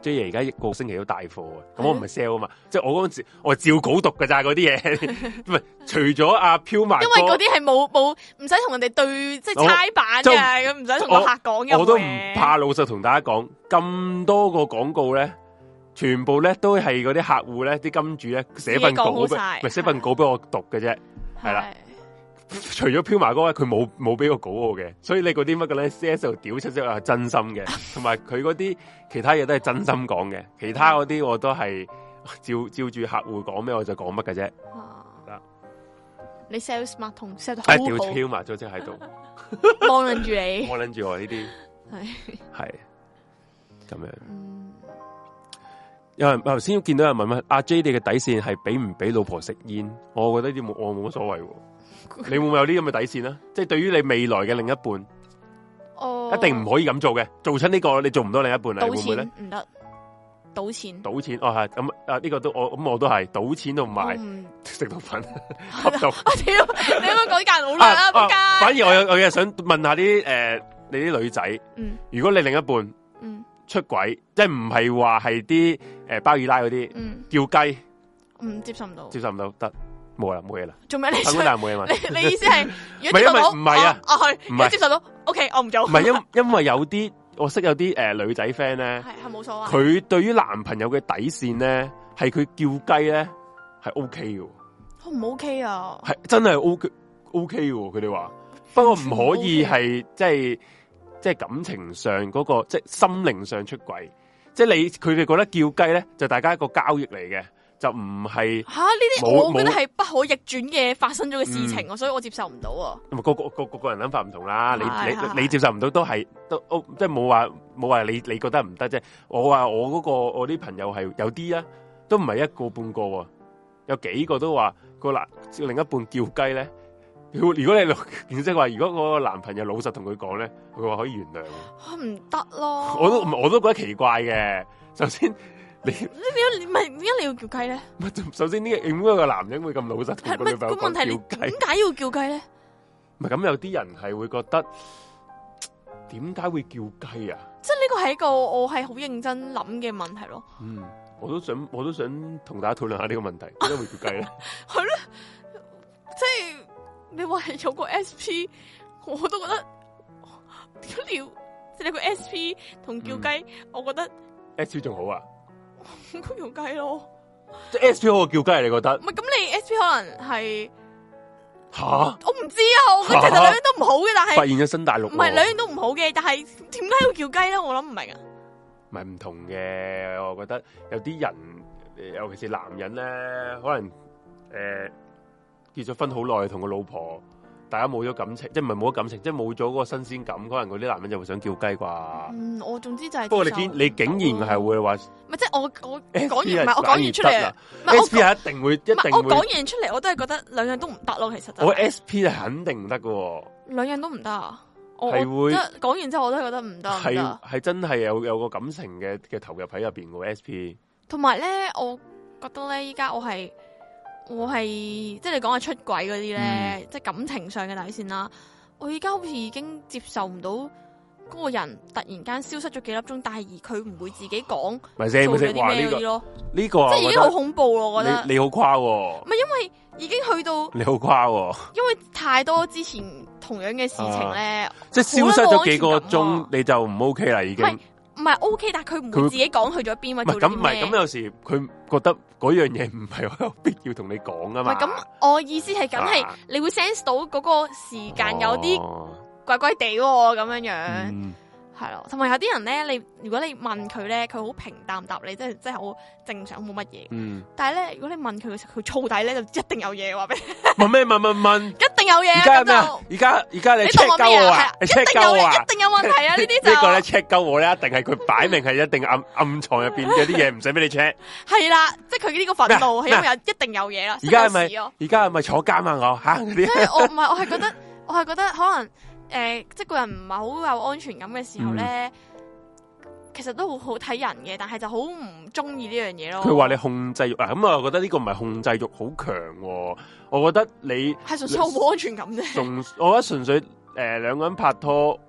Speaker 2: J 爺而家一個星期都帶貨啊，咁我唔係 sell 啊嘛，即係我嗰陣時我係照稿讀㗎咋嗰啲嘢，唔係除咗阿飄埋，
Speaker 1: 因為嗰啲係冇冇唔使同人哋對即係猜版嘅，咁唔使同個客講嘅。
Speaker 2: 我都唔怕老實同大家講，咁多個廣告咧，全部咧都係嗰啲客戶咧，啲金主咧寫份稿俾，唔係寫份稿俾我讀嘅啫，係啦。除咗飄埋嗰位，佢冇冇俾個稿我嘅，所以你嗰啲乜嘅咧 C S 屌出咗係真心嘅，同埋佢嗰啲其他嘢都係真心講嘅，其他嗰啲我都係照照住客戶講咩我就講乜嘅啫。啊，
Speaker 1: 你 sales smart 同 sell 得好好，
Speaker 2: 屌飄埋咗即喺度，
Speaker 1: 望撚住你，
Speaker 2: 望撚住我呢啲
Speaker 1: 係
Speaker 2: 係咁樣。嗯、有人頭先見到有人問乜阿 J 你嘅底線係俾唔俾老婆食煙？我覺得呢啲冇我冇乜所謂。你會唔會有啲咁嘅底線咧？即係對於你未來嘅另一半，哦，一定唔可以咁做嘅。做親呢個你做唔到另一半啊？會唔會咧？
Speaker 1: 唔得，賭錢。
Speaker 2: 賭錢哦係咁啊！呢個都我咁我都係賭錢同埋食毒品吸毒。
Speaker 1: 我屌，你咁樣講啲人好難啊！仆街。
Speaker 2: 反而我有我又想問下啲誒，你啲女仔，嗯，如果你另一半，嗯，出軌，即係唔係話係啲誒包二奶嗰啲，嗯，叫雞，唔接受唔到，接受唔到得。冇啦，冇嘢啦。做咩你？冇嘢嘛。你你意思係？如果接受到，唔係啊，啊去，唔係接受到。O K，我唔做。唔係因因為有啲我識有啲誒女仔 friend 咧，係係冇所謂。佢對於男朋友嘅底線咧，係佢叫雞咧係 O K 嘅。唔 O K 啊？係真係 O K O K 嘅，佢哋話。不過唔可以係即係即係感情上嗰個，即係心靈上出軌。即係你佢哋覺得叫雞咧，就大家一個交易嚟嘅。就唔係吓呢啲，我覺得係不可逆轉嘅發生咗嘅事情，嗯、所以我接受唔到啊。咁啊，個個個個個人諗法唔同啦。你你你接受唔到都係都即係冇話冇話你你覺得唔得啫。我話我嗰、嗰個我啲朋友係有啲啊，都唔係一個半個喎，有幾個都話個男另一半叫雞咧。如果你即係話，如果個男朋友老實同佢講咧，佢話可以原諒。唔得咯，我都我都覺得奇怪嘅。首先。你你點解唔係點解你要叫雞咧？首先呢個點解個男人會咁老實同個女朋友講叫雞？點解要叫雞咧？唔係咁有啲人係會覺得點解會叫雞啊？即係呢個係一個我係好認真諗嘅問題咯。嗯，我都想我都想同大家討論下呢個問題，點解會叫雞咧？係咯，即係你話係有個 S P， 我都覺得點解要即係你個 S P 同叫雞，嗯、我覺得 S P 仲好啊。咁叫雞咯，即係 S P 好過叫雞，你覺得？唔係咁，你 S P 可能係吓，我唔知啊。我覺得其實兩樣都唔好嘅，但係發現咗新大陸，唔係兩樣都唔好嘅，但係點解要叫雞咧？我諗唔明啊。唔係唔同嘅，我覺得有啲人，尤其是男人咧，可能誒、呃、結咗婚好耐，同個老婆。大家冇咗感情，即係唔係冇咗感情，即係冇咗嗰個新鮮感，可能嗰啲男人就會想叫雞啩。嗯，我總之就係。不過你竟你竟然係會話，唔係即係我我講完唔係我講完出嚟，S P 係一定會一定會。我講完出嚟，我都係覺得兩樣都唔得咯，其實。我 S P 係肯定唔得噶。兩樣都唔得啊！係會講完之後，我都係覺得唔得。係係真係有有個感情嘅嘅投入喺入邊嘅 S P。同埋咧，我覺得咧，依家我係。我係即係你講嘅出軌嗰啲咧，嗯、即係感情上嘅底線啦。我而家好似已經接受唔到嗰個人突然間消失咗幾粒鐘，但係而佢唔會自己講做咗啲咩嗰啲咯。呢、這個即係已經好恐怖咯，我覺得。你好誇喎！唔係因為已經去到你好誇喎，因為太多之前同樣嘅事情咧，啊、即係消失咗幾個鐘你就唔 OK 啦，已經。唔係 OK，但係佢唔會自己講去咗邊或者做啲咩。咁唔係咁有時佢覺得嗰樣嘢唔係好有必要同你講啊嘛。唔係咁，我意思係梗係你會 sense 到嗰個時間有啲怪怪地喎，咁樣樣。嗯係咯，同埋有啲人咧，你如果你問佢咧，佢好平淡答你，即係即係好正常，冇乜嘢。嗯。但係咧，如果你問佢嘅時候，佢燥底咧，就一定有嘢話俾你。問咩？問問問。一定有嘢。而家咩？而家而家你 check 鳩我啊？你 check 鳩我啊？一定有問題啊！呢啲就呢個咧 check 鳩我咧，一定係佢擺明係一定暗暗藏入邊有啲嘢唔使俾你 check。係啦，即係佢呢個憤怒係因為有一定有嘢啦。而家係咪？而家係咪坐監啊？我吓嗰啲。即係我唔係，我係覺得，我係覺得可能。誒、呃，即係個人唔係好有安全感嘅時候咧，嗯、其實都好好睇人嘅，但係就好唔中意呢樣嘢咯。佢話你控制欲啊，咁啊，我覺得呢個唔係控制欲好強，我覺得你係純粹好冇安全感啫。純，我覺得純粹誒兩、呃、個人拍拖，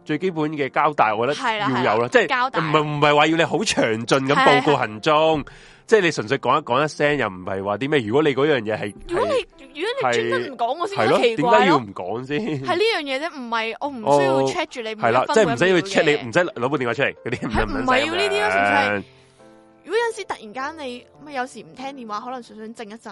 Speaker 2: 最基本嘅交代，我覺得要有啦，即係唔係唔係話要你好詳盡咁報告行蹤，即係你純粹講一講一聲，又唔係話啲咩。如果你嗰樣嘢係，
Speaker 1: 如果你如果你專登唔講，我先覺得奇怪咯。
Speaker 2: 點解要唔講先？
Speaker 1: 係呢樣嘢啫，唔係我唔需要 check 住你。
Speaker 2: 係啦，即係唔使要 check 你，唔使攞部電話出嚟嗰啲，
Speaker 1: 唔係要呢啲咯，純粹係。如果有陣時突然間你咁有時唔聽電話，可能純粹靜一陣，誒。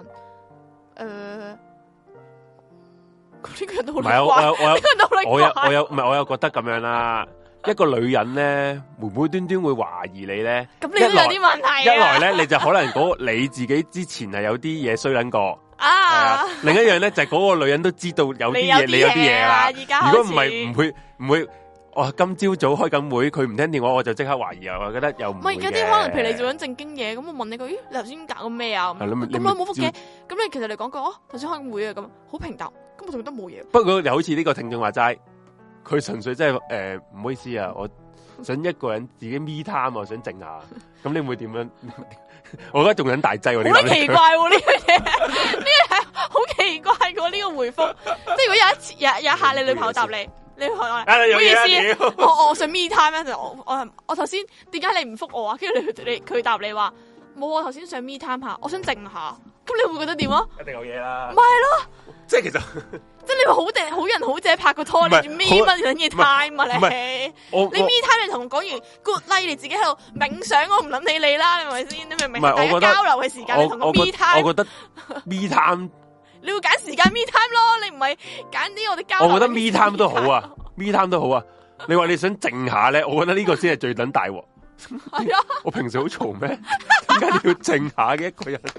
Speaker 1: 呢個人都好怪，
Speaker 2: 我有我有我有我有唔係我有覺得咁樣啦。一個女人咧，無無端端會懷疑你咧，
Speaker 1: 咁你都有啲問題。
Speaker 2: 一來咧，你就可能嗰你自己之前係有啲嘢衰撚過啊。另一樣咧就係嗰個女人都知道有啲嘢，你有啲嘢啦。如果唔係唔會唔會，哇！今朝早開緊會，佢唔聽電話，我就即刻懷疑啊！我覺得又唔係
Speaker 1: 有啲可能，譬如你做緊正經嘢，咁我問你句，咦？你頭先搞緊咩啊？咁耐冇覆嘅，咁你其實你講句哦，頭先開緊會啊，咁好平淡。咁我仲覺得冇嘢。不
Speaker 2: 過又好似呢個聽眾話齋，佢純粹真係誒唔好意思啊，我想一個人自己 me time 啊，想靜下。咁你會點樣？我覺得仲緊大劑喎。
Speaker 1: 好奇怪喎呢樣嘢，呢個係好奇怪喎呢個回覆。即係如果有一次有有一下你女朋友答你，你話我唔好意思，我我想 me time 咧，就我我我頭先點解你唔覆我啊？跟住你你佢答你話冇，我頭先想 me time 下，我想靜下。咁你會覺得點啊？
Speaker 2: 一定有嘢啦。
Speaker 1: 唔係咯。即係
Speaker 2: 其實，
Speaker 1: 即係你話好定好人好姐拍個拖，你做咩乜嘢 time 啊？你你 me time 你同我講完 good night，你自己喺度冥想，我唔諗理你啦，係咪先？你明唔明？大家交流嘅時間，你同我 me time。
Speaker 2: 我覺得 me time，
Speaker 1: 你要揀時間 me time 咯，你唔係揀啲我哋交流。
Speaker 2: 我覺得 me time 都好啊，me time 都好啊。你話你想靜下咧，我覺得呢個先係最等大鑊。係啊，我平時好嘈咩？點解你要靜下嘅一個人？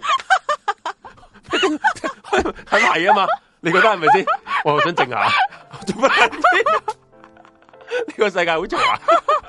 Speaker 2: 係咪啊嘛？你覺得係咪先？我想靜下，做乜？呢個世界好嘈啊！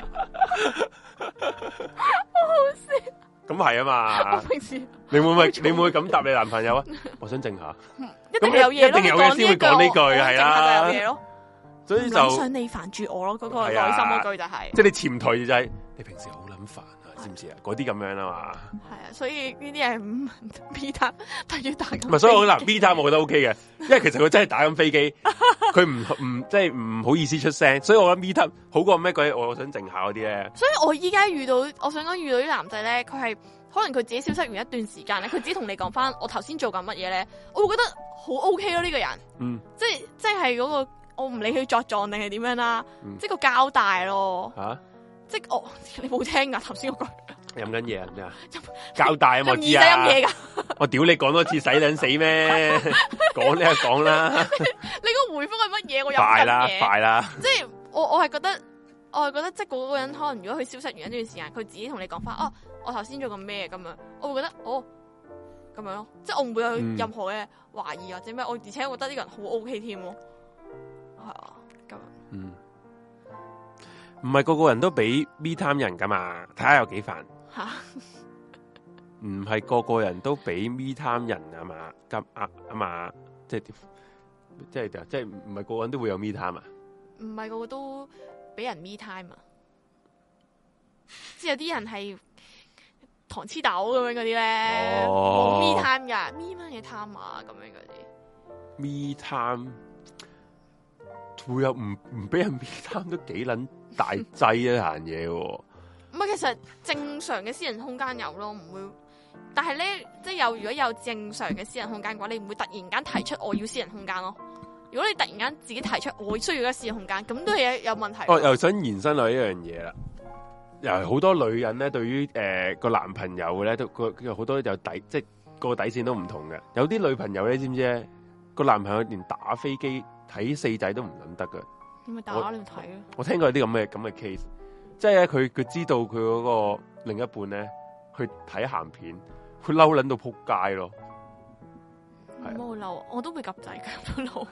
Speaker 1: 好好笑。咁
Speaker 2: 係啊嘛？
Speaker 1: 我平時
Speaker 2: 你會唔會你會唔會咁答你男朋友啊？我想靜下。
Speaker 1: 一定有嘢，
Speaker 2: 一定有嘢先會講呢句，係啦。
Speaker 1: 有嘢咯。所以就想你煩住我咯，嗰個內心嗰句就係。
Speaker 2: 即係你潛台就係你平時好撚煩。知唔知啊？嗰啲咁樣啊嘛，
Speaker 1: 係啊，所以呢啲係唔 B 站，但要打緊。
Speaker 2: 唔係，所以我嗱 B 站我覺得 OK 嘅，因為其實佢真係打緊飛機，佢唔唔即係唔好意思出聲，所以我覺得 B 站好過咩鬼？我想靜下嗰啲咧。
Speaker 1: 所以我依家遇到，我想講遇到啲男仔咧，佢係可能佢自己消失完一段時間咧，佢只同你講翻我頭先做緊乜嘢咧，我會覺得好 OK 咯呢個人，嗯，即係即係嗰個我唔理佢作狀定係點樣啦，嗯、即係個交代咯，吓、啊。即係我，你冇聽噶頭先嗰句飲緊嘢啊？咩啊？交代啊！我知啊！飲嘢噶，我屌你講多次使撚死咩？講呢就講啦。你個回覆係乜嘢？我飲緊嘢。快啦，快啦！即係我我係覺得，我係覺得，即係嗰個人可能如果佢消失完一段時間，佢自己同你講翻，哦，我頭先做緊咩咁樣，我會覺得哦咁樣咯，即係我唔會有任何嘅懷疑或者咩，我而且我覺得呢個人好 OK 添咯，係啊，咁嗯。
Speaker 2: 唔係個個人都俾 me time 人噶嘛，睇下有幾煩。吓，唔係個個人都俾 me time 人啊嘛，咁啊啊嘛，即係即係即係唔係個個人都會有 me time 啊？
Speaker 1: 唔係個個都俾人 me time 啊？即係有啲人係糖黐豆咁樣嗰啲咧，冇、哦、me time 噶 ，me 乜嘢 time 啊？咁樣嗰啲
Speaker 2: me time 會有唔唔俾人 me time 都幾撚？大劑一行嘢喎，
Speaker 1: 唔係其實正常嘅私人空間有咯，唔會。但係咧，即係有如果有正常嘅私人空間嘅話，你唔會突然間提出我要私人空間咯。如果你突然間自己提出我需要一個私人空間，咁都係有問題。哦，
Speaker 2: 又想延伸落一樣嘢啦，又係好多女人咧，對於誒個男朋友咧，都個好多有底，即係個底線都唔同嘅。有啲女朋友咧，知唔知咧？個男朋友連打飛機睇四仔都唔諗得㗎。
Speaker 1: 你咪打你睇咯！
Speaker 2: 我聽過有啲咁嘅咁嘅 case，即係咧佢佢知道佢嗰個另一半咧去睇鹹片，佢嬲撚到撲街咯。
Speaker 1: 有冇嬲？我都會夾仔嘅，都嬲。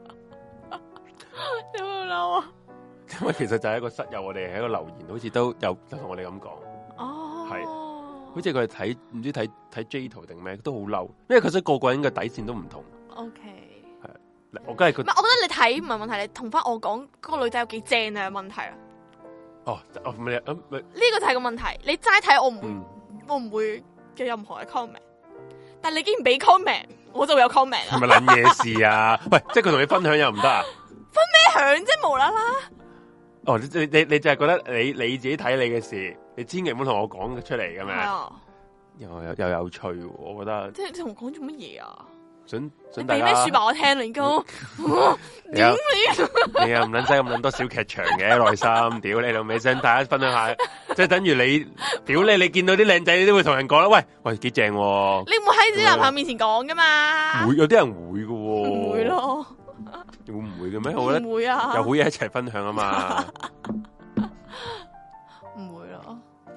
Speaker 1: 有冇嬲啊？
Speaker 2: 因為其實就係一個室友，我哋喺個留言，好似都有就同我哋咁講。
Speaker 1: 哦，
Speaker 2: 係，好似佢係睇唔知睇睇 J 圖定咩，都好嬲。因為其實個個人嘅底線都唔同。
Speaker 1: OK。
Speaker 2: 我梗係佢，
Speaker 1: 唔係，我覺得你睇唔係問題，你同翻我講嗰個女仔有幾正啊？問題啊！
Speaker 2: 哦，哦，唔係咁，呢
Speaker 1: 個就係個問題。你齋睇我唔會，嗯、我唔會嘅任何嘅 comment。但係你竟然俾 comment，我就會有 comment 啊！
Speaker 2: 係咪撚嘢事啊？喂，即係佢同你分享又唔得啊？
Speaker 1: 分咩享啫？無啦啦！
Speaker 2: 哦，你你你就係覺得你你自己睇你嘅事，你千祈唔好同我講出嚟咁樣。係啊，又又又有趣，我覺得。即係你同我講做乜嘢啊？想想大家。你俾咩說話我聽你講。點你？你又唔捻使咁捻多小劇場嘅內心，屌你老味，想大家分享下，即係等於你，屌你，你見到啲靚仔，你都會同人講啦，喂喂，幾正。你唔會喺自己男朋友面前講噶嘛？會有啲人會噶。唔會咯。會唔會嘅咩？我覺得唔會啊，有好嘢一齊分享啊嘛。唔會咯。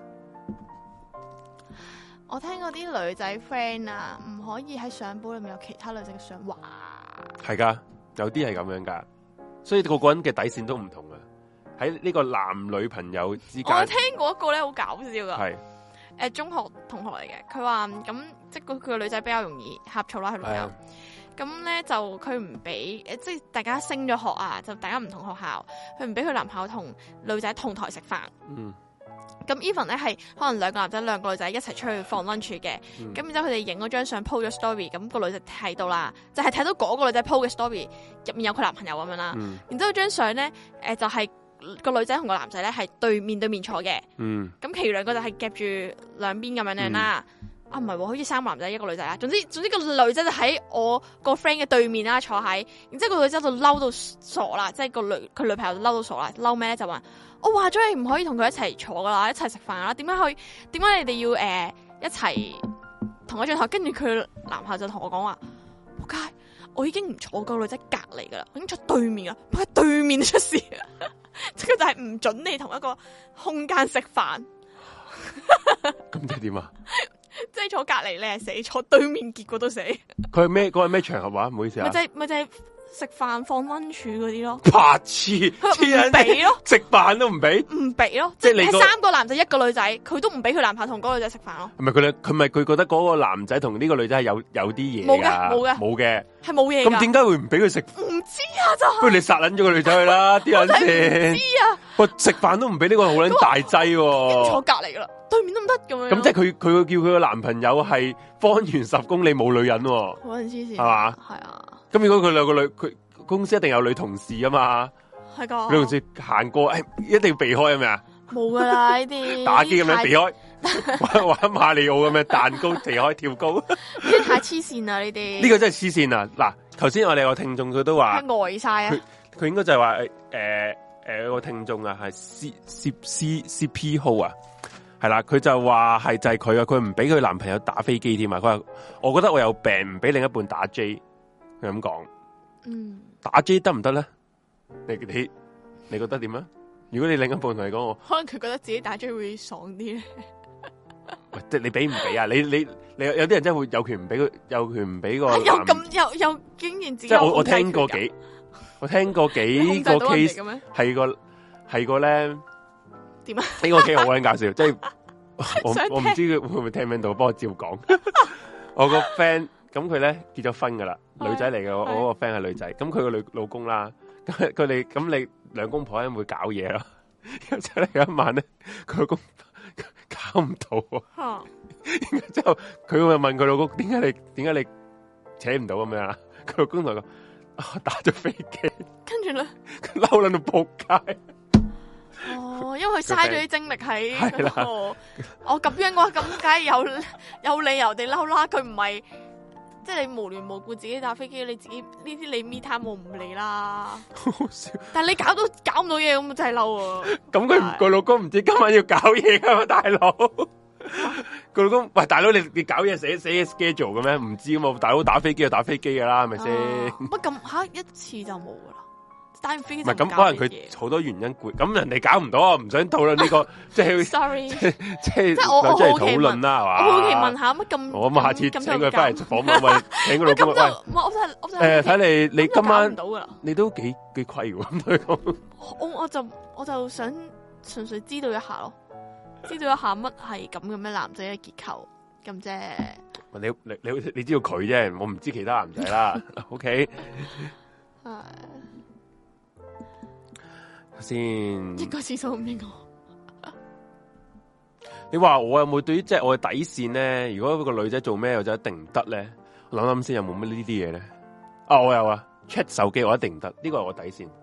Speaker 2: 我聽嗰啲女仔 friend 啊，唔可以喺相簿裏面有其他女仔嘅相。哇，係噶，有啲係咁樣噶，所以個個人嘅底線都唔同啊。喺呢個男女朋友之間，我聽過一個咧好搞笑噶，係誒、呃、中學同學嚟嘅，佢話咁即係佢個女仔比較容易呷醋啦，佢女友。咁咧就佢唔俾誒，即係大家升咗學啊，就大家唔同學校，佢唔俾佢男朋友同女仔同台食飯。嗯。咁 even 咧係可能兩個男仔兩個女仔一齊出去放 lunch 嘅，咁、嗯、然之後佢哋影嗰張相 po 咗 story，咁個女仔睇到啦，就係、是、睇到嗰個女仔 po 嘅 story 入面有佢男朋友咁樣啦。嗯。然之後張相咧誒就係、是、個女仔同個男仔咧係對面對面坐嘅。嗯。咁其餘兩個就係夾住兩邊咁樣樣啦。嗯。啊，唔係喎，好似三個男仔一個女仔啦。總之總之個女仔就喺我個 friend 嘅對面啦，坐喺。然之後個女仔就嬲到傻啦，即係個女佢女朋友就嬲到傻啦。嬲咩咧？就話我話咗你唔可以同佢一齊坐噶啦，一齊食飯啦。點解可以？點解你哋要誒、呃、一齊同一張台？跟住佢男朋友就同我講話：仆街，我已經唔坐個女仔隔離噶啦，我已經坐對面啦。仆街對面出事，即係就係唔准你同一個空間食飯。咁即係點啊？即係坐隔籬你係死，坐對面結果都死。佢係咩？嗰係咩場合話？唔好意思啊。咪就係咪就係食飯放溫柱嗰啲咯。白痴，佢唔俾咯，食飯都唔俾，唔俾咯。即係你三個男仔一個女仔，佢都唔俾佢男朋友同嗰個女仔食飯咯。係咪佢佢咪佢覺得嗰個男仔同呢個女仔係有有啲嘢？冇嘅，冇嘅，冇嘅，係冇嘢。咁點解會唔俾佢食？唔知啊，就係。不如你殺撚咗個女仔去啦，啲人先。唔知啊。喂，食飯都唔俾呢個好撚大劑喎。坐隔籬噶啦。對面都唔得咁樣，咁即係佢佢叫佢個男朋友係方圓十公里冇女人，好黐線，係嘛？係啊。咁如果佢兩個女，佢公司一定有女同事啊嘛，係噶。女同事行過，誒，一定要避開係咪啊？冇噶啦呢啲，打機咁樣避開，玩玩馬里奧咁樣彈高避開跳高，呢啲太黐線啦呢啲。呢個真係黐線啊！嗱，頭先我哋個聽眾佢都話呆晒啊，佢應該就係話誒誒誒個聽眾啊係 C C C C P 號啊。係啦，佢就話係就係佢啊，佢唔俾佢男朋友打飛機添啊！佢話我覺得我有病，唔俾另一半打 J，佢咁講。嗯，打 J 得唔得咧？你你你覺得點啊？如果你另一半同你講，我可能佢覺得自己打 J 會爽啲咧。喂，即係你俾唔俾啊？你你你有啲人真係會有權唔俾佢，有權唔俾個男。有咁有有經驗自己。即係我我聽過幾，我聽過幾個 case 係個係個咧。點啊？呢個幾好撚搞笑，即係我我唔知佢會唔會聽唔聽到，幫我照講。我個 friend 咁佢咧結咗婚噶啦，女仔嚟嘅，我我個 friend 係女仔，咁佢個女老公啦，咁佢哋咁你兩公婆咧會搞嘢咯。然之後咧有一晚咧，佢老公搞唔到，然之後佢會問佢老公：點解你點解你扯唔到咁樣啊？佢老公同佢講：我打咗飛機。跟住咧，佢嬲撚到仆街。哦，因為佢嘥咗啲精力喺嗰個，我咁樣嘅話，咁梗係有有理由地嬲啦。佢唔係即係你無緣無故自己打飛機，你自己呢啲你 me time 我唔理啦。好笑，但係你搞到搞唔到嘢咁，真係嬲啊！咁佢個老公唔知今晚要搞嘢噶嘛，大佬？個老公喂，大佬你你搞嘢寫寫 schedule 嘅咩？唔知嘛，大佬打飛機就打飛機噶啦，係咪先？乜咁吓一次就冇噶啦？唔係咁，可能佢好多原因攰，咁人哋搞唔到啊，唔想討論呢個，即係 sorry，即係即係我我好奇討論啦，係嘛？我好奇問下乜咁？我咁下次請佢翻嚟訪問，喂，請個老公喂，我真我真誒，睇你你今晚你都幾幾虧喎，我我就我就想純粹知道一下咯，知道一下乜係咁嘅咩男仔嘅結構咁啫。你你你你知道佢啫，我唔知其他男仔啦。OK，係。先一個廁所唔應我。你話我有冇對於即係我嘅底線咧？如果個女仔做咩，我就一定唔得咧。我諗諗先，有冇乜呢啲嘢咧？啊，我有啊 ，check 手機我一定唔得，呢個係我底線。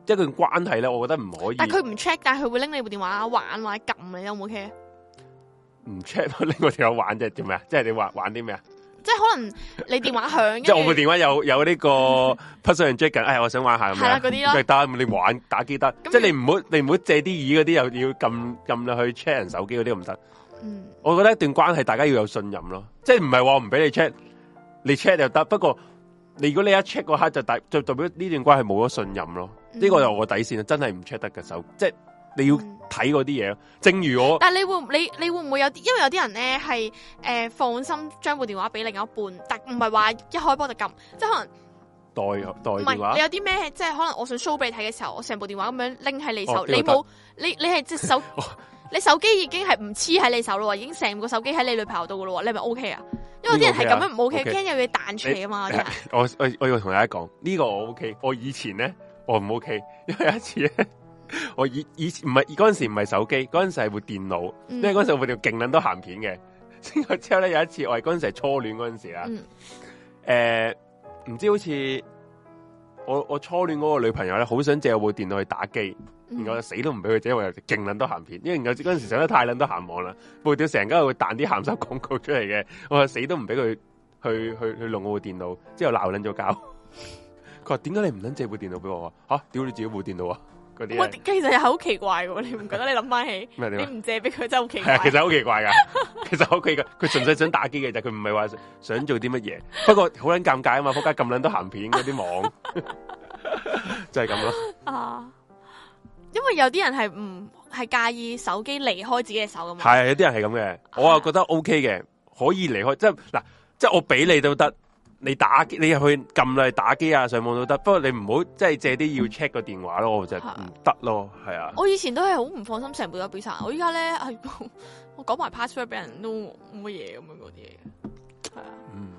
Speaker 2: 一段關係咧，我覺得唔可以。
Speaker 1: 但係佢唔 check，但係佢會拎你部電話玩或者撳你，有冇 OK？
Speaker 2: 唔 check 拎我電話玩即係點咩啊？即係你話玩啲咩啊？
Speaker 1: 即係可能你電話響，
Speaker 2: 即係我部電話有有呢個 person check 緊，哎，我想玩下咁樣。係啦，
Speaker 1: 嗰啲咯。
Speaker 2: 得你玩打機得，即係你唔好你唔好借啲耳嗰啲又要撳撳落去 check 人手機嗰啲唔得。嗯，我覺得一段關係大家要有信任咯，即係唔係話唔俾你 check，你 check 又得。不過你如果你一 check 嗰刻就代就代表呢段關係冇咗信任咯。呢、嗯、個就我底線，真係唔 check 得嘅手，即係你要睇嗰啲嘢。正如我，
Speaker 1: 但係你會你你會唔會有啲？因為有啲人咧係誒放心將部電話俾另一半，但唔係話一開波就撳，即係可能
Speaker 2: 代代電話。
Speaker 1: 你有啲咩？即係可能我想 show 俾你睇嘅時候，我成部電話咁樣拎喺你手，哦、你冇你你係隻手，你手機已經係唔黐喺你手咯，已經成個手機喺你女朋友度噶咯，你係咪 O K 啊？因為啲人係咁樣唔 O K，驚有嘢彈出嚟啊嘛。
Speaker 2: 我我我要同大家講呢、這個我 O K，我以前咧我唔 O K，因為有一次咧。我以以前唔係嗰陣時唔係手機，嗰陣時係部電腦，嗯、因為嗰陣時我部電腦勁捻多鹹片嘅。之後咧有一次我係嗰陣時係初戀嗰陣時啦，誒、嗯，唔、呃、知好似我我初戀嗰個女朋友咧，好想借我部電腦去打機，嗯、然後我死都唔俾佢借，因為有勁捻多鹹片，因為嗰陣時上得太捻多鹹網啦，部電腦成日會彈啲鹹濕廣告出嚟嘅，我話死都唔俾佢去去去弄我部電腦，之後鬧捻咗交。佢話點解你唔捻借部電腦俾我啊？吓，屌你自己部電腦啊！
Speaker 1: 我其實係好奇怪嘅，你唔覺得？你諗翻起，你唔借俾佢真係好奇怪。
Speaker 2: 係啊，其實好奇怪噶，其實好奇怪。佢純粹想打機嘅啫，佢唔係話想做啲乜嘢。不過好捻尷尬啊嘛，仆街咁捻多鹹片嗰啲網，就係咁咯。啊，因為有啲人係唔係介意手機離開自己嘅手噶嘛。係有啲人係咁嘅，我啊覺得 OK 嘅，可以離開。即係嗱，即係我俾你都得。你打機，你入去撳嚟打機啊，上網都得。不過你唔好即係借啲要 check 個電話咯，我就唔得咯，係啊。
Speaker 1: 我以前都係好唔放心成部都俾晒，我依家咧係我講埋 password 俾人都冇乜嘢咁樣嗰啲嘢，係啊。嗯，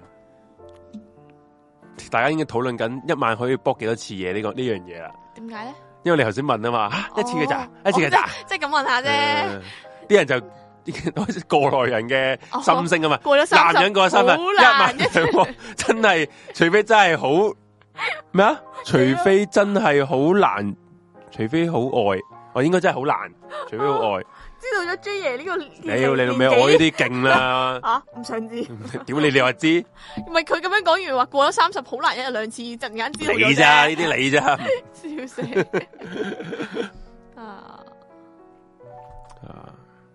Speaker 2: 大家應該討論緊一晚可以搏幾多次嘢呢、這個呢樣嘢啦。
Speaker 1: 點解咧？
Speaker 2: 因為你頭先問啊嘛，啊一次嘅咋，一次嘅咋，
Speaker 1: 即係咁問下啫。
Speaker 2: 啲、呃、人就。過來人嘅心聲啊嘛，
Speaker 1: 過咗
Speaker 2: 男人過咗三分，一萬兩，真係除非真係好咩啊？除非真係好難，除非好愛，我應該真係好難，除非好愛。
Speaker 1: 知道咗 J 爺呢個，
Speaker 2: 你要你老味我呢啲勁啦。
Speaker 1: 啊，唔想知？
Speaker 2: 屌你，你話知？
Speaker 1: 唔係佢咁樣講完話過咗三十好難一日兩次，陣間知道咗。
Speaker 2: 你咋？呢啲你咋？
Speaker 1: 笑死！啊
Speaker 2: 啊！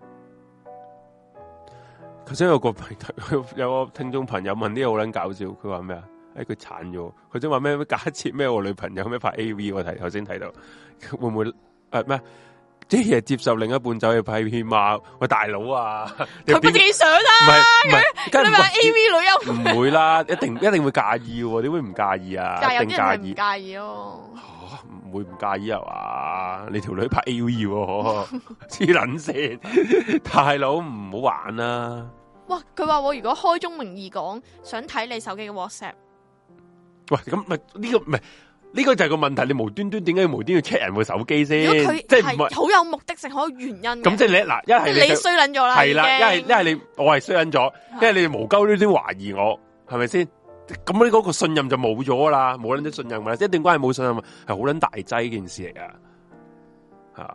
Speaker 2: 頭先有個有個聽眾朋友問啲嘢好撚搞笑，佢話咩啊？誒，佢鏟咗，佢想話咩？假設咩？我女朋友咩拍 A V？我睇頭先睇到，會唔會誒咩？即係接受另一半走去拍片嘛？喂，大佬啊！
Speaker 1: 佢自己想啊！
Speaker 2: 唔係唔係，梗係
Speaker 1: 你話 A V 女優
Speaker 2: 唔會啦，一定一定會介意嘅，點會唔介意啊？
Speaker 1: 但係有啲人係唔
Speaker 2: 介意，
Speaker 1: 介意咯。
Speaker 2: 唔會唔介意啊嘛？你條女拍 A V，黐撚線，大佬唔好玩啦！
Speaker 1: 哇！佢話我如果開宗明義講想睇你手機嘅 WhatsApp，
Speaker 2: 喂，咁咪呢個唔係呢個就係個問題，你無端端點解要無端要 check 人部手機先？
Speaker 1: 如果佢即係好有目的性，好有原因。咁
Speaker 2: 即係你嗱，一係
Speaker 1: 你衰撚咗啦，
Speaker 2: 係啦，一係一係你我係衰撚咗，一係你哋無鳩呢啲懷疑我，係咪先？咁你嗰個信任就冇咗啦，冇撚啲信任啦，一段關係冇信任係好撚大劑件事嚟噶，吓。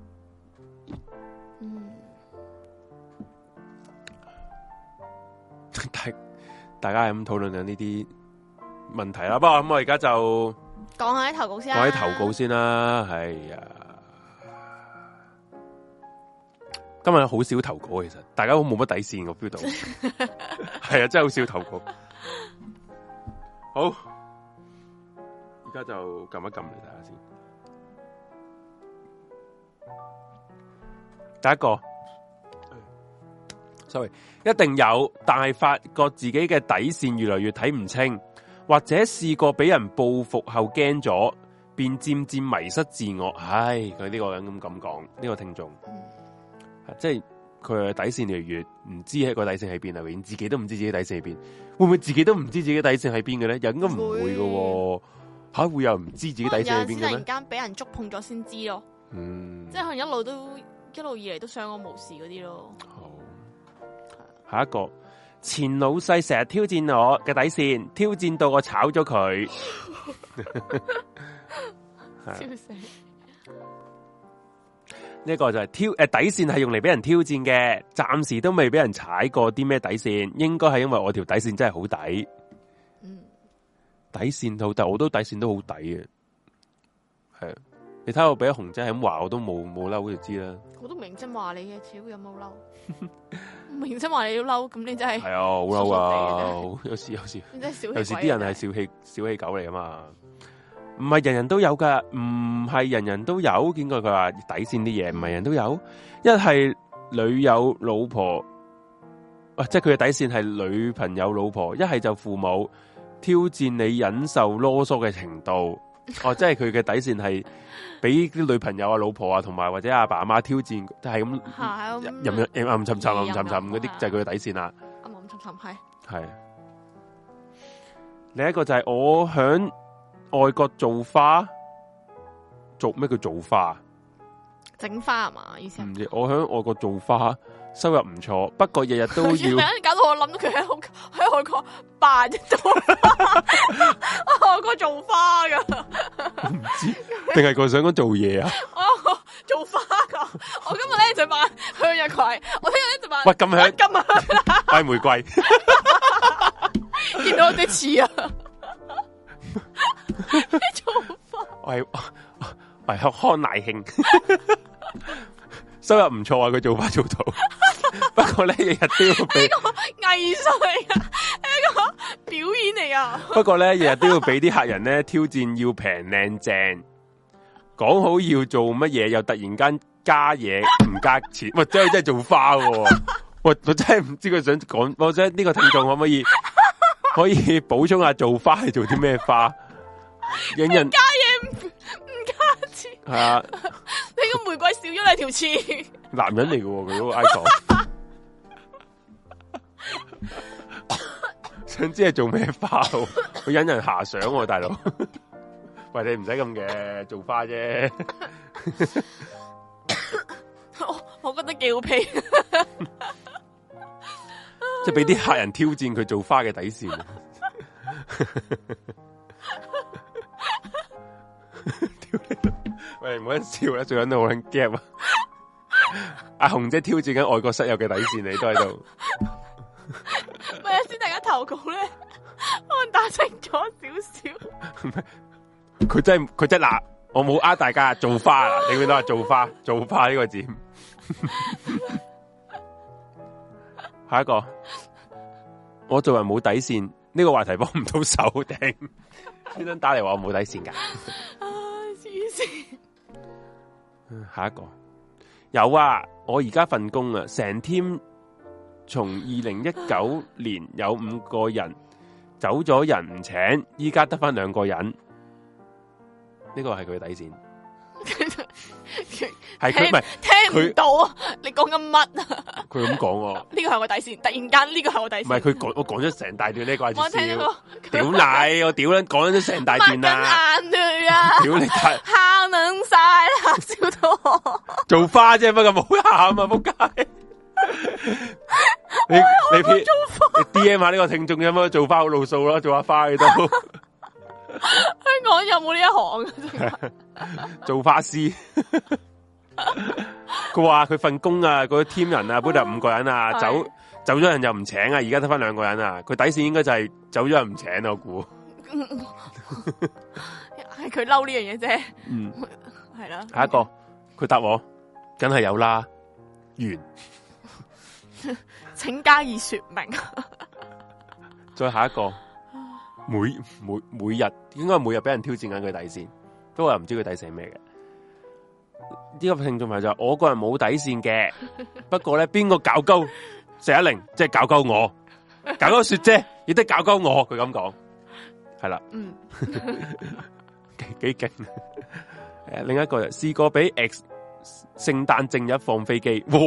Speaker 2: 大大家係咁討論緊呢啲問題啦，不過咁我而家就
Speaker 1: 講下啲投稿先，
Speaker 2: 講啲投稿先啦。係啊，今日好少投稿，其實大家好冇乜底線我 feel 到，係啊，真係好少投稿。好，而家就撳一撳嚟睇下先。第一個。sorry， 一定有，但係發覺自己嘅底線越來越睇唔清，或者試過俾人報復後驚咗，便漸漸迷失自我。唉，佢呢個人咁咁講，呢、這個聽眾，嗯、即係佢嘅底線越嚟越唔知係個底線喺邊啊，連自己都唔知自己底線喺邊，會唔會自己都唔知自己底線喺邊嘅咧？應該唔會嘅，吓會，會有唔知自己底線喺邊嘅咩？
Speaker 1: 突然間俾人觸碰咗先知咯，嗯，即係可能一路都一路以嚟都相安無事嗰啲咯。好。
Speaker 2: 下一個前老細成日挑戰我嘅底線，挑戰到我炒咗佢。
Speaker 1: 笑死！
Speaker 2: 呢個就係挑誒底線係用嚟俾人挑戰嘅，暫時都未俾人踩過啲咩底線，應該係因為我條底線真係好抵。嗯，底線好抵，我都底線都好抵嘅。係啊，你睇我俾阿紅姐係咁話，我都冇冇嬲就知啦。
Speaker 1: 我都明真話你嘅，超有冇嬲？明真話你都嬲，咁你真係
Speaker 2: 係啊，好嬲啊！有時有時，有時啲人係小氣小氣狗嚟啊嘛。唔係人人都有噶，唔係人人都有。見過佢話底線啲嘢，唔係人都有。一係女友老婆，啊，即係佢嘅底線係女朋友老婆。一係就父母挑戰你忍受囉嗦嘅程度。哦，即係佢嘅底線係俾啲女朋友啊、老婆啊，同埋或者阿爸阿媽挑戰，係咁任任任暗沉沉、暗沉沉嗰啲就係佢嘅底線啦。
Speaker 1: 暗暗沉沉係
Speaker 2: 係。另一個就係我響外國做花，做咩叫做花？
Speaker 1: 整花係嘛？意思
Speaker 2: 唔知。我喺外國做花，收入唔錯，不過日日都要。
Speaker 1: 搞到我諗到佢喺喺外國扮做花，外國做花噶。
Speaker 2: 我唔知，定係佢想講做嘢啊？
Speaker 1: 我做花噶，我今日咧就扮向日葵，我聽日咧就扮。
Speaker 2: 喂，咁香，
Speaker 1: 咁香，
Speaker 2: 拜玫瑰。
Speaker 1: 見到有啲似啊！做花，
Speaker 2: 我係我係康乃馨，收入唔錯啊！佢做花做到，不過咧日日都要俾
Speaker 1: 藝術嚟噶，呢個表演嚟啊！
Speaker 2: 不過咧日日都要俾啲客人咧挑戰，要平靚正，講好要做乜嘢，又突然間加嘢唔加錢，喂，真係真係做花喎！喂，我真係唔知佢想講，我想呢個聽眾可唔可以可以補充下做花係做啲咩花？引人
Speaker 1: 加嘢唔唔加錢
Speaker 2: 係啊！
Speaker 1: 你個玫瑰少咗你條刺，
Speaker 2: 男人嚟嘅佢嗰個 icon， 想知係做咩花？佢引人遐想喎，大佬。喂，你唔使咁嘅，做花啫。
Speaker 1: 我我覺得幾好屁，
Speaker 2: 即係俾啲客人挑戰佢做花嘅底線。喂，唔好笑啦，最緊要好撚 gap 啊！阿紅姐挑戰緊外國室友嘅底線，你都喺度。
Speaker 1: 咪先，大家投稿咧，可能打清楚少少。
Speaker 2: 佢真係佢真嗱，我冇呃大家做花啦，你見到話做花做花呢個字。下一個，我做人冇底線，呢、這個話題幫唔到手頂。專登打嚟話我冇底線噶。
Speaker 1: 啊，黐線！
Speaker 2: 下一個有啊，我而家份工啊，成 team 從二零一九年有五個人走咗人唔請，依家得翻兩個人。呢個係佢嘅底線。係佢唔係
Speaker 1: 聽唔到啊！你講緊乜啊？
Speaker 2: 佢咁講喎。
Speaker 1: 呢個係我底線，突然間呢個係我底線。
Speaker 2: 唔係佢講，我講咗成大段呢個。
Speaker 1: 我聽到。
Speaker 2: 屌你！我屌撚講咗成大段啦。
Speaker 1: 抹緊眼淚啊！
Speaker 2: 屌你！
Speaker 1: 喊撚晒啦，笑到我。做
Speaker 2: 花啫，不過冇喊啊！仆街。你你 P 你 D M 下呢個聽眾有冇做花好路數咯？做下花嘅都。
Speaker 1: 香港有冇呢一行啊？
Speaker 2: 做花師，佢話佢份工啊，嗰 team 人啊，本來五個人啊，走走咗人又唔請啊，而家得翻兩個人啊，佢底線應該就係走咗人唔請啊，我估
Speaker 1: 係佢嬲呢樣嘢啫。
Speaker 2: 嗯，
Speaker 1: 係啦。
Speaker 2: 下一個佢答我，梗係有啦。完，
Speaker 1: 請加以說明。
Speaker 2: 再下一個。每每每日應該每日俾人挑戰緊佢底線，不過又唔知佢底線係咩嘅。呢、這個聽眾朋友就話我個人冇底線嘅，不過咧邊個搞鳩四一零，即係搞鳩我，搞鳩雪姐，亦都搞鳩我。佢咁講，係啦，嗯，幾幾勁。誒，另一個試過俾 X 聖誕正日放飛機，哇，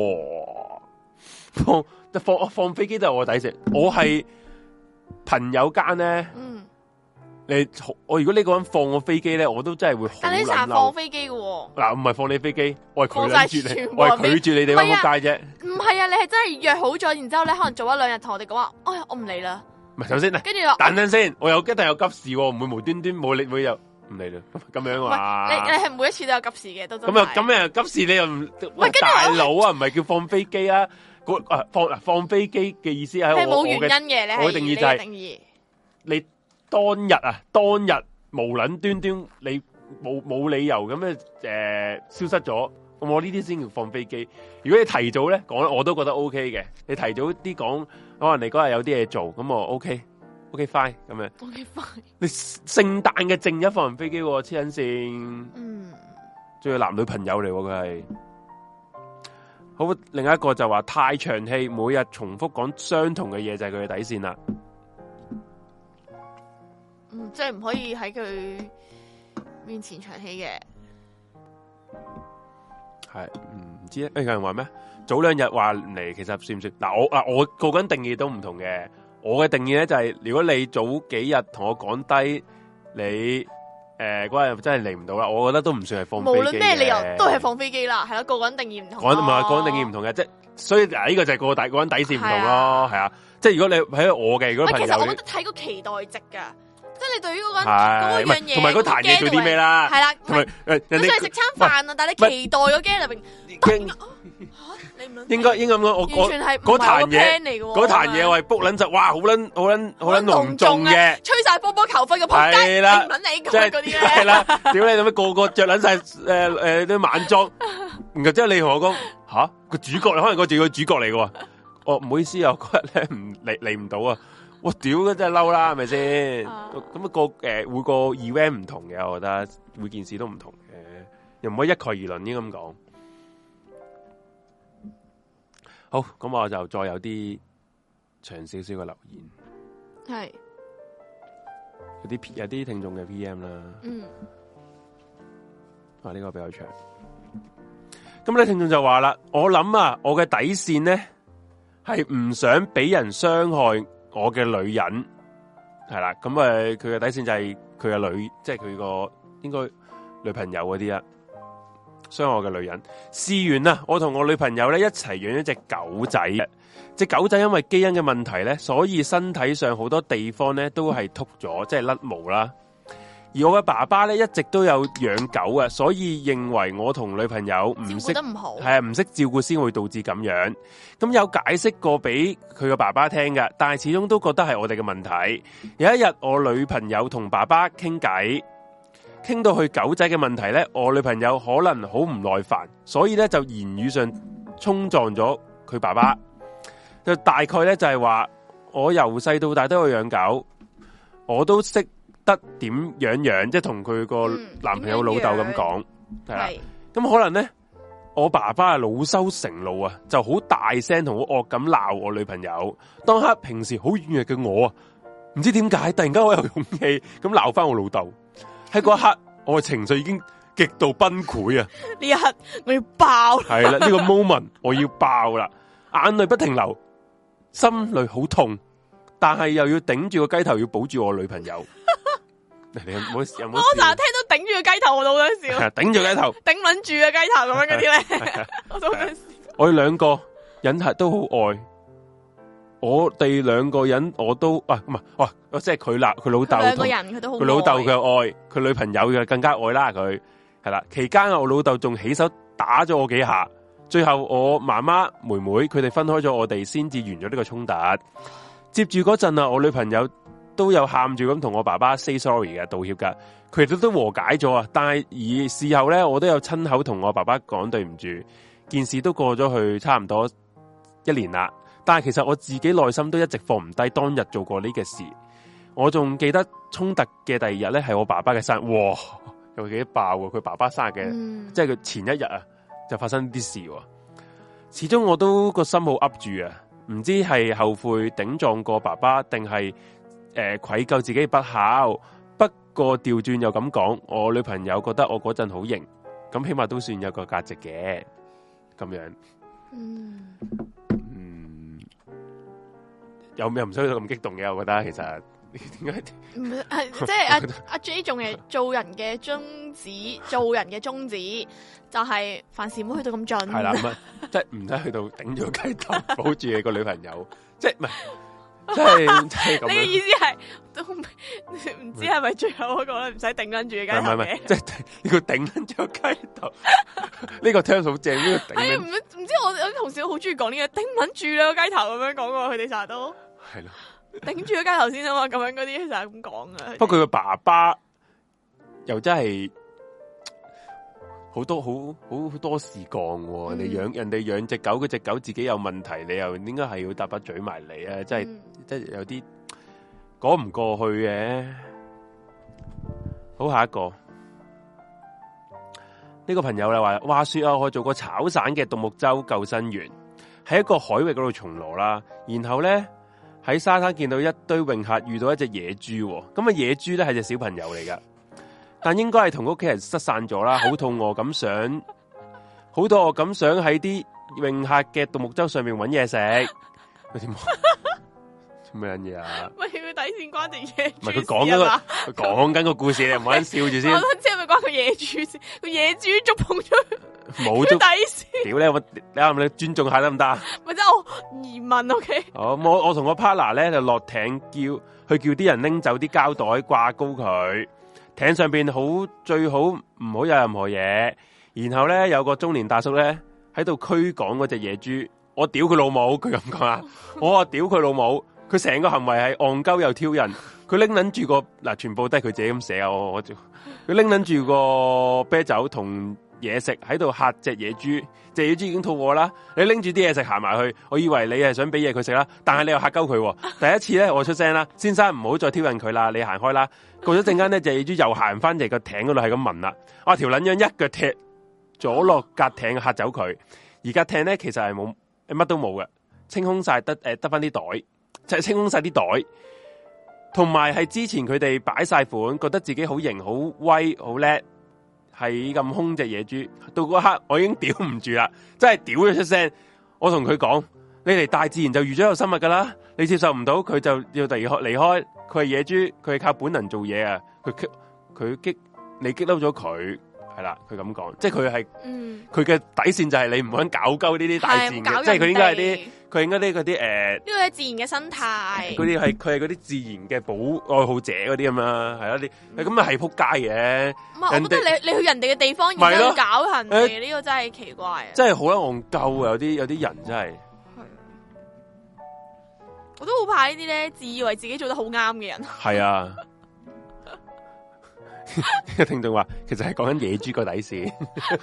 Speaker 2: 放放放飛機都係我底線，我係。朋友間咧，嗯，你我如果呢個人放我飛機咧，我都真係會好。但你成日放飛機嘅喎，嗱，唔係放你飛機，我係拒絕你，我係拒絕你哋乜仆街啫。唔係啊，你係真係約好咗，然之後咧可能做一兩日同我哋講話，哎呀，我唔嚟啦。唔係，首先，跟住，等陣先，我有一定有急事，唔會無端端冇你會有，唔唔理啦，咁樣啊？
Speaker 1: 你你係每一次都有急事嘅，都
Speaker 2: 咁又咁又急事，你又唔喂大佬啊？唔係叫放飛機啊？啊放嗱放飛機嘅意思係
Speaker 1: 係冇原因嘅，你
Speaker 2: 我嘅定義就係定義你當日啊，當日無撚端端你冇冇理由咁樣誒消失咗，我呢啲先叫放飛機。如果你提早咧講，我都覺得 O K 嘅。你提早啲講，可能你嗰日有啲嘢做，咁我 O K，O K fine 咁樣。
Speaker 1: O K fine。
Speaker 2: 你聖誕嘅正日放人飛機，黐撚線。嗯。仲有男女朋友嚟，佢係。好，另一個就話太長氣，每日重複講相同嘅嘢就係佢嘅底線啦。
Speaker 1: 嗯，即係唔可以喺佢面前長氣嘅。
Speaker 2: 係唔知咧？誒，有人話咩？早兩日話嚟，其實算唔算？嗱，我啊，我個人定義都唔同嘅。我嘅定義咧就係、是，如果你早幾日同我講低你。誒，嗰日真係嚟唔到啦，我覺得都唔算係放飛機。無論咩理由，
Speaker 1: 都係放飛機啦，係咯，個個人定義唔同。
Speaker 2: 講唔係個人定義唔同嘅，即係所以嗱，呢個就係個底個人底線唔同咯，係啊，即係如果你喺我嘅，如果朋友，
Speaker 1: 其實我覺得睇個期待值噶，即係你對於嗰個嗰樣嘢，
Speaker 2: 同埋嗰壇嘢做啲咩啦，
Speaker 1: 係啦，
Speaker 2: 同埋誒，人哋
Speaker 1: 食餐飯啊，但係你期待嗰驚入邊。
Speaker 2: 應該應該咁講，我
Speaker 1: 完全係嗰壇嘢嚟嘅，
Speaker 2: 嗰壇嘢我係 book 撚就，哇，好撚好撚好撚隆重嘅，
Speaker 1: 吹晒波波球，分個撲街，唔撚你講嗰啲咧，
Speaker 2: 係啦，屌你做咩個個着撚晒誒誒啲晚裝，然後之後你同我講吓個主角，可能嗰自己個主角嚟嘅，哦唔好意思啊，嗰日咧唔嚟嚟唔到啊，我屌真係嬲啦，係咪先？咁啊個誒每個 event 唔同嘅，我覺得每件事都唔同嘅，又唔可以一概而論應該咁講。好，咁我就再有啲長少少嘅留言，
Speaker 1: 係
Speaker 2: 有啲有啲聽眾嘅 P M 啦，嗯，啊呢個比較長，咁咧聽眾就話啦，我諗啊，我嘅底線咧係唔想俾人傷害我嘅女人，係啦，咁誒佢嘅底線就係佢嘅女，即係佢個應該女朋友嗰啲啊。傷害我嘅女人，試完啦，我同我女朋友咧一齊養一隻狗仔，隻狗仔因為基因嘅問題咧，所以身體上好多地方咧都係禿咗，即係甩毛啦。而我嘅爸爸咧一直都有養狗啊，所以認為我同女朋友唔識，係啊唔識照顧先會導致咁樣。咁有解釋過俾佢嘅爸爸聽㗎，但係始終都覺得係我哋嘅問題。有一日我女朋友同爸爸傾偈。傾到去狗仔嘅問題咧，我女朋友可能好唔耐煩，所以咧就言語上衝撞咗佢爸爸。就大概咧就係話，我由細到大都有養狗，我都識得點樣養，即係同佢個男朋友老豆咁講，係啦。咁可能咧，我爸爸係惱羞成怒啊，就好大聲同好惡咁鬧我女朋友。當刻平時好軟弱嘅我啊，唔知點解突然間我有勇氣咁鬧翻我老豆。喺嗰一刻，我嘅情緒已經極度崩潰啊！呢一刻我要爆，係啦，呢個 moment 我要爆啦，眼淚不停流，心裏好痛，但係又要頂住個雞頭，要保住我女朋友。你有冇有冇？我成日聽到頂住個雞頭，我都好想笑。頂住雞頭，頂撚住個雞頭咁樣嗰啲咧，我都好想笑。我哋兩個人係都好愛。我哋兩個人我都啊唔係哇，即係佢啦，佢老豆兩個人佢都好，佢老豆嘅愛，佢女朋友嘅更加愛啦。佢係啦，期間我老豆仲起手打咗我幾下，最後我媽媽妹妹佢哋分開咗我哋，先至完咗呢個衝突。接住嗰陣啊，我女朋友都有喊住咁同我爸爸 say sorry 嘅，道歉噶，佢哋都都和解咗啊。但係而事後咧，我都有親口同我爸爸講對唔住，件事都過咗去差唔多一年啦。但係其實我自己內心都一直放唔低當日做過呢個事，我仲記得衝突嘅第二日咧係我爸爸嘅生日，哇，有幾爆喎！佢爸爸生日嘅，嗯、即係佢前一日啊就發生啲事，始終我都個心好噏住啊，唔知係後悔頂撞過爸爸，定係誒愧疚自己不孝。不過調轉又咁講，我女朋友覺得我嗰陣好型，咁起碼都算有個價值嘅，咁樣。嗯。有咩唔需要咁激動嘅？我覺得其實點解？唔係即係阿阿 J 仲係做人嘅宗旨，做人嘅宗旨就係、是、凡事唔好去到咁盡。係啦，即係唔使去到頂住個雞頭，保住你個女朋友。即係唔係？ 真係真係咁。
Speaker 1: 你嘅意思係都唔知係咪最後嗰個咧？唔使頂緊住嘅雞頭嘅。唔係唔係，即係
Speaker 2: 呢個頂緊住個雞頭。呢個 term 好正，呢個頂。
Speaker 1: 係唔唔知我我啲同事好中意講呢個頂緊住啦個雞頭咁樣講過，佢哋成日都
Speaker 2: 係咯，
Speaker 1: 頂住個雞頭先啊嘛，咁樣嗰啲成日咁講噶。
Speaker 2: 不過佢個爸爸又真係。好多好好好多事講喎，你養人哋養隻狗，嗰隻狗自己有問題，你又應該係要搭把嘴埋嚟啊！真係、嗯、真係有啲講唔過去嘅。好，下一個呢、這個朋友啦話，話說啊，我做過炒散嘅獨木舟救生員，喺一個海域嗰度巡邏啦，然後咧喺沙灘見到一堆泳客遇到一隻野豬，咁啊野豬咧係隻小朋友嚟噶。但應該係同屋企人失散咗啦，好肚餓咁想，好肚餓咁想喺啲泳客嘅獨木舟上面搵嘢食。佢點做咩嘢啊？喂，佢底線關定野豬？唔係佢講緊個，佢講緊個故事，你唔好笑住先。我都知係咪關個野豬先？個野豬觸碰咗冇底線。屌你，我你啱唔啱？你尊重下得唔得？咪即係我疑問 ，OK？哦，我我同個 partner 咧就落艇叫，去叫啲人拎走啲膠袋掛高佢。艇上邊好最好唔好有任何嘢，然後咧有個中年大叔咧喺度驅趕嗰隻野豬，我屌佢老母，佢咁講啊，我話屌佢老母，佢成個行為係戇鳩又挑釁，佢拎捻住個嗱，全部都係佢自己咁寫啊，我我佢拎捻住個啤酒同嘢食喺度嚇隻野豬，隻野豬已經肚餓啦，你拎住啲嘢食行埋去，我以為你係想俾嘢佢食啦，但係你又嚇鳩佢，第一次咧我出聲啦，先生唔好再挑釁佢啦，你行開啦。過咗陣間咧，隻野豬又行翻嚟個艇嗰度，係咁聞啦。我條撚樣一腳踢咗落架艇嚇走佢。而架艇咧其實係冇乜都冇嘅，清空晒得誒得翻啲袋，就係清空晒啲袋。同埋係之前佢哋擺晒款，覺得自己好型、好威、好叻，係咁兇隻野豬。到嗰刻我已經屌唔住啦，真係屌咗出聲。我同佢講：你嚟大自然就預咗有生物噶啦，你接受唔到佢就要離開離開。佢係野豬，佢係靠本能做嘢啊！佢激佢激你激嬲咗佢，係啦，佢咁講，即係佢係佢嘅底線就係你唔好搞鳩呢啲大自然嘅，即係佢應該係啲佢應該啲嗰啲誒，呢個係自然嘅生態。嗰啲係佢係嗰啲自然嘅保愛好者嗰啲咁啦，係啦，你咁啊係撲街嘅。唔係，我覺得你你去人哋嘅地方，然之後搞人哋，呢個真係奇怪啊！真係好撚戇鳩啊！有啲有啲人真係。我都好怕呢啲咧，自以為自己做得好啱嘅人。係啊，呢個聽眾話，其實係講緊野豬個底線。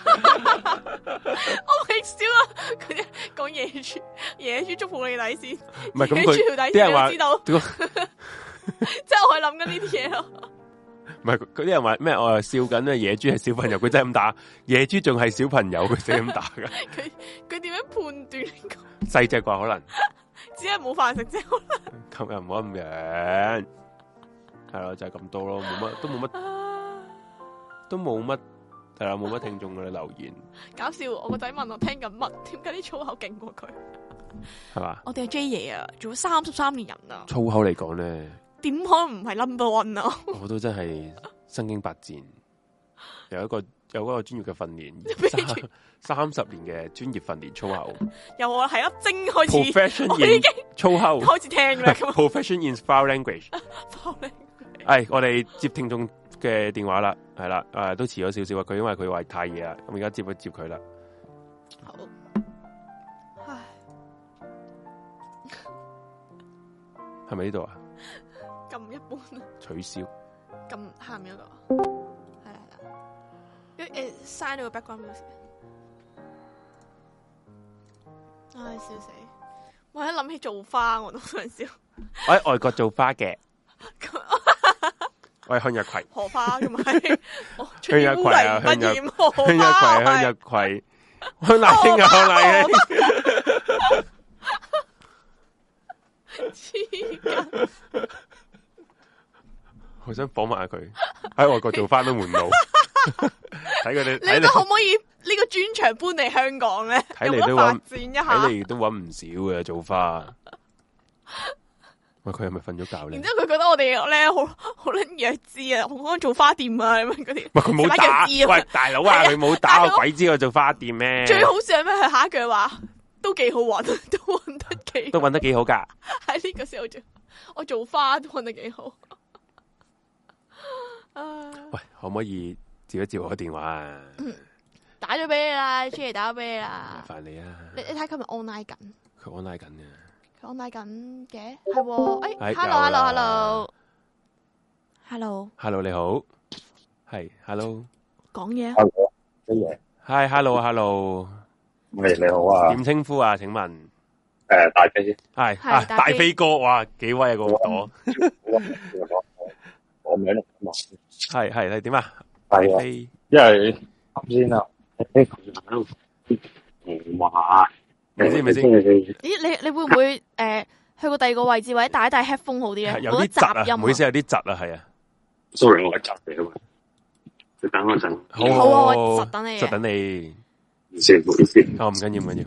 Speaker 2: 我未笑啊！佢哋講野豬，野豬觸碰你底線。唔係咁佢啲人話知道，即係我係諗緊呢啲嘢咯。唔係嗰啲人話咩？我係笑緊咧，野豬係小朋友，佢真係咁打。野豬仲係小朋友，佢先咁打噶。佢佢點樣判斷呢個？細隻啩可能。只係冇飯食啫，咁又唔好咁樣，係咯，就係、是、咁多咯，冇乜，都冇乜，都冇乜，係啦，冇乜聽眾嘅留言。搞笑，我個仔問我聽緊乜，點解啲粗口勁過佢？係嘛？我哋係 J 爺啊，做咗三十三年人啊。粗口嚟講咧，點可能唔係 number one 啊？我都真係身經百戰，有一個。有嗰個專業嘅訓練，三十年嘅專業訓練粗口，由我係粒精開始，Profession 我已經粗口開始聽啦。Profession in foul language，係我哋接聽眾嘅電話啦，係啦，誒都遲咗少少啊，佢因為佢話太夜啦，咁而家接一接佢啦。好，唉，係咪呢度啊？咁一般啊？取消。咁下面嗰個。誒，嘥咗個 background music，唉，笑死！我一諗起做花，我都想笑。我喺外國做花嘅，我係向日葵。荷花咁咪？向日葵啊，向日葵，向日葵，向日葵，向奶兄啊，向奶兄。黐筋！我想訪問下佢喺外國做花都門路。睇佢哋，你可唔可以呢個專場搬嚟香港咧？睇嚟都發展一下，睇嚟都搵唔少嘅做花。喂，佢係咪瞓咗覺咧？然之後佢覺得我哋咧好好撚弱智啊，好可能做花店啊咁樣嗰啲。喂，佢冇打，喂大佬啊，佢冇打，我鬼知我做花店咩？最好笑係咩？佢下一句話都幾好搵，都搵得
Speaker 1: 幾
Speaker 2: 都搵得幾好噶。
Speaker 1: 喺呢個時候做，我做花都搵得幾好。
Speaker 2: 喂，可唔可以接一接我電話啊？
Speaker 1: 嗯、打咗俾你啦，出嚟打咗俾你啦。
Speaker 2: 麻煩你啊！
Speaker 1: 你你睇佢咪 online 緊？
Speaker 2: 佢 online 緊嘅。
Speaker 1: 佢 online 緊嘅，係喎。誒、哎、，hello，hello，hello，hello，hello，
Speaker 2: 你好，係 hello，
Speaker 1: 講嘢。
Speaker 3: hello，乜嘢
Speaker 2: ？Hi，hello，hello，
Speaker 3: 喂，你好啊。
Speaker 2: 點稱呼啊？請問？誒、
Speaker 3: 呃，大飛。
Speaker 2: 係啊，大飛哥，哇，幾威啊個朵！
Speaker 3: 我名嚟嘛，
Speaker 2: 係係係點啊？
Speaker 3: 係啊，因為啱先啊，誒佢喺度話，
Speaker 2: 咪先咪先？
Speaker 1: 咦，你你會唔會誒、呃、去過第二個位置或者戴一戴 headphone 好啲咧？
Speaker 2: 有啲雜音，唔好意思，有啲窒啊，係啊。
Speaker 3: sorry， 我係窒嚟啊嘛，你等我陣。
Speaker 1: 好好啊，我窒等你。
Speaker 2: 窒等你。
Speaker 3: 唔先，唔好意思。
Speaker 2: 哦，唔緊要，唔緊要。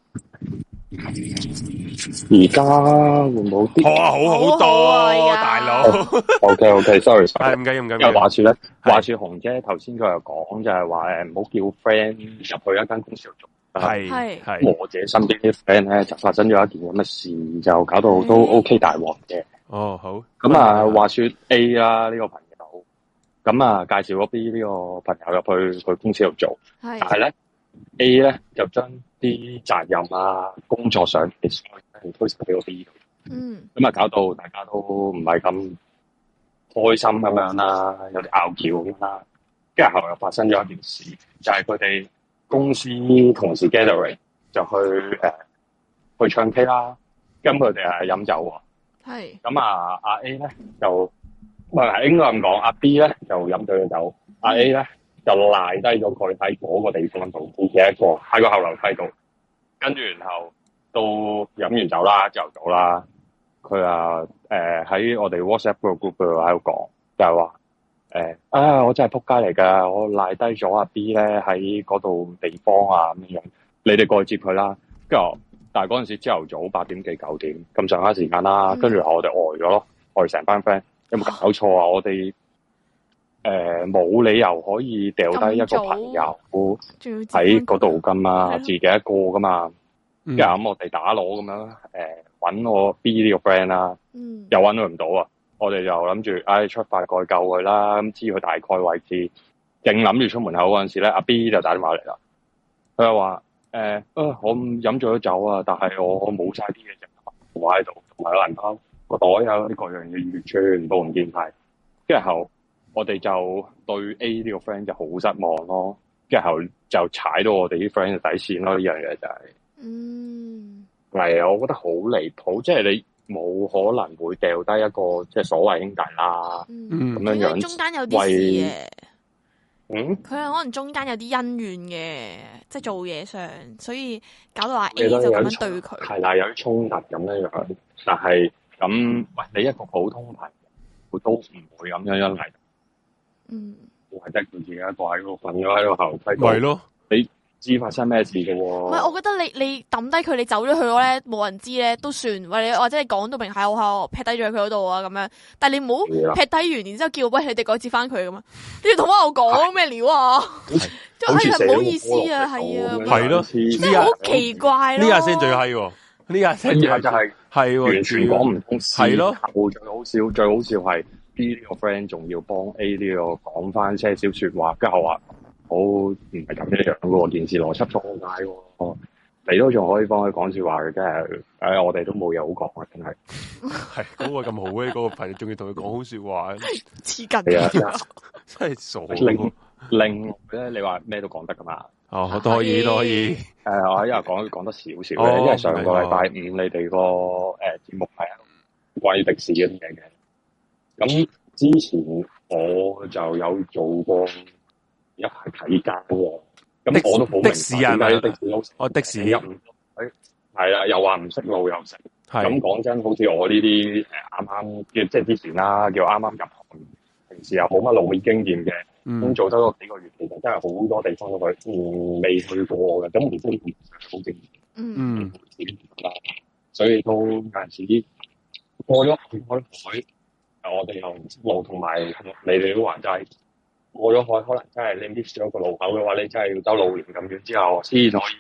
Speaker 3: 而家會唔會好啲？
Speaker 2: 好啊，好好多啊，大佬。
Speaker 3: OK OK，sorry，
Speaker 2: 係唔緊要，唔緊
Speaker 3: 要。話說咧，話說紅姐頭先佢又講就係話誒，唔好叫 friend 入去一間公司度做。
Speaker 2: 係係。
Speaker 3: 我自己身邊啲 friend 咧就發生咗一件咁嘅事，就搞到都 OK 大鑊嘅。
Speaker 2: 哦，好。
Speaker 3: 咁啊，話說 A 啦，呢個朋友，咁啊介紹咗 B 呢個朋友入去佢公司度做。係。但係咧 A 咧就將啲責任啊、工作上嘅所有嘢推晒俾個 B 度。嗯。咁啊，搞到大家都唔係咁開心咁樣啦，有啲拗撬咁啦。跟住後來又發生咗一件事，就係佢哋公司同事 gathering 就去誒、呃、去唱 K 啦。咁佢哋係飲酒喎。係。咁啊，阿 A 咧就唔係應該咁講，阿 B 咧就飲醉咗酒，阿 A 咧就賴低咗佢喺嗰個地方度，自己一個喺個後樓梯度。跟住然後到飲完酒啦，朝頭早啦，佢啊誒喺我哋 WhatsApp 個 group 度喺度講，就係話誒啊我真係撲街嚟㗎，我賴低咗阿 B 咧喺嗰度地方啊咁樣，你哋過去接佢啦。跟住但係嗰陣時朝頭早八點幾九點咁上下時間啦，跟住我哋呆咗咯，我哋成班 friend 有冇搞錯啊？我哋誒冇理由可以掉低一個朋友喺嗰度噶嘛，自己一個噶嘛。跟住咁我哋打鑼咁樣誒揾我 B 呢個 friend 啦，又揾佢唔到啊！我哋就諗住唉出發過去救佢啦，咁知佢大概位置，正諗住出門口嗰陣時咧，阿 B 就打電話嚟啦。佢又話誒啊我飲咗酒啊，但係我我冇晒啲嘢食，我喺度同埋個銀包個袋有啲各樣嘢完全部唔見晒。跟住後我哋就對 A 呢個 friend 就好失望咯，跟住後就踩到我哋啲 friend 嘅底線咯，呢樣嘢就係、是，嗯，係啊，我覺得好離譜，即係你冇可能會掉低一個即係所謂兄弟啦，嗯，咁樣樣，中間有啲事嘅，嗯，佢係可能中間有啲恩怨嘅，即係做嘢上，所以搞到阿 A 就咁樣對佢，係啦，有啲衝突咁樣樣，但係咁喂，你一個普通朋友都唔會咁樣樣嚟。嗯，我係得佢自己一個喺度瞓咗喺度後梯。咪咯，你知發生咩事嘅喎？唔係，我覺得你你抌低佢，你走咗去咯咧，冇人知咧都算。或者或者你講到明係我喺我劈低咗佢嗰度啊咁樣。但係你唔好劈低完，然之後叫喂你哋改接翻佢咁啊！你要同翻我講咩料啊？即係係唔好意思啊，係啊，係咯，即係好奇怪咯。呢下先最閪喎，呢下先就係係完全講唔通，係咯。最好笑，最好笑係。B 呢個 friend 仲要幫 A 呢個講翻些少說話，跟住我話好唔係咁樣樣嘅喎，件事邏輯錯解喎，你都仲可以幫佢講說話嘅，真係，誒我哋都冇嘢好講啊，真係。係嗰個咁好嘅嗰個朋友，仲要同佢講好說話，黐筋嘅，真係傻。另另咧，你話咩都講得噶嘛？哦，都可以，都可以。誒，我喺度講講得少少嘅，因為上個禮拜五你哋個誒節目係關於迪士嗰啲嘢嘅。咁之前我就有做過一排睇街喎，咁我都好明白點解的士佬我的士入唔到，係啦，又話唔識路又食，咁講真，好似我呢啲誒啱啱叫即係之前啦，叫啱啱入行，平時又冇乜路面經驗嘅，咁、嗯、做得個幾個月，其實真係好多地方都去，嗯，未去過嘅，咁唔知點好正，嗯，所以都有陣時過咗開海。我哋又路同埋你哋都話齋過咗海，可能真係你 miss 咗個路口嘅話，你真係要兜路連咁遠之後先可以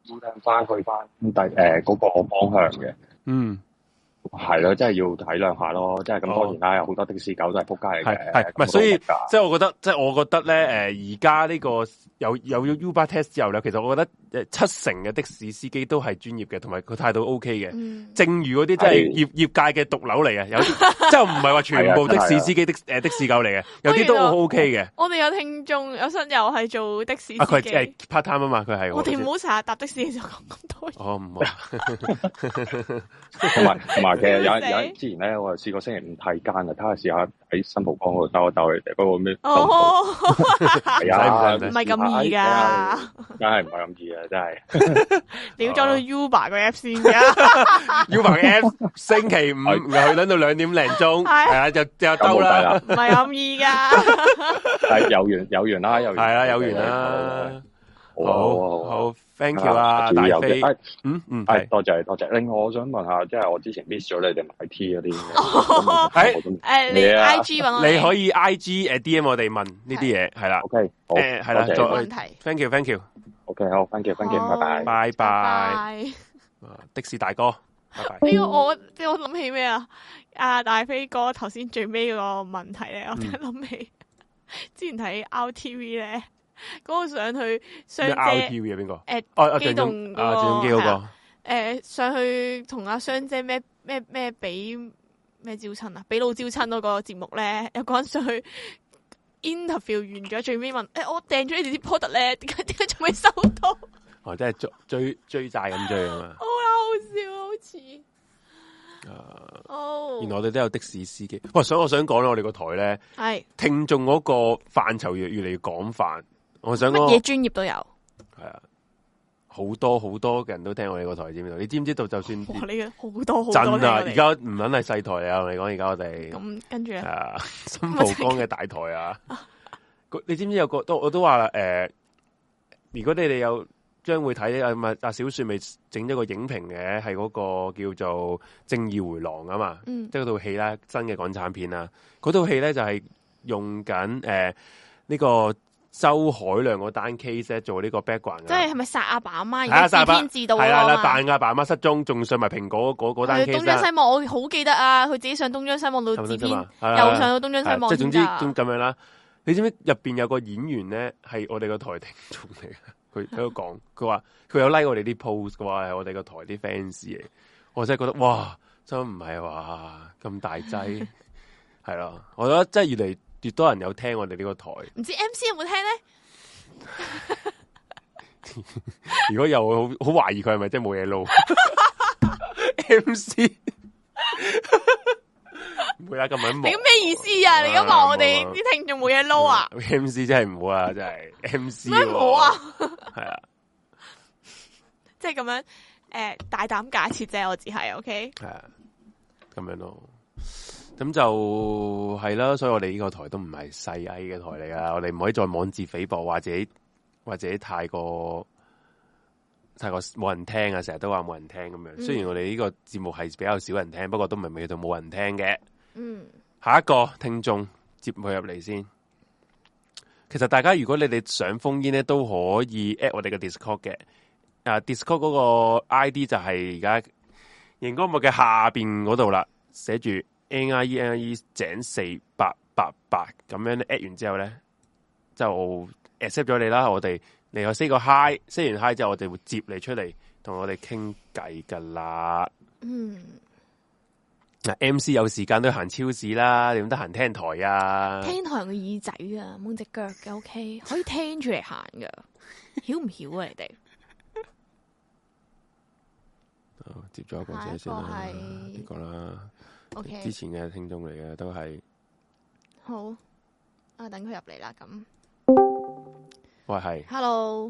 Speaker 3: 要聽翻去翻第誒嗰個方向嘅。
Speaker 2: 嗯。
Speaker 3: 係咯，真係要體諒下咯，即係咁當然啦，有好多的士狗都係仆街嚟嘅。
Speaker 2: 係唔係？所以即係我覺得，即係我覺得咧，誒而家呢個有有咗 Uber Test 之後咧，其實我覺得誒七成嘅的，的士司機都係專業嘅，同埋佢態度 OK 嘅。嗯、正如嗰啲真係業業界嘅毒瘤嚟嘅，有啲即係唔係話全部的士司機的誒的士狗嚟嘅，有啲都好 OK 嘅。
Speaker 1: 我哋有聽眾有室友係做的士司機，
Speaker 2: 佢係 part time 啊嘛，佢係。
Speaker 1: 我哋唔好成日搭的士嘅時候講咁多嘢。
Speaker 2: 哦，唔好。
Speaker 3: 同埋同埋，其實有有之前咧，我試過星期五睇奸啊，睇下試下喺新蒲崗嗰度兜一兜佢哋嗰個咩？
Speaker 1: 哦，
Speaker 3: 係啊，
Speaker 1: 唔係咁易噶，
Speaker 3: 梗係唔係咁易啊！真係
Speaker 1: 你要裝到 Uber 個 app 先噶
Speaker 2: ，Uber 嘅 app 星期五又去等到兩點零鐘，係啊，就就兜啦，
Speaker 1: 唔係咁易噶。
Speaker 3: 係有緣有緣啦，有緣
Speaker 2: 係啦，有緣啦。好好 ，thank you 啊，大飛，嗯嗯，
Speaker 3: 係多謝多謝。另外，我想問下，即係我之前 miss 咗你哋買 T 嗰啲，
Speaker 1: 誒誒，你 I G 揾我，
Speaker 2: 你可以 I G 誒 D M 我哋問呢啲嘢，係啦
Speaker 3: ，OK，好，
Speaker 2: 誒係啦，再
Speaker 1: 問題
Speaker 2: ，thank you，thank you，OK，
Speaker 3: 好，thank you，thank you，拜拜，
Speaker 2: 拜拜，的士大哥，拜拜。
Speaker 1: 呢個我即係我諗起咩啊？阿大飛哥頭先最尾嗰個問題咧，我突然諗起之前睇 R T V 咧。嗰個上去雙姐
Speaker 2: R T V 啊邊個？
Speaker 1: 誒，
Speaker 2: 哦，
Speaker 1: 機動嗰個
Speaker 2: 啊，鄭中基嗰個。
Speaker 1: 誒，上去同阿雙姐咩咩咩俾咩招親啊？俾老招親嗰個節目咧，有個人上去 interview 完咗，最尾問：誒，我訂咗你哋啲 product 咧，點解點解仲未收到？
Speaker 2: 哦，即係追追追債咁追啊嘛！
Speaker 1: 好好笑，好似。
Speaker 2: 誒，
Speaker 1: 哦，oh.
Speaker 2: 原來我哋都有的士司機。喂，想我想講咧，我哋個台咧，
Speaker 1: 係
Speaker 2: 聽眾嗰個範疇越越嚟越廣泛。我想
Speaker 1: 乜嘢專業都有，
Speaker 2: 係啊，好多好多嘅人都聽我哋個台，知唔知道？你知唔知道？就算
Speaker 1: 哇，你嘅好多好多
Speaker 2: 真啊！而家唔撚係細台啊！我哋講而家我哋
Speaker 1: 咁跟住
Speaker 2: 啊，新蒲崗嘅大台啊！你知唔知有個都我都話啦，誒、呃，如果你哋有將會睇啊，咪阿小雪咪整咗個影評嘅，係嗰個叫做《正義回廊》啊嘛，嗯、即係嗰套戲啦，新嘅港產片啦，嗰套戲咧就係、是、用緊誒呢個。周海亮嗰單 case 做呢個 background，
Speaker 1: 即係係咪殺阿爸阿媽？而家自編自導
Speaker 2: 係啦，扮阿爸阿媽失蹤，仲上埋蘋果嗰嗰單 case。東張西
Speaker 1: 望，我好記得啊！佢自己上東張西望到自編，又上到東張西望。
Speaker 2: 即係總之咁樣啦。你知唔知入邊有個演員咧係我哋個台聽眾嚟嘅？佢喺度講，佢話佢有 like 我哋啲 post 嘅話係我哋個台啲 fans 嚟。我真係覺得哇，真唔係話咁大劑，係咯。我覺得真係越嚟越多人有聽我哋呢個台，
Speaker 1: 唔知 M C 有冇聽咧？
Speaker 2: 如果有，好好懷疑佢係咪真係冇嘢撈？M C 唔會啊，咁樣忙。你咁咩意思啊？你而家話我哋啲聽眾冇嘢撈啊 ？M C 真係唔好啊，真係 M C
Speaker 1: 咩唔好啊？
Speaker 2: 係啊，
Speaker 1: 即係咁樣誒，大膽假設啫，我只係 OK。
Speaker 2: 係啊，咁樣咯。咁就係啦，所以我哋呢個台都唔係細矮嘅台嚟噶，我哋唔可以再妄自菲薄，或者或者太過太過冇人聽啊，成日都話冇人聽咁樣。嗯、雖然我哋呢個節目係比較少人聽，不過都唔係未到冇人聽嘅。嗯，下一個聽眾接佢入嚟先。其實大家如果你哋想封煙咧，都可以 at 我哋嘅 Discord 嘅。啊 ，Discord 嗰個 I D 就係而家熒光幕嘅下邊嗰度啦，寫住。N I E N I E 井四八八八咁樣 at 完之後咧，就 accept 咗你啦。我哋嚟個 say 個 hi，say 完 hi 之後，我哋會接你出嚟同我哋傾偈噶啦。嗯，嗱 M C 有時間都行超市啦，你點得閒聽台啊？
Speaker 1: 聽台個耳仔啊，冇隻腳嘅 OK，可以聽住嚟行噶，曉唔曉啊？你哋？
Speaker 2: 哦，接咗一個先先啦，呢個啦。
Speaker 1: Okay.
Speaker 2: 之前嘅聽眾嚟嘅都係
Speaker 1: 好啊，等佢入嚟啦。咁
Speaker 2: 喂係
Speaker 1: ，Hello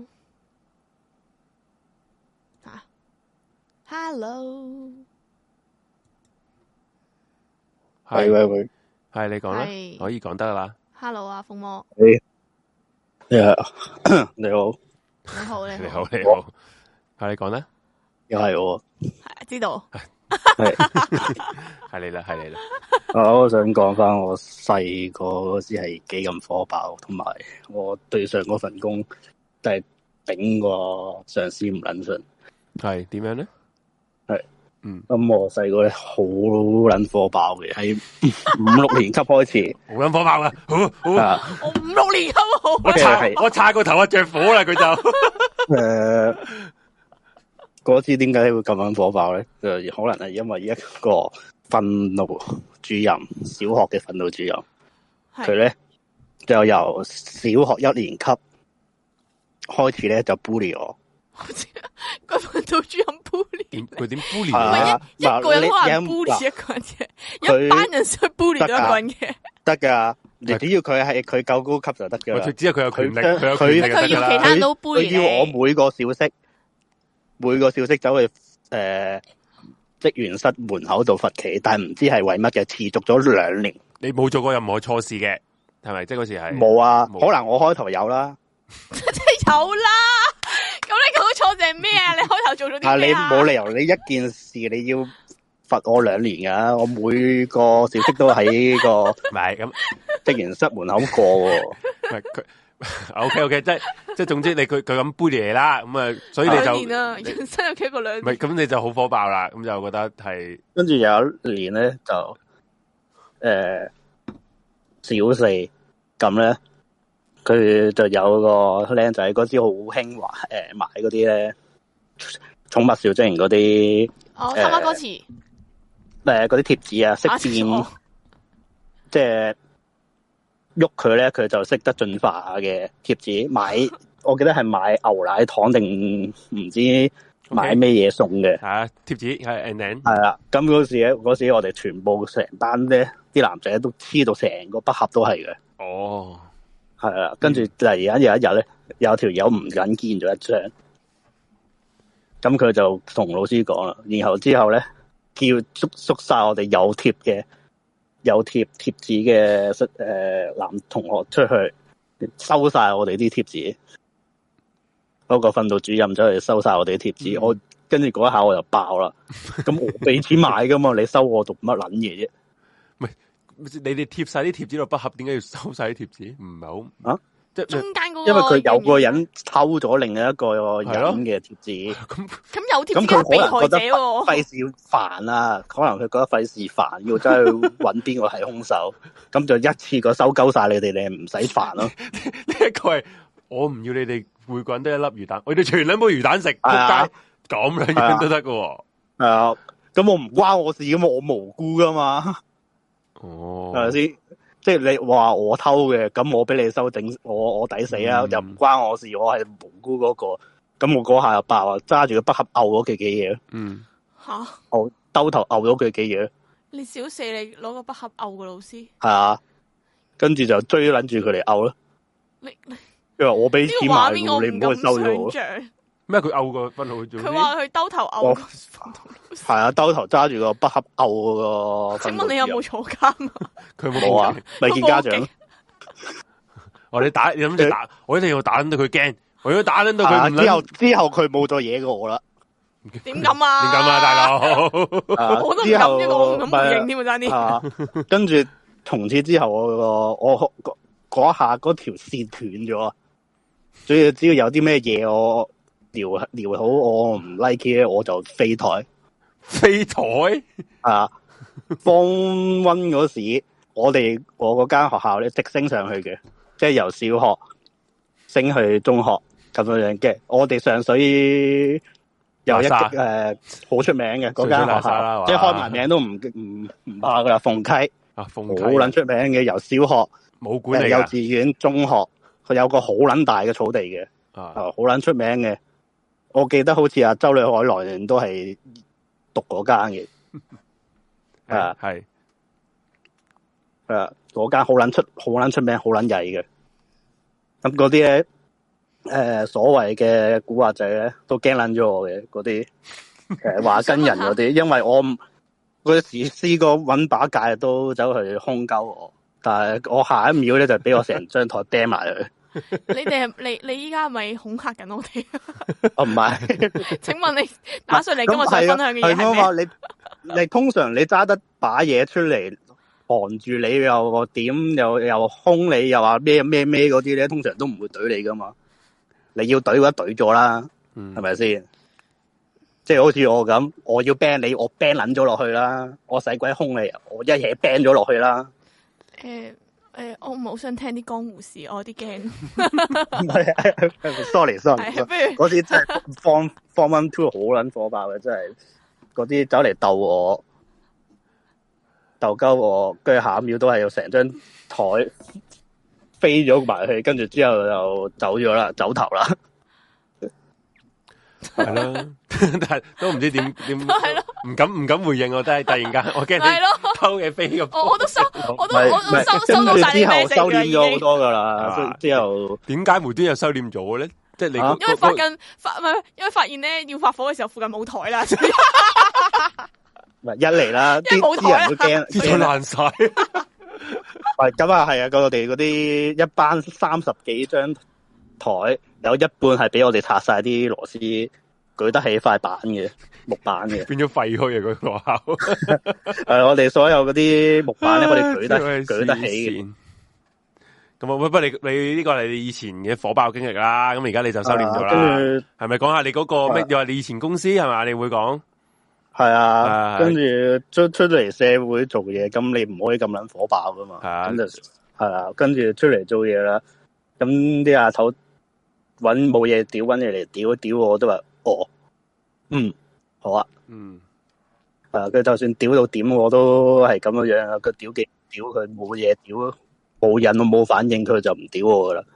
Speaker 1: 啊 ，Hello
Speaker 2: 係喂喂，係你講啦，可以講得啦。
Speaker 1: Hello 啊，鳳魔，
Speaker 4: 你你好，你好，
Speaker 1: 你好，
Speaker 2: 你好，你好，係你講啦，
Speaker 4: 又係我，
Speaker 1: 係知道。
Speaker 4: 係
Speaker 2: 係你啦，係你啦。
Speaker 4: 我想講翻我細個嗰時係幾咁火爆，同埋我對上嗰份工，但係頂個上司唔撚順。
Speaker 2: 係點樣咧？
Speaker 4: 係，
Speaker 2: 嗯，
Speaker 4: 咁我細個咧好撚火爆嘅，喺五六年級開始，
Speaker 2: 好撚火爆啊！好，好
Speaker 4: 啊，
Speaker 1: 我五六年級好，
Speaker 2: 我擦，我擦個頭啊，着火啦佢就，
Speaker 4: 誒，嗰次點解會咁樣火爆咧？就可能係因為一個訓導主任，小學嘅訓導主任，佢咧就由小學一年級開始咧就 bully 我。
Speaker 1: 個訓導主任 bully
Speaker 2: 佢點 bully？
Speaker 4: 係
Speaker 1: 一一個人可能 bully 一個人嘅，一班人想 bully 咗一個人嘅，
Speaker 4: 得噶。你只要佢係佢夠高級就得噶啦。
Speaker 2: 佢只要佢有權力，佢有
Speaker 4: 權
Speaker 2: 力
Speaker 1: 佢要其他人都 bully
Speaker 4: 佢要我每個小息，每個小息走去誒職員室門口度罰企，但係唔知係為乜嘅，持續咗兩年。
Speaker 2: 你冇做過任何錯事嘅，係咪？即係嗰時係
Speaker 4: 冇啊，可能我開頭有啦，
Speaker 1: 即係有啦。咁你講錯定係咩啊？你開頭做咗啲咩啊？
Speaker 4: 你冇理由你一件事你要罰我兩年噶，我每個小息都喺個
Speaker 2: 唔係咁
Speaker 4: 職員室門口過喎。
Speaker 2: 唔係佢 OK OK，即係即係總之你佢佢咁 bully 你啦，咁啊，所以你就
Speaker 1: 兩年啦，人生有幾個兩年？
Speaker 2: 唔係咁你就好火爆啦，咁就覺得係
Speaker 4: 跟住有一年咧就誒、呃、小四咁咧。佢就有個僆仔嗰時好興話誒買嗰啲咧寵物小精靈嗰啲
Speaker 1: 哦，他媽歌詞
Speaker 4: 誒嗰啲貼紙啊，識變即係喐佢咧，佢就識得進化嘅貼紙。買我記得係買牛奶糖定唔知買咩嘢送嘅
Speaker 2: 嚇貼紙係 and then
Speaker 4: 係啦。咁嗰時咧，嗰時我哋全部成班咧啲男仔都黐到成個筆盒都係嘅。
Speaker 2: 哦。
Speaker 4: 係啦，跟住突然間有一日咧，有條友唔緊見咗一張，咁佢就同老師講啦，然後之後咧叫捉捉晒我哋有貼嘅有貼貼紙嘅誒男同學出去收晒我哋啲貼紙，嗰、嗰個訓導主任走去收晒我哋啲貼紙，嗯、我跟住嗰一下我就爆啦，咁我俾錢買噶嘛，你收我讀乜撚嘢啫？
Speaker 2: 你哋貼晒啲貼紙落筆盒，點解要收晒啲貼紙？唔係好啊，即係
Speaker 1: 中間嗰個，
Speaker 4: 因為佢有個人偷咗另一個人嘅貼紙。
Speaker 1: 咁咁有貼紙嘅被害者喎，
Speaker 4: 費事煩啊！可能佢覺得費事煩，要走去揾邊個係兇手，咁就一次過收鳩晒你哋，你唔使煩咯。
Speaker 2: 呢一個係我唔要你哋每個人都一粒魚蛋，我哋全兩煲魚蛋食，仆街咁兩樣都得㗎喎。
Speaker 4: 係啊，咁我唔關我事噶嘛，我無辜噶嘛。
Speaker 2: 哦，
Speaker 4: 係咪先？即係你話我偷嘅，咁我俾你收整，我我抵死啊！嗯、又唔關我事，我係無辜嗰、那個。咁我嗰下就爆啊！揸住個筆盒毆咗佢幾嘢。嗯，吓，我兜頭毆咗佢幾嘢。
Speaker 1: 你小四你攞個筆盒毆個老師？
Speaker 4: 係啊，跟住就追捻住佢嚟毆咯。你因為我俾錢買，你唔好去收咗我。
Speaker 2: 咩？佢毆個分號做？
Speaker 1: 佢話佢兜頭毆個
Speaker 4: 係啊，兜頭揸住個筆盒毆嗰個。
Speaker 1: 請問你有冇坐監啊？
Speaker 2: 佢冇
Speaker 4: 冇啊，未見家長。
Speaker 2: 我哋打，你諗住打，我一定要打到佢驚，我要打到佢唔。
Speaker 4: 之後之後佢冇再嘢過我啦。
Speaker 1: 點咁啊？
Speaker 2: 點咁啊，大佬？
Speaker 1: 我都唔敢啫，我唔敢回應添啊，爭啲。
Speaker 4: 跟住從此之後，我我嗰下嗰條線斷咗，所以只要有啲咩嘢我。聊聊好，我唔 like 嘅，我就飛台
Speaker 2: 飛台
Speaker 4: 啊！放溫嗰時，我哋我嗰間學校咧直升上去嘅，即係由小學升去中學咁樣樣嘅。我哋上水有一誒好出名嘅嗰間學校，即係開埋名都唔唔唔怕噶啦。鳳溪
Speaker 2: 啊，鳳溪
Speaker 4: 好撚出名嘅，由小學
Speaker 2: 冇管理，
Speaker 4: 幼稚園、中學，佢有個好撚大嘅草地嘅，啊，好撚出名嘅。我記得好似阿周女海來都係讀嗰間嘅，啊
Speaker 2: 係，
Speaker 4: 誒嗰間好撚出好撚出名好撚曳嘅，咁嗰啲咧誒所謂嘅古惑仔咧都驚撚咗我嘅嗰啲誒話跟人嗰啲，因為我嗰時試過搵把戒都走去兇鳩我，但係我下一秒咧就俾我成張台掟埋去。
Speaker 1: 你哋係你你依家係咪恐嚇緊我哋？
Speaker 4: 哦唔係，
Speaker 1: 請問你打上嚟今日想分享嘅嘢係咩？
Speaker 4: 你你通常你揸得把嘢出嚟傍住你又點又又兇你又話咩咩咩嗰啲咧，通常都唔會懟你噶嘛。 你要懟嘅話懟咗啦，係咪先？即係好似我咁，我要 ban 你，我 ban 捻咗落去啦，我使鬼兇你，我一嘢 ban 咗落去啦。
Speaker 1: 誒、呃、誒、呃，我唔係好想聽啲江湖事，我有啲驚。
Speaker 4: 唔係，sorry sorry，嗰啲真係 form form one two 好捻火爆嘅，真係嗰啲走嚟鬥我。鬥鳩我，跟住下一秒都係要成張台飛咗埋去，跟住之後就走咗啦，走頭啦，
Speaker 2: 係咯，但係都唔知點點，唔敢唔敢回應我，真係突然間，我驚你偷嘢飛咁，
Speaker 1: 我都收，我都我都收收到晒啲咩
Speaker 4: 收斂咗好多噶啦，之後
Speaker 2: 點解無端又收斂咗嘅咧？即係你
Speaker 1: 因為發緊發唔係，因為發現咧要發火嘅時候附近冇台啦。
Speaker 4: 一嚟啦，啲啲人都驚，
Speaker 2: 啲台爛晒。
Speaker 4: 喂，咁啊係啊，我哋嗰啲一班三十幾張台，有一半係俾我哋拆晒啲螺絲，舉得起塊板嘅木板嘅，
Speaker 2: 變咗廢墟啊！嗰個學校。
Speaker 4: 誒，我哋所有嗰啲木板咧，我哋舉得舉得起嘅。
Speaker 2: 咁啊，不過你你呢個係你以前嘅火爆經歷啦，咁而家你就收斂咗啦。係咪講下你嗰個咩？又話你以前公司係咪？你會講？
Speaker 4: 係啊，跟住出出咗嚟社會做嘢，咁你唔可以咁撚火爆噶嘛。咁就係啊，跟住出嚟做嘢啦。咁啲阿頭搵冇嘢屌，搵嘢嚟屌屌我都話，哦，嗯，好啊，
Speaker 2: 嗯，
Speaker 4: 係啊，佢就算屌到點，我都係咁樣樣啊。佢屌幾屌，佢冇嘢屌，冇癮，我冇反應，佢就唔屌我噶啦。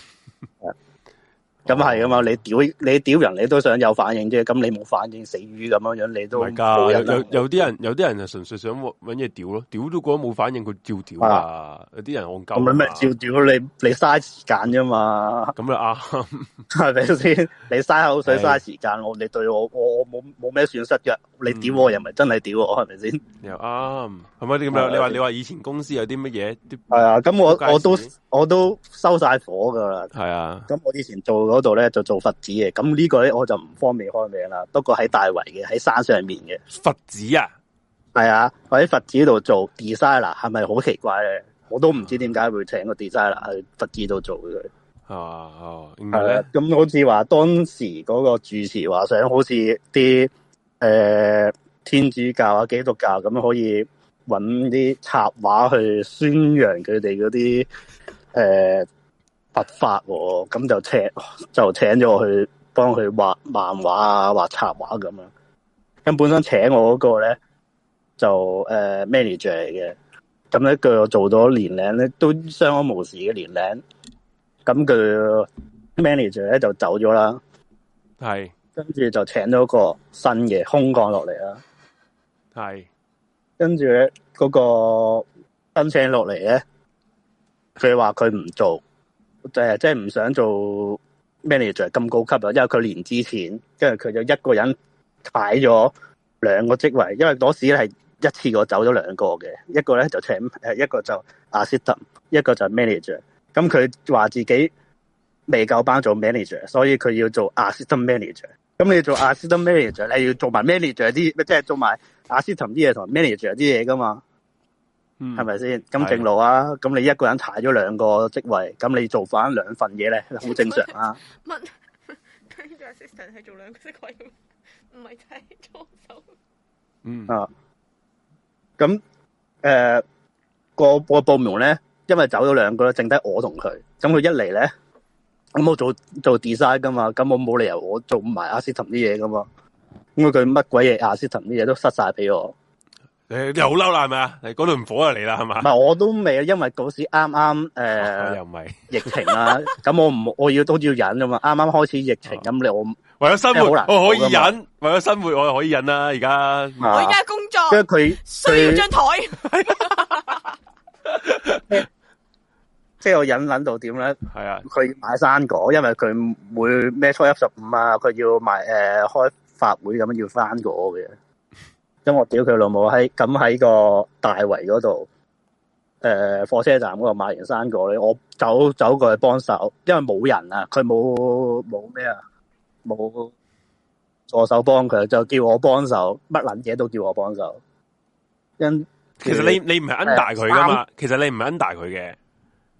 Speaker 4: 咁係噶嘛？你屌你屌人，你都想有反應啫。咁你冇反應，死魚咁樣樣，你都
Speaker 2: 唔係噶。有有有啲人，有啲人就純粹想搵嘢屌咯，屌都覺得冇反應，佢照屌啊。有啲人戇鳩。
Speaker 4: 咁咪咩照屌？你你嘥時間啫嘛。
Speaker 2: 咁啊啱，
Speaker 4: 係咪先？你嘥口水嘥時間，我你對我我我冇冇咩損失嘅。你屌我又唔係真係屌我，係咪先？
Speaker 2: 又啱，係咪你咁樣？你話你話以前公司有啲乜嘢？
Speaker 4: 係啊，咁我我都我都收晒火噶啦。
Speaker 2: 係啊，
Speaker 4: 咁我以前做嗰度咧就做佛寺嘅，咁呢個咧我就唔方便開名啦。不過喺大圍嘅，喺山上面嘅
Speaker 2: 佛寺啊，
Speaker 4: 係啊，我喺佛寺度做 designer， 係咪好奇怪咧？我都唔知點解會請個 designer 去佛寺度做嘅。
Speaker 2: 哦哦，
Speaker 4: 係啊，咁好似話當時嗰個住持話想好似啲誒天主教啊、基督教咁可以搵啲插畫去宣揚佢哋嗰啲誒佛法，咁就請就請咗我去幫佢畫漫畫啊、畫插畫咁樣。咁本身請我嗰個咧就誒、呃、manager 嚟嘅，咁咧佢我做咗年零咧都相安無事嘅年零。咁佢 manager 咧就走咗啦，
Speaker 2: 係，
Speaker 4: 跟住就請咗個新嘅空降落嚟啦，
Speaker 2: 係，
Speaker 4: 跟住咧嗰個新請落嚟咧，佢話佢唔做，誒即係唔想做 manager 咁高級啊，因為佢年資淺，跟住佢就一個人擺咗兩個職位，因為嗰時咧係一次過走咗兩個嘅，一個咧就請誒，一個就 assistant， 一個就 manager。咁佢話自己未夠班做 manager， 所以佢要做 assistant manager。咁你做 assistant manager， 你要做埋 manager 啲，即係做埋 assistant 啲嘢同 manager 啲嘢噶嘛？嗯，係咪先？咁正路啊！咁你一個人踩咗兩個職位，咁你做翻兩份嘢咧，好正常啊。
Speaker 1: 乜？佢做 assistant 係做兩個職位，唔係睇助手。
Speaker 2: 嗯
Speaker 4: 啊，咁誒、呃、個個部門咧。因為走咗兩個咧，剩低我同佢。咁佢一嚟咧，咁我做做 design 噶嘛，咁我冇理由我做唔埋 assistant 啲嘢噶嘛。咁佢乜鬼嘢 assistant 啲嘢都塞晒俾我。
Speaker 2: 你你好嬲啦，係咪啊？你嗰度唔火就嚟啦，係嘛？
Speaker 4: 唔係我都未，因為嗰時啱啱誒，
Speaker 2: 又唔係
Speaker 4: 疫情啦。咁我唔我要都要忍噶嘛。啱啱開始疫情，咁你我
Speaker 2: 為咗生活我可以忍，為咗生活我可以忍啦。而家
Speaker 1: 我而家工作，
Speaker 4: 跟住佢
Speaker 1: 需要張台。
Speaker 4: 即係我忍忍到點咧？
Speaker 2: 係啊，
Speaker 4: 佢買生果，因為佢每咩初一十五啊，佢要買誒、呃、開法會咁樣要生果嘅。咁我屌佢老母喺咁喺個大圍嗰度，誒、呃、火車站嗰度買完生果咧，我走走過去幫手，因為冇人啊，佢冇冇咩啊，冇助手幫佢，就叫我幫手，乜撚嘢都叫我幫手。因
Speaker 2: 其實你你唔係 under 佢噶嘛，其實你唔係 under 佢嘅。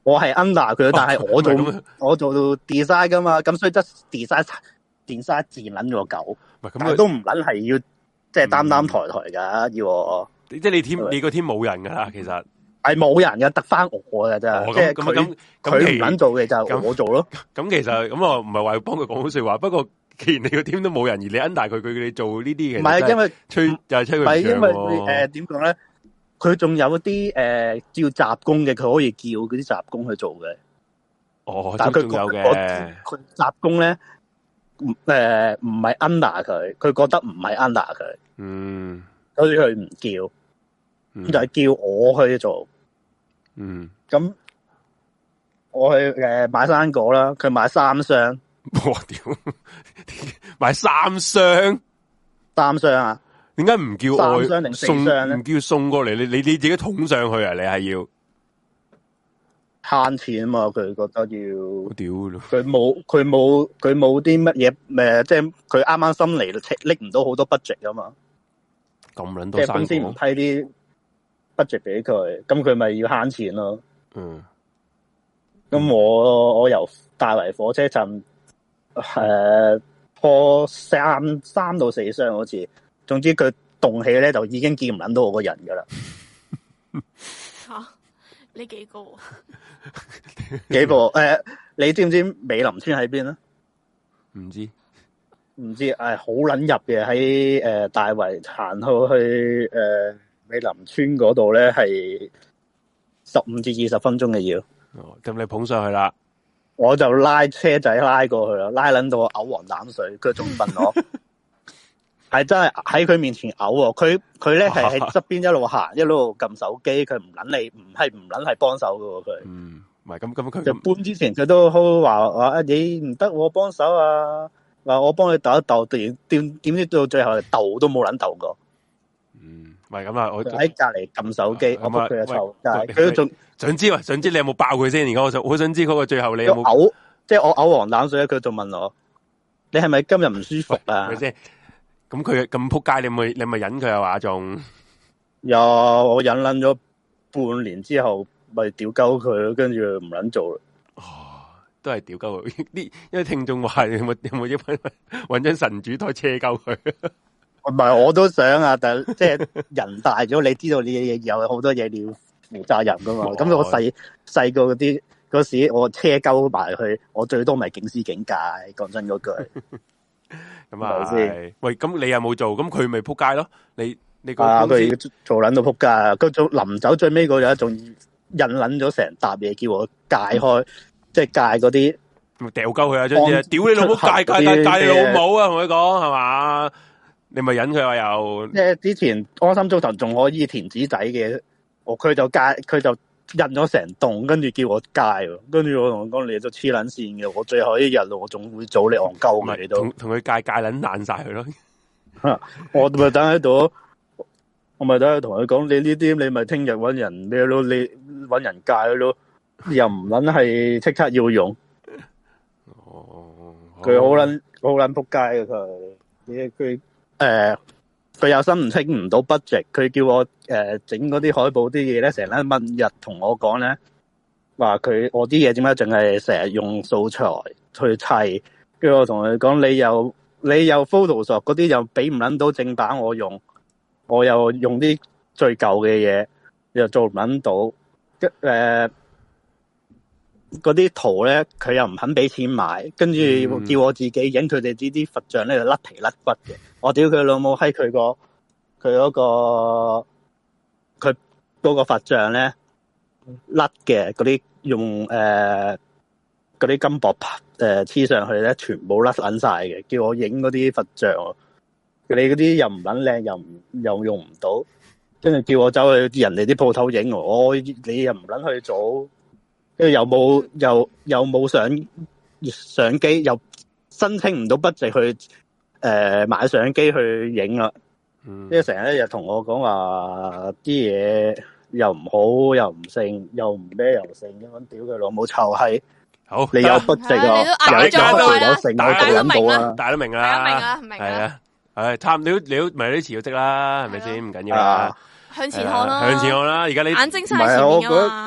Speaker 4: 我係 under 佢，但係我做我做到 design 噶嘛，咁所以即 design design 自然撚咗狗，但係都唔撚係要即係擔擔抬抬噶，要我
Speaker 2: 即係你 team 你個 team 冇人噶啦，其實係
Speaker 4: 冇人嘅，得翻我嘅啫，即係佢佢唔撚做嘅就我做咯。咁
Speaker 2: 其實咁我唔係話要幫佢講好說話，不過既然你個 team 都冇人，而你 under 佢，佢你做呢啲嘅，
Speaker 4: 唔係因為
Speaker 2: 吹就係吹佢唔
Speaker 4: 係因為誒點講咧？佢仲有啲誒叫雜工嘅，佢可以叫嗰啲雜工去做嘅。
Speaker 2: 哦，
Speaker 4: 但係佢
Speaker 2: 有嘅。
Speaker 4: 佢雜工咧，誒唔係 under 佢，佢覺得唔係 under 佢。
Speaker 2: 嗯，
Speaker 4: 所以佢唔叫，
Speaker 2: 嗯、
Speaker 4: 就係叫我去做。
Speaker 2: 嗯，
Speaker 4: 咁我去誒買生果啦，佢買三箱。
Speaker 2: 哇屌！買三箱，
Speaker 4: 三箱啊！
Speaker 2: 點解唔叫我
Speaker 4: 三箱定四
Speaker 2: 送？
Speaker 4: 箱
Speaker 2: 唔叫送過嚟？你你你自己捅上去啊？你係要
Speaker 4: 慳錢啊嘛？佢覺得要。
Speaker 2: 屌咯！
Speaker 4: 佢冇佢冇佢冇啲乜嘢誒，即係佢啱啱新嚟，拎唔到好多 budget 啊嘛。
Speaker 2: 咁撚多生果，即係
Speaker 4: 公司唔批啲 budget 俾佢，咁佢咪要慳錢咯。
Speaker 2: 嗯。
Speaker 4: 咁我我由大圍火車站誒破三三到四箱好似。總之佢動起咧，就已經見唔撚到我個人噶啦。
Speaker 1: 吓、啊，呢幾個？
Speaker 4: 幾個？誒、呃，你知唔知美林村喺邊啊？
Speaker 2: 唔知，
Speaker 4: 唔知，誒，好撚入嘅喺誒大圍行到去誒、呃、美林村嗰度咧，係十五至二十分鐘嘅要。
Speaker 2: 哦，咁你捧上去啦，
Speaker 4: 我就拉車仔拉過去啦，拉撚到我嘔黃膽水，佢仲問我。係真係喺佢面前嘔喎，佢佢咧係喺側邊一路行一路撳手機，佢唔捻你，唔係唔捻係幫手㗎喎佢。
Speaker 2: 嗯，唔係咁咁佢
Speaker 4: 就搬之前佢都好話話你唔得，我幫手啊，話我幫你鬥一鬥，點點點知到最後鬥都冇捻鬥過。
Speaker 2: 嗯，唔係咁啊，我
Speaker 4: 喺隔籬撳手機，
Speaker 2: 啊、
Speaker 4: 我幫佢湊街，佢
Speaker 2: 都
Speaker 4: 仲
Speaker 2: 想知啊，想知你有冇爆佢先？而家我想好想知嗰個最後你有冇
Speaker 4: 嘔，即係我嘔黃膽水，佢仲問我，你係咪今日唔舒服啊？
Speaker 2: 咁佢咁扑街，你咪你咪忍佢啊？話仲
Speaker 4: 有我忍捻咗半年之後，咪屌鳩佢，跟住唔捻做啦。
Speaker 2: 哦，都係屌鳩佢。啲因為聽眾話有冇有冇一搵搵張神主台車鳩佢？
Speaker 4: 唔係我都想啊，但即係人大咗，你知道呢嘢有好多嘢你要負責任噶嘛。咁、哦、我細細個嗰啲嗰時，我車鳩埋去，我最多咪警司警戒。講真嗰句。
Speaker 2: 咁啊，喂，咁你有冇做？咁佢咪扑街咯？你你個
Speaker 4: 公司做捻到扑街啊！佢做臨走最尾嗰日仲印捻咗成沓嘢，叫我戒開，即係戒嗰啲
Speaker 2: 掉鳩佢啊！將啲屌你老母戒戒戒戒你老母啊！同佢講係嘛？你咪忍佢話又
Speaker 4: 即係之前安心租頭仲可以填紙仔嘅，我佢就戒佢就印咗成棟，跟住叫我戒，跟住我同佢講你都黐撚線嘅，我最後一日我仲會早你戇鳩嘅，你都
Speaker 2: 同同佢戒戒撚爛晒佢咯。
Speaker 4: 我咪等喺度，我咪等喺度同佢講，你呢啲你咪聽日搵人咩咯？你搵人戒咯，又唔撚係即刻要用。哦，佢好撚好撚仆街嘅佢，佢誒。佢有心唔清唔到 budget，佢叫我誒整嗰啲海報啲嘢咧，成日問日同我講咧，話佢我啲嘢點解淨係成日用素材去砌，跟住我同佢講，你又你又 Photoshop 嗰啲又俾唔撚到正版我用，我又用啲最舊嘅嘢，又做唔撚到，誒嗰啲圖咧佢又唔肯俾錢買，跟住叫我自己影佢哋呢啲佛像咧就甩皮甩骨嘅。我屌佢老母喺佢個佢嗰個佢嗰個佛像咧甩嘅嗰啲用誒嗰啲金箔誒黐上去咧，全部甩撚晒嘅。叫我影嗰啲佛像，佢哋嗰啲又唔撚靚，又唔又用唔到，跟住叫我走去人哋啲鋪頭影，我你又唔撚去做，跟住又冇又又冇相相機，又申請唔到budget去。誒、呃，買相機去影啦，因為成日一日同我講話啲嘢又唔好，又唔性，又唔咩又性咁樣，屌佢老母臭閪！好，你有筆值啊，有有有成，
Speaker 2: 大家都明
Speaker 4: 啊，
Speaker 2: 大家都明啦，
Speaker 1: 大家明啊，明
Speaker 2: 係啊，係差唔多，你都咪都辭咗職啦，係咪先？唔緊要啦，
Speaker 1: 向前看啦，
Speaker 2: 向前看啦，而家你
Speaker 1: 眼睛晒前面噶嘛。
Speaker 4: 我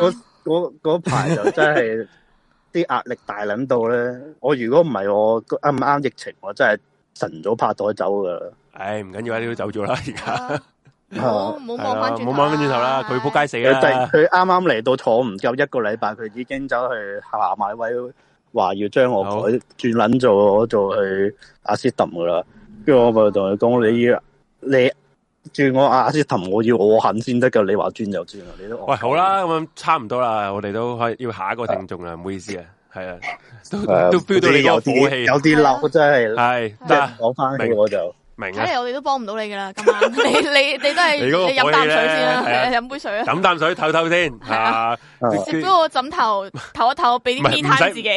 Speaker 4: 嗰嗰排就真係啲壓力大撚到咧。我如果唔係我啱唔啱疫情，我真係晨早拍袋走噶啦。
Speaker 2: 唉，唔緊要啊，你都走咗啦，而家。
Speaker 1: 唔好唔好望翻轉，
Speaker 2: 唔好望翻轉頭啦，佢仆街死啦！
Speaker 4: 佢啱啱嚟到坐唔夠一個禮拜，佢已經走去下買位，話要將我改轉捻做做去阿斯頓噶啦。跟住我咪同佢講，你要你轉我阿斯頓，我要我肯先得噶。你話轉就轉啦，你都
Speaker 2: 喂好啦，咁差唔多啦，我哋都可以要下一個聽眾啦，唔好意思啊，係啊，都都 feel 到你有火氣，
Speaker 4: 有啲嬲真係
Speaker 2: 係
Speaker 4: 得講翻起我就。
Speaker 1: 睇嚟我哋都幫唔到你噶啦，今晚你你你都係你飲啖水先啦，飲杯水啊，
Speaker 2: 飲啖水唞唞先，係啊，
Speaker 1: 食咗個枕頭唞一唞，俾啲 me time 自己。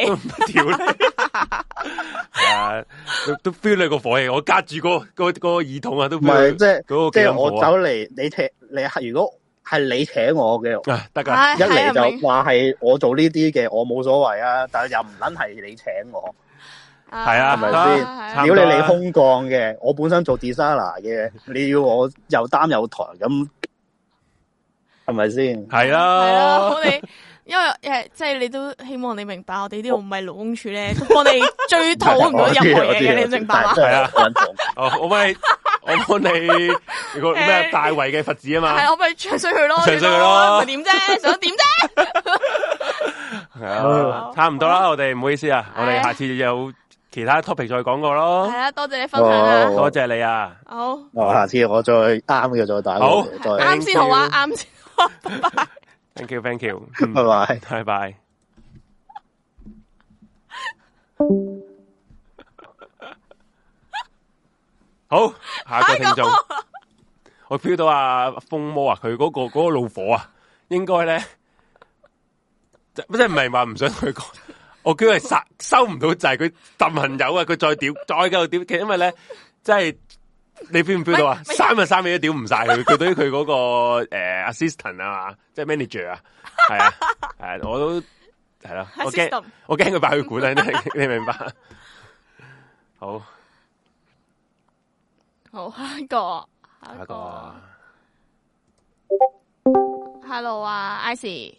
Speaker 2: 係啊，都都 feel 你個火氣，我隔住個個個耳筒啊，都唔
Speaker 4: 係即係即係我走嚟，你請你係如果係你請我嘅，
Speaker 2: 得噶，
Speaker 4: 一嚟就話係我做呢啲嘅，我冇所謂啊，但係又唔撚係你請我。
Speaker 2: 係啊，
Speaker 4: 係咪先？如果你嚟空降嘅，我本身做 designer 嘅，你要我又擔又抬，咁係咪先？
Speaker 2: 係啦，
Speaker 1: 係啦，我哋因為誒，即係你都希望你明白，我哋呢度唔係勞工處咧，都幫你追討唔到任何嘢嘅，你明白嗎？
Speaker 2: 係啊，哦，我幫你，我幫你個咩大圍嘅佛子啊嘛，
Speaker 1: 係我幫你唱衰佢咯，
Speaker 2: 唱衰佢咯，
Speaker 1: 咪點啫？想點啫？
Speaker 2: 係啊，差唔多啦，我哋唔好意思啊，我哋下次有其他 topic 再講過咯。
Speaker 1: 係啊，多謝你分享啊，
Speaker 2: 多謝你啊。
Speaker 1: 好，
Speaker 4: 我下次我再啱嘅再打。
Speaker 2: 好，
Speaker 1: 啱先好啊，啱先。拜拜。
Speaker 2: Thank you，thank you，
Speaker 4: 拜拜，
Speaker 2: 拜拜。好，下一個聽眾，我 feel 到阿風魔啊，佢嗰個嗰個怒火啊，應該咧，即係唔係話唔想同佢講。我叫佢殺收唔到掣，佢揼朋友啊！佢再屌，再繼續屌，其實因為咧，即係你 feel 唔 feel 到啊？三日三夜都屌唔晒佢，佢對於佢嗰個誒 assistant 啊嘛，即係 manager 啊，係啊，係我都係咯，我驚我驚佢爆佢管啊！你你明白？好，
Speaker 1: 好下一個，下一個 ，Hello 啊 ，Icy。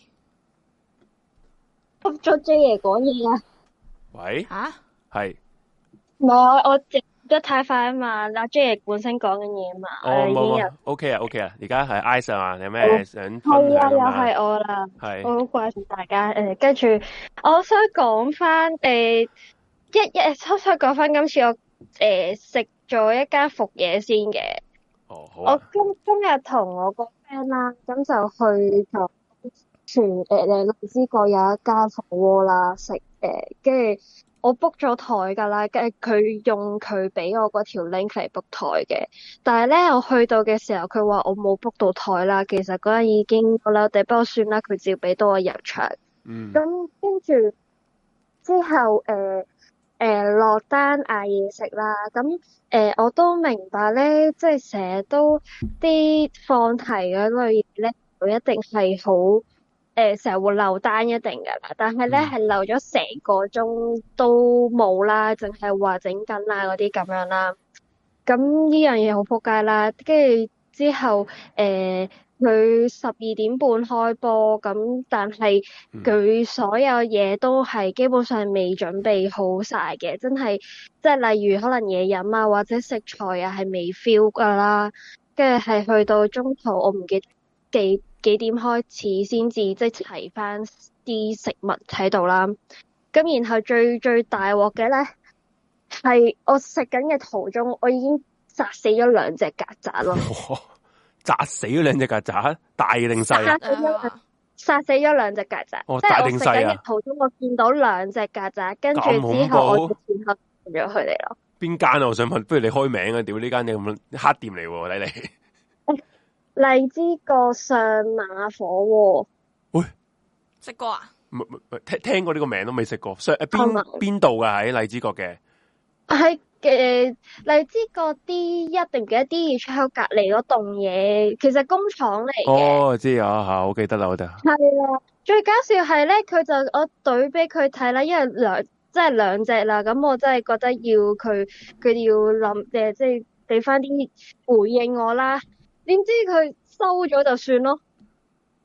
Speaker 5: 咗 J 爺講嘢啊！
Speaker 2: 喂，
Speaker 1: 吓
Speaker 2: 係，
Speaker 5: 唔係我我直得太快啊嘛，阿 J 爺本身講緊嘢啊嘛，
Speaker 2: 哦冇，OK 啊 OK 啊，而家係 Ice 啊嘛，你有咩想分享啊？
Speaker 5: 係啊，又係我啦，
Speaker 2: 係，
Speaker 5: 我好掛住大家誒，跟住我想講翻誒一一，我想講翻今次我誒食咗一間伏嘢先嘅，
Speaker 2: 哦好啊，
Speaker 5: 我今今日同我個 friend 啦，咁就去咗。全誒誒荔枝角有一間火鍋啦，食誒，跟住我 book 咗台噶啦，跟住佢用佢俾我嗰條 link 嚟 book 台嘅，但係咧我去到嘅時候，佢話我冇 book 到台啦，其實嗰陣已經好啦，不過算啦，佢照俾到我入場。
Speaker 2: 嗯。咁
Speaker 5: 跟住之後誒誒落單嗌嘢食啦，咁誒、呃、我都明白咧，即係成日都啲放題嗰類嘢咧，佢一定係好。誒，成日會漏單一定噶啦，但係咧係漏咗成個鐘都冇啦，淨係話整緊啦嗰啲咁樣啦。咁呢樣嘢好撲街啦，跟住之後誒，佢十二點半開波，咁但係佢所有嘢都係基本上未準備好晒嘅，真係即係例如可能嘢飲啊或者食材啊係未 feel 噶啦，跟住係去到中途我唔記得幾。幾點開始先至即係齊翻啲食物喺度啦，咁然後最最大鑊嘅咧係我食緊嘅途中，我已經殺死咗兩隻曱甴咯。
Speaker 2: 殺死咗兩隻曱甴，大定細？
Speaker 5: 殺死咗，殺死咗兩隻曱甴。
Speaker 2: 哦，
Speaker 5: 即係我
Speaker 2: 大定細啊！
Speaker 5: 食緊嘅途中，我見到兩隻曱甴，跟住之後我就前後咗佢哋咯。邊
Speaker 2: 間啊？我想問，不如你開名啊？屌呢間嘢咁黑店嚟喎，睇嚟。
Speaker 5: 荔枝角上馬火鍋，喂，
Speaker 1: 食過啊？
Speaker 2: 唔唔唔，聽聽過呢個名都未食過。上誒邊邊度噶喺荔枝角嘅？
Speaker 5: 喺嘅荔枝角 D 一定嘅 D 二出口隔籬嗰棟嘢，其實工廠嚟嘅。
Speaker 2: 哦，知啊吓，我記得啦，我得。
Speaker 5: 係啦，最搞笑係咧，佢就我懟俾佢睇啦，因為兩即係兩隻啦，咁我真係覺得要佢佢要諗誒，即係俾翻啲回應我啦。點知佢收咗就算咯，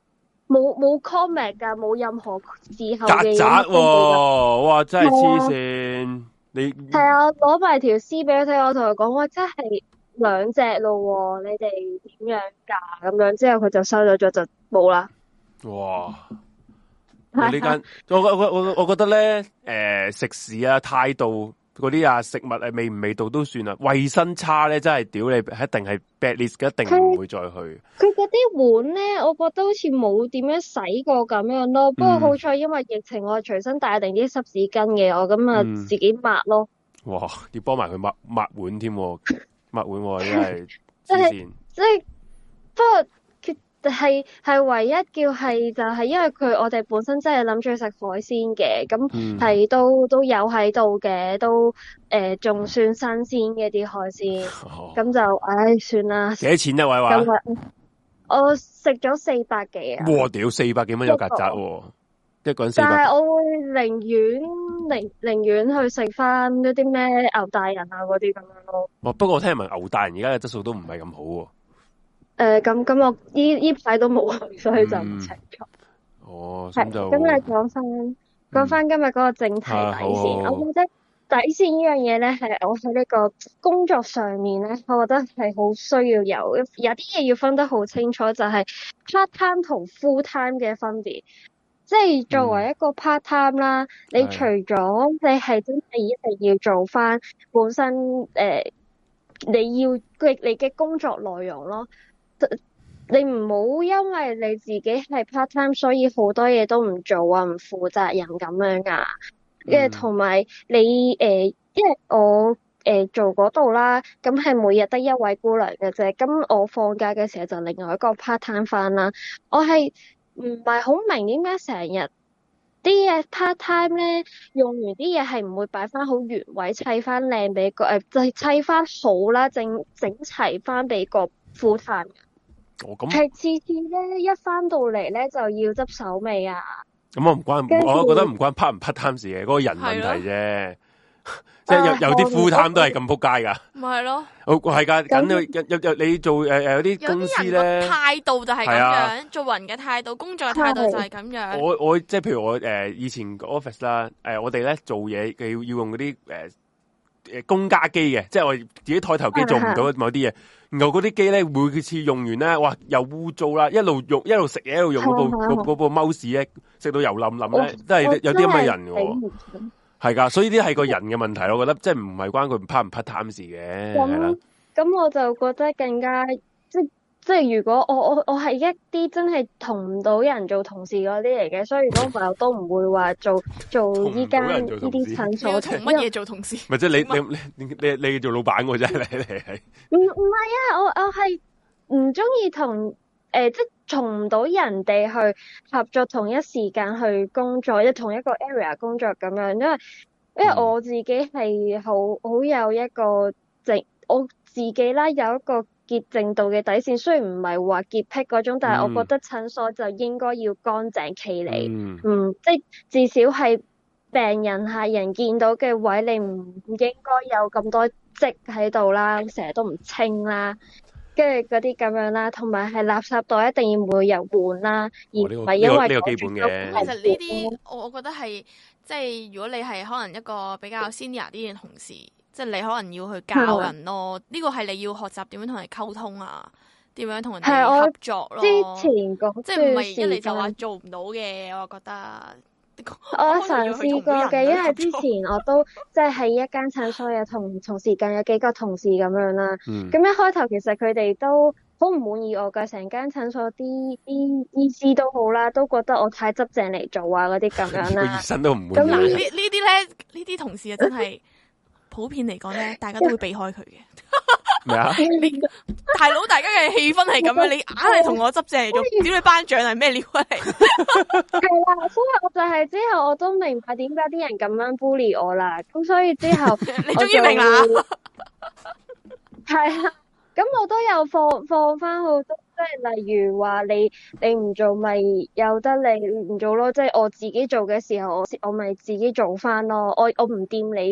Speaker 5: 冇冇 comment 噶，冇任何事後嘅嘢。
Speaker 2: 曱甴喎，哇！真係黐線，你
Speaker 5: 係啊，攞埋條屍俾佢睇，我同佢講，哇，真係兩隻咯，你哋點樣㗎？咁樣之後佢就收咗咗，就冇啦。
Speaker 2: 哇！呢間我我我我我覺得咧，誒、呃、食肆啊態度嗰啲啊食物誒味唔味道都算啦，衛生差咧真係屌你，一定係 bad list，一定唔會再去。
Speaker 5: 佢嗰啲碗咧，我覺得好似冇點樣洗過咁樣咯。不過好彩，因為疫情，我隨身帶定啲濕紙巾嘅，我咁啊自己抹咯。
Speaker 2: 嗯、哇！要幫埋佢抹抹碗添，抹碗真係
Speaker 5: 即係即係，不過。係係唯一叫係就係因為佢我哋本身真係諗住食海鮮嘅，咁係、嗯、都都有喺度嘅，都誒仲、呃、算新鮮嘅啲海鮮，咁、哦、就唉算啦。幾
Speaker 2: 多錢一位話？
Speaker 5: 我食咗四百幾啊！
Speaker 2: 哇屌，四百幾蚊有曱甴喎，一個人四百。
Speaker 5: 但係我會寧願寧寧願去食翻嗰啲咩牛大人啊嗰啲咁樣咯。
Speaker 2: 哦，不過我聽聞牛大人而家嘅質素都唔係咁好喎。
Speaker 5: 誒，咁咁我呢呢排都冇去，所以就唔清楚。
Speaker 2: 哦，咁就
Speaker 5: 咁你講翻講翻今日嗰個正題底線，我覺得底線呢樣嘢咧，係我喺呢個工作上面咧，我覺得係好需要有有啲嘢要分得好清楚，就係 part time 同 full time 嘅分別。即係作為一個 part time 啦，你除咗你係真係一定要做翻本身誒，你要佢你嘅工作內容咯。你唔好因為你自己係 part time，所以好多嘢都唔做啊，唔負責任咁樣噶。跟住同埋你誒、呃，因為我誒、呃、做嗰度啦，咁係每日得一位姑娘嘅啫。咁我放假嘅時候就另外一個 part time 翻啦。我係唔係好明點解成日啲嘢 part time 咧，用完啲嘢係唔會擺翻好原位，砌翻靚俾個誒，就係砌翻好啦，整整齊翻俾個 full time。
Speaker 2: 哦，咁
Speaker 5: 係次次咧，一翻到嚟咧就要執手尾啊！
Speaker 2: 咁我唔關，我覺得唔關 part 唔 part time 事嘅，嗰、那個人問題啫。即係有有啲 full time 都係咁仆街噶。咪係咯。好係噶，咁有有有你做誒誒有啲公司咧，
Speaker 1: 態度就係咁樣，做人嘅態度、工作嘅態度就係咁樣。我
Speaker 2: 我即係譬如我誒、呃、以前 office 啦，誒、呃、我哋咧做嘢嘅要要用嗰啲誒誒公家機嘅，即係我自己台頭機做唔到某啲嘢。然後嗰啲機咧，每次用完咧，哇，又污糟啦！一路用一路食嘢，一路用嗰部嗰嗰部 mouse 咧，食到油冧冧咧，都係有啲咁嘅人嘅。係噶，所以呢啲係個人嘅問題，我覺得即係唔係關佢 part 唔 part time 事嘅。係啦，
Speaker 5: 咁我就覺得更加即即係如果我我我係一啲真係同唔到人做同事嗰啲嚟嘅，所以如果唔係我都唔會話做做依間呢啲診所。
Speaker 1: 同乜嘢做同事？
Speaker 2: 咪即係你你你你你做老闆嘅啫，你你係
Speaker 5: 唔唔係啊？我我係唔中意同誒即係同唔到人哋去合作，同一時間去工作，即同一個 area 工作咁樣，因為因為我自己係好好有一個直我自己啦，有一個潔淨度嘅底線，雖然唔係話潔癖嗰種，但係我覺得診所就應該要乾淨企理，嗯，嗯，即係至少係病人客人見到嘅位，你唔應該有咁多積喺度啦，成日都唔清啦，跟住嗰啲咁樣啦，同埋係垃圾袋一定要每日換啦，而唔係因為
Speaker 2: 呢個基本嘅。
Speaker 1: 其實呢啲我我覺得係即係如果你係可能一個比較 senior 啲嘅同事。即係你可能要去教人咯，呢個係你要學習點樣同人溝通啊，點樣同人哋合作咯。
Speaker 5: 之前嗰
Speaker 1: 即係唔係一嚟就話做唔到嘅，我覺得。
Speaker 5: 我嘗試過嘅，因為之前我都即係喺一間診所有同同時間有幾個同事咁樣啦。咁、嗯、一開頭其實佢哋都好唔滿意我㗎，成間診所啲啲醫師都好啦，都覺得我太執正嚟做啊嗰啲咁樣啦。
Speaker 2: 醫生都唔滿意。
Speaker 1: 咁嗱，呢呢啲咧，呢啲同事啊真係。普遍嚟講咧，大家都會避開佢嘅。
Speaker 2: 咩啊？
Speaker 1: 大佬，大家嘅氣氛係咁樣，你硬係同我執正嚟做，屌你班長係咩料嚟？
Speaker 5: 係啦，所以我就係之後我都明白點解啲人咁樣 bully 我啦。咁所以之後
Speaker 1: 你終於明啦。
Speaker 5: 係啊，咁我都有放放翻好多，即係例如話你你唔做咪由得你唔做咯，即係我自己做嘅時候，我我咪自己做翻咯。我我唔掂你個。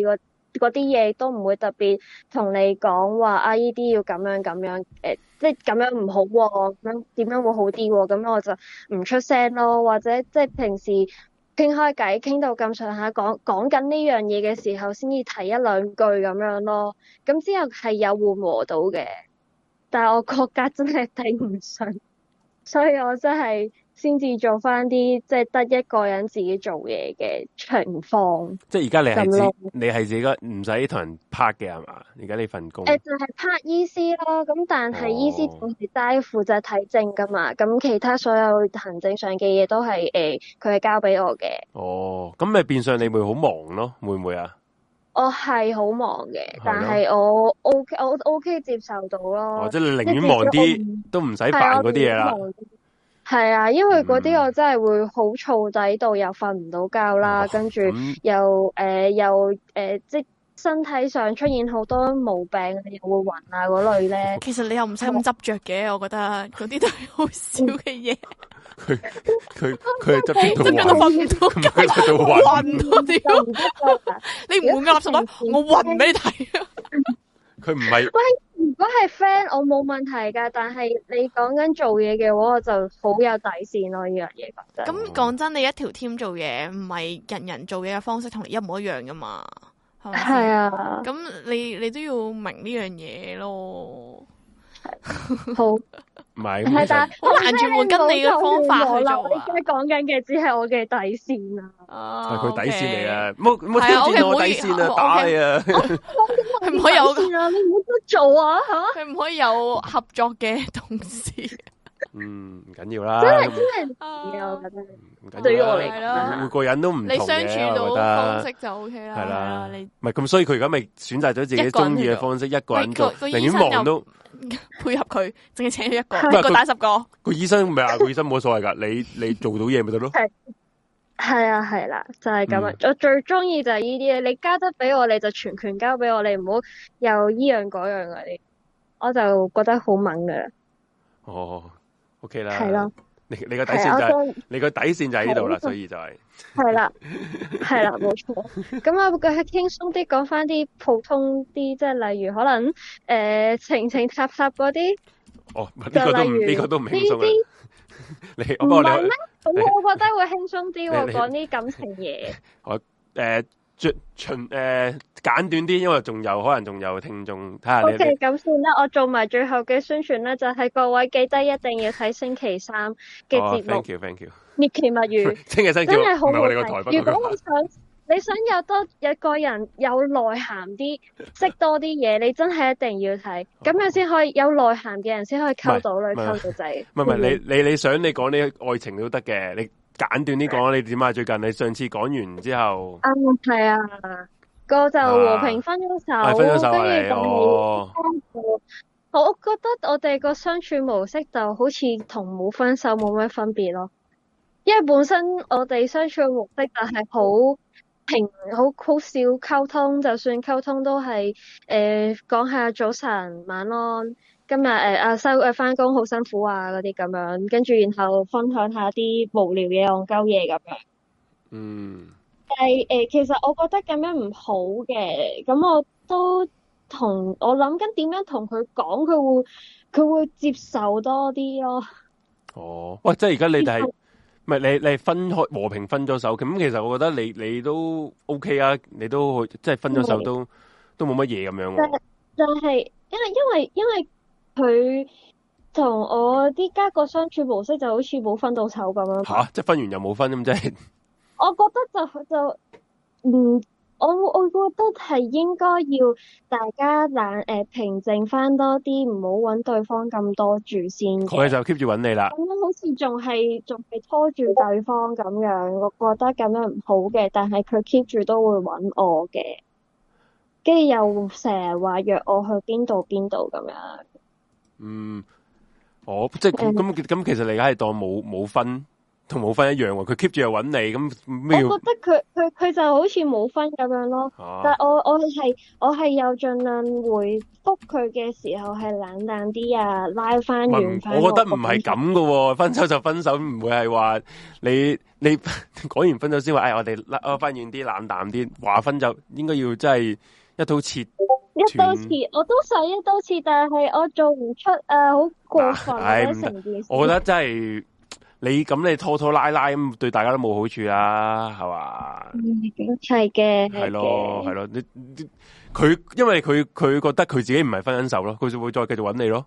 Speaker 5: 嗰啲嘢都唔會特別同你講話啊，依啲要咁樣咁樣，誒、呃，即係咁樣唔好喎、啊，咁樣點樣會好啲喎、啊？咁我就唔出聲咯，或者即係平時傾開偈，傾到咁上下，講講緊呢樣嘢嘅時候，先至提一兩句咁樣咯。咁之後係有緩和到嘅，但係我個格真係頂唔順，所以我真係。先至做翻啲即係得一個人自己做嘢嘅情況。即係而家你係自你係自己唔使同人拍嘅係嘛？而家呢份工誒、呃、就係、是、拍醫師咯。咁但係醫師就係齋負責睇症噶嘛。咁、哦、其他所有行政上嘅嘢都係誒佢係交俾我嘅。哦，咁咪變相你會好忙咯？會唔會啊？我係好忙嘅，但係我 O K 我 O K 接受到咯。哦，即係你寧願忙啲都唔使煩嗰啲嘢啦。係啊，因為嗰啲我真係會好燥底到又瞓唔到覺啦，哦、跟住又誒、呃、又誒、呃、即身體上出現好多毛病，又會暈啊嗰類咧。其實你又唔使咁執着嘅，我覺得嗰啲都係好少嘅嘢。佢佢佢係執住到暈，佢執到暈嗰啲。你唔換個垃圾袋，我暈俾你睇啊！佢唔係。如果係 friend，我冇問題噶，但係你講緊做嘢嘅話，我就好有底線咯。呢樣嘢覺得。咁講真，你一條 team 做嘢，唔係人人做嘢嘅方式同你一模一樣噶嘛？係咪？係啊。咁你你都要明呢樣嘢咯。好。唔係，係但係好難轉換跟你嘅方法去做啊！你而家講緊嘅只係我嘅底線啊！係佢底線嚟啊！冇冇挑戰我底線啊！打你啊！佢唔可以有啊！你唔好得做啊！吓，佢唔可以有合作嘅同事。嗯，唔緊要啦。真係真係唔緊要，我覺得。唔緊要。對於我嚟講，每個人都唔同嘅，你相處到方式就 O K 啦。係啦，你唔係咁，所以佢而家咪選擇咗自己中意嘅方式，一個人做，寧願忙都。配合佢，淨係請咗一個，一個打十個。個醫生唔係啊，個醫生冇所謂噶，你你做到嘢咪得咯。係係啊，係啦，就係咁啊。我最中意就係呢啲嘢，你交得俾我，你就全權交俾我，你唔好又依樣嗰樣嗰啲，我就覺得好猛噶啦。哦 ，OK 啦，係咯。你你個底線就係你個底線就喺呢度啦，所以就係係啦，係啦，冇錯。咁啊，佢係輕鬆啲講翻啲普通啲，即係例如可能誒情情塔塔嗰啲。哦，呢個都呢個都唔輕鬆啊！你唔係咩？咁我覺得會輕鬆啲喎，講啲感情嘢。我誒。盡盡誒簡短啲，因為仲有可能仲有聽眾睇下你。O K，咁算啦，我做埋最後嘅宣傳啦，就係、是、各位記得一定要睇星期三嘅節目。Oh, thank you, thank you。獵奇物語，星期三真係好好睇。如果你想你想有多有個人有內涵啲，識多啲嘢，你真係一定要睇，咁樣先可以有內涵嘅人先可以溝到女溝到仔。唔係唔係，你你你想你講啲愛情都得嘅，你。簡短啲講，你點啊？最近你上次講完之後，啊係啊，個就和平分咗手，啊、分咗手跟住就係，我覺得我哋個相處模式就好似同冇分手冇咩分別咯，因為本身我哋相處嘅模式就係好平，好好少溝通，就算溝通都係誒講下早晨晚安。今日誒阿收誒翻工好辛苦啊嗰啲咁樣，跟住然後分享下啲無聊嘢、戇鳩嘢咁樣。嗯。但係誒、呃，其實我覺得咁樣唔好嘅，咁我都同我諗緊點樣同佢講，佢會佢會接受多啲咯。哦，喂，即係而家你哋係唔係你你分開和平分咗手？咁其實我覺得你你都 OK 啊，你都即係分咗手都都冇乜嘢咁樣。但係就係因為因為因為。佢同我啲家個相處模式就好似冇分到手咁樣。吓、啊，即係分完又冇分咁，即係。我覺得就就，嗯，我我覺得係應該要大家冷誒、呃、平靜翻多啲，唔好搵對方咁多住先。佢就 keep 住搵你啦。咁樣好似仲係仲係拖住對方咁樣，我覺得咁樣唔好嘅。但係佢 keep 住都會搵我嘅，跟住又成日話約我去邊度邊度咁樣。嗯，我即係咁咁咁，其實你而家係當冇冇分
Speaker 2: 同冇分一樣喎。佢 keep 住又揾你，咁咩？
Speaker 5: 我覺得佢佢佢就好似冇分咁樣咯。啊、但係我我係我係有盡量回覆佢嘅時候係冷淡啲啊，拉翻遠翻。
Speaker 2: 我覺得唔係咁噶喎，分手就分手，唔會係話你你講完分手先話，哎，我哋拉翻遠啲，冷淡啲。話分就應該要真係一刀切。
Speaker 5: 一刀切，我都想一刀切，但係我做唔出啊，好過分啊！成件事，
Speaker 2: 我覺得真係你咁你拖拖拉拉咁，對大家都冇好處啦，係嘛？
Speaker 5: 嗯，係嘅，
Speaker 2: 係咯，係咯，你佢因為佢佢覺得佢自己唔係分緊手咯，佢就會再繼續揾你咯。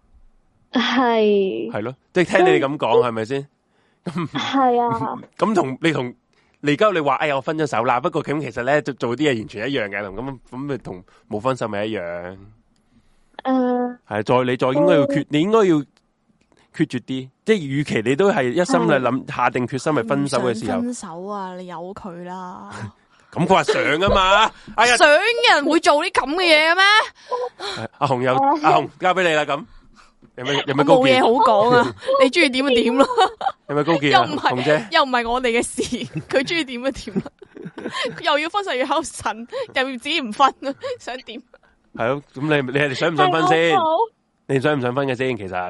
Speaker 5: 係
Speaker 2: 係咯，即係聽你哋咁講，係咪先？
Speaker 5: 係啊。咁
Speaker 2: 同你同。你而家你話哎呀我分咗手啦，不過咁其實咧做做啲嘢完全一樣嘅，同咁咁咪同冇分手咪一樣。誒、uh, 係再你再應該要決，uh, 你應該要決絕啲，即係與其你都係一心嚟諗、uh, 下定決心係分手嘅時候，
Speaker 1: 分手啊，你由佢啦。
Speaker 2: 咁佢話想啊嘛，哎呀，
Speaker 1: 想嘅人會做啲咁嘅嘢嘅咩？
Speaker 2: 阿紅又阿紅交俾你啦咁。有咩有咩高見？
Speaker 1: 冇嘢好講啊！你中意點就點咯。
Speaker 2: 有咩高見啊？紅姐
Speaker 1: 又唔係我哋嘅事，佢中意點就點啦。又要分手要考神，又要自己唔分啊，想點？
Speaker 2: 係咯，咁你你係想唔想分先？你想唔想分嘅先？其實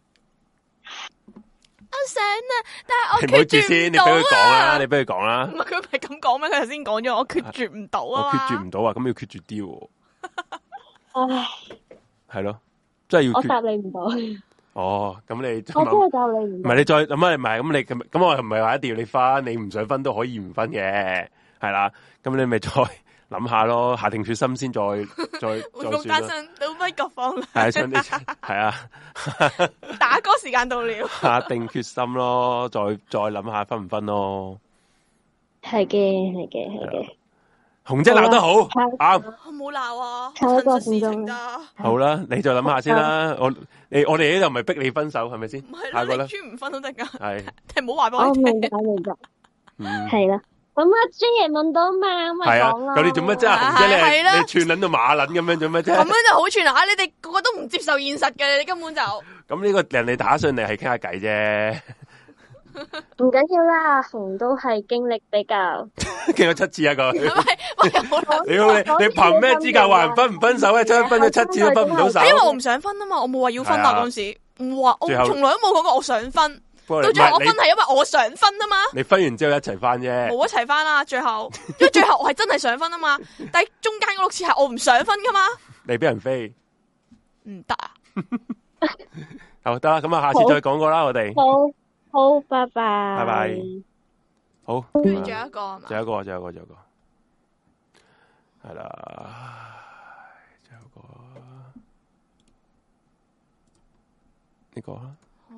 Speaker 1: 我想啊，但係我
Speaker 2: 決絕唔到啊！你唔好住先，你俾佢講啦，你俾佢講啦。
Speaker 1: 唔係佢唔係咁講咩？佢頭先講咗，我決絕唔到啊！
Speaker 2: 我決絕唔到啊！咁要決絕啲。
Speaker 5: 唉，
Speaker 2: 係咯。真係要，我
Speaker 5: 答你唔到。
Speaker 2: 哦，咁你
Speaker 5: 我真係答你唔到。
Speaker 2: 唔係你再諗下，唔係咁你咁咁我唔係話一定要你分，你唔想分都可以唔分嘅，係啦。咁你咪再諗下咯，下定決心先再再再算啦。單身
Speaker 1: 到不各方啦。
Speaker 2: 係想你係啊，
Speaker 1: 打歌時間到了。
Speaker 2: 下定決心咯，再再諗下分唔分咯。
Speaker 5: 係嘅，係嘅，係嘅。
Speaker 2: 紅姐鬧得好啱，
Speaker 1: 我冇鬧啊，
Speaker 5: 真實事
Speaker 1: 情噶。
Speaker 2: 好啦，你再諗下先啦。我你我哋呢度唔係逼你分手，係咪先？
Speaker 1: 唔係啦，你專唔分都得噶。
Speaker 2: 係，
Speaker 1: 你唔好話俾我聽。
Speaker 5: 我明白，明白。係啦，咁阿 J 爺問到嘛，咁咪講啦。
Speaker 2: 咁你做乜啫？紅姐你你串捻到馬捻咁樣做乜啫？
Speaker 1: 咁樣就好串啊！你哋個個都唔接受現實嘅，你根本就。
Speaker 2: 咁呢個人哋打上嚟係傾下偈啫。
Speaker 5: 唔緊要啦，阿紅都係經歷比較
Speaker 2: 經咗七次一個，
Speaker 1: 你你
Speaker 2: 你憑咩資格話人分唔分手咧？真分咗七次都分唔到手。
Speaker 1: 因為我唔想分啊嘛，我冇話要分啊嗰陣時，唔話我從來都冇講過我想分。到最後我分係因為我想分啊嘛。你分完之後一齊翻啫，冇一齊翻啦。最後因為最後我係真係想分啊嘛，但係中間嗰六次係我唔想分噶嘛。你俾人飛唔得啊？好得啦，咁啊，下次再講過啦，我哋。
Speaker 5: 好，拜拜。
Speaker 2: 拜拜。好。
Speaker 1: 跟住仲有一個係嘛？
Speaker 2: 仲有一個，仲有一個，仲有一個。係啦，仲有一個。呢個啊。
Speaker 1: 好。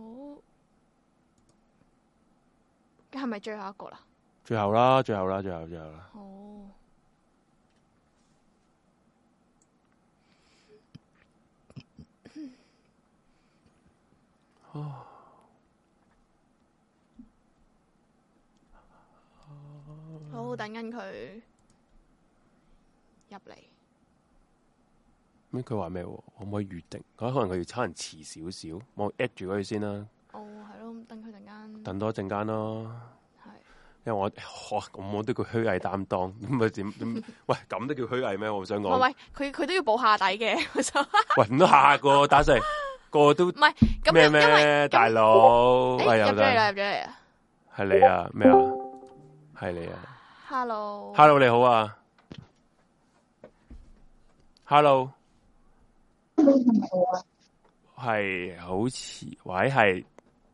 Speaker 1: 咁係咪最後一個啦？
Speaker 2: 最後啦，最後啦，最後，最後啦。
Speaker 1: 好。
Speaker 2: 哦。
Speaker 1: 好，等緊佢入嚟。
Speaker 2: 咩？佢話咩？可唔可以預定？可能佢要差人遲少少，我 at 住佢先啦。
Speaker 1: 哦，係咯，等佢陣間。
Speaker 2: 等多一陣間咯。
Speaker 1: 係。
Speaker 2: 因為我，哇，咁我都叫虛偽擔當，咁咪點點？喂，咁都叫虛偽咩？我想講。
Speaker 1: 喂，佢佢都要補下底嘅。
Speaker 2: 喂，唔都下個打細個個都唔係咁咩咩？大佬，
Speaker 1: 係入咗嚟啦，入咗嚟啊！
Speaker 2: 係你啊？咩啊？係你啊？
Speaker 1: Hello，Hello，
Speaker 2: 你好啊 ，Hello，係好似喂係，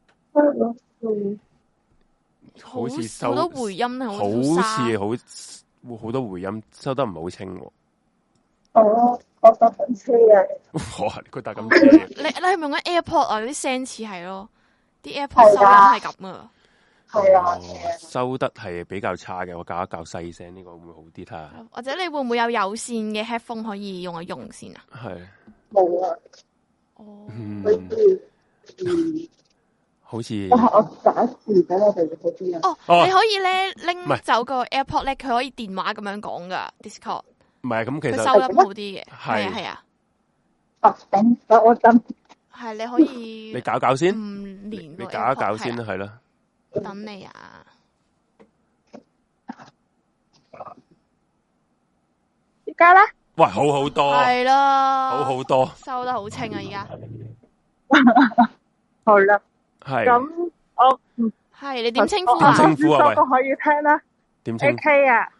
Speaker 2: 好似收
Speaker 1: 好多回音，好
Speaker 2: 似好好多回音，收得唔係好清。
Speaker 5: 哦，我搭緊車啊！
Speaker 2: 哇，佢搭緊車，
Speaker 1: 你你係咪用緊 AirPod 啊？啲聲似係咯，啲 AirPod 收音係咁啊。
Speaker 5: 係啊、哦，
Speaker 2: 收得係比較差嘅，我教一教細聲，呢個會唔會好啲睇下？
Speaker 1: 或者你會唔會有有線嘅 headphone 可以用一用先啊？
Speaker 2: 係
Speaker 5: 冇啊。
Speaker 1: 哦。
Speaker 2: 嗯。
Speaker 5: 嗯
Speaker 2: 好似。
Speaker 5: 我打字俾我哋嗰啲啊。
Speaker 1: 哦，你可以咧拎走個 AirPod 咧，佢可以電話咁樣講噶 Discord。
Speaker 2: 唔係咁，其實
Speaker 1: 佢收音好啲嘅。係啊係啊。
Speaker 5: 哦，頂，我真。
Speaker 1: 係你可以。
Speaker 2: 你搞搞先。
Speaker 1: 唔連。
Speaker 2: 你搞一搞先啦，係啦。
Speaker 1: 等你啊！
Speaker 6: 而家咧？
Speaker 2: 喂，好好多，
Speaker 1: 係啦，
Speaker 2: 好好多，
Speaker 1: 收得好清啊！而家
Speaker 6: 好啦，
Speaker 2: 係
Speaker 6: 咁我
Speaker 1: 係你點稱呼啊？
Speaker 2: 稱呼啊？喂，
Speaker 6: 可以聽啦。
Speaker 2: 點稱
Speaker 6: ？A K 啊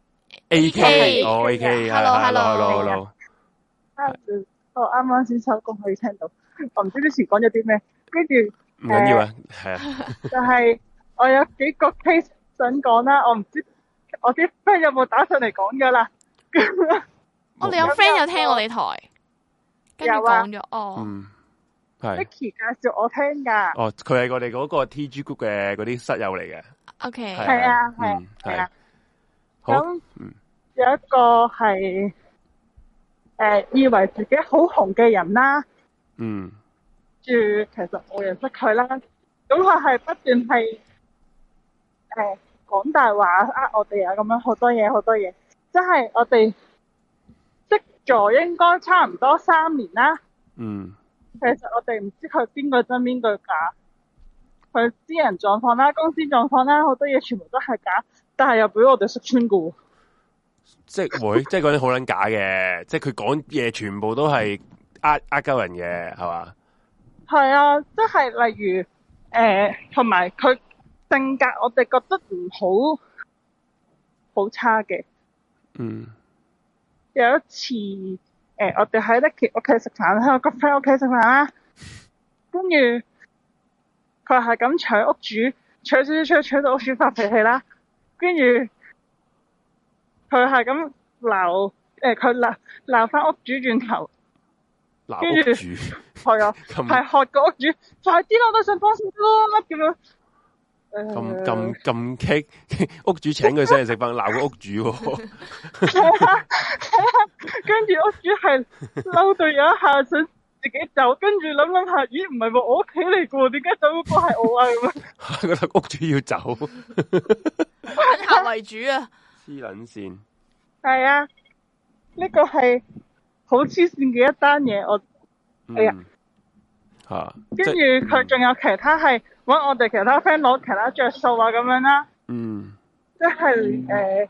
Speaker 2: ，A K，哦 A K，hello，hello，hello，
Speaker 6: 我啱啱先收工可以聽到，我唔知之前講咗啲咩，跟住
Speaker 2: 唔緊要啊，係啊，
Speaker 6: 就係我有幾個 case 想講啦，我唔知我啲 friend 有冇打上嚟講噶啦。
Speaker 1: 我哋有 friend 有聽我哋台，跟住講咗哦。
Speaker 2: 嗯，係。
Speaker 6: Vicky 介紹我聽噶。
Speaker 2: 哦，佢係我哋嗰個 T G group 嘅嗰啲室友嚟嘅。
Speaker 1: OK。
Speaker 6: 係啊，係係啊。咁
Speaker 2: 嗯，
Speaker 6: 有一個係誒以為自己好紅嘅人啦。
Speaker 2: 嗯。
Speaker 6: 住其實冇人識佢啦。咁佢係不斷係誒講大話呃我哋啊，咁樣好多嘢好多嘢，即係我哋。識咗應該差唔多三年啦。
Speaker 2: 嗯。
Speaker 6: 其實我哋唔知佢邊個真邊個假，佢私人狀況啦、公司狀況啦，好多嘢全部都係假，但係又俾我哋識穿噶喎。
Speaker 2: 即係會，即係嗰啲好撚假嘅，即係佢講嘢全部都係呃呃鳩人嘅，係嘛？
Speaker 6: 係啊，即係例如誒，同埋佢性格，我哋覺得唔好好差嘅。
Speaker 2: 嗯。
Speaker 6: 有一次，誒、呃，我哋喺 Nicky 屋企食飯，喺我個 friend 屋企食飯啦。跟住佢係咁搶屋主，搶搶搶搶到屋主發脾氣啦。跟住佢係咁鬧，誒，佢鬧鬧翻屋主轉頭。
Speaker 2: 鬧屋主。
Speaker 6: 係啊，係喝個屋主，快啲啦，我都想幫手咯，咁樣。
Speaker 2: 咁咁咁激，屋主請佢上嚟食飯，鬧個屋主喎。
Speaker 6: 係啊，係啊，跟住屋主係嬲到有一下想自己走，跟住諗諗下，咦，唔係喎，我屋企嚟噶喎，點解走嗰個係我啊？咁樣
Speaker 2: 覺得屋主要走，
Speaker 1: 反客為主啊！
Speaker 2: 黐撚線。
Speaker 6: 係啊，呢個係好黐線嘅一單嘢，我哎呀。
Speaker 2: 吓，
Speaker 6: 跟住佢仲有其他係搵我哋其他 friend 攞其他着數啊咁樣啦，
Speaker 2: 嗯，
Speaker 6: 即係誒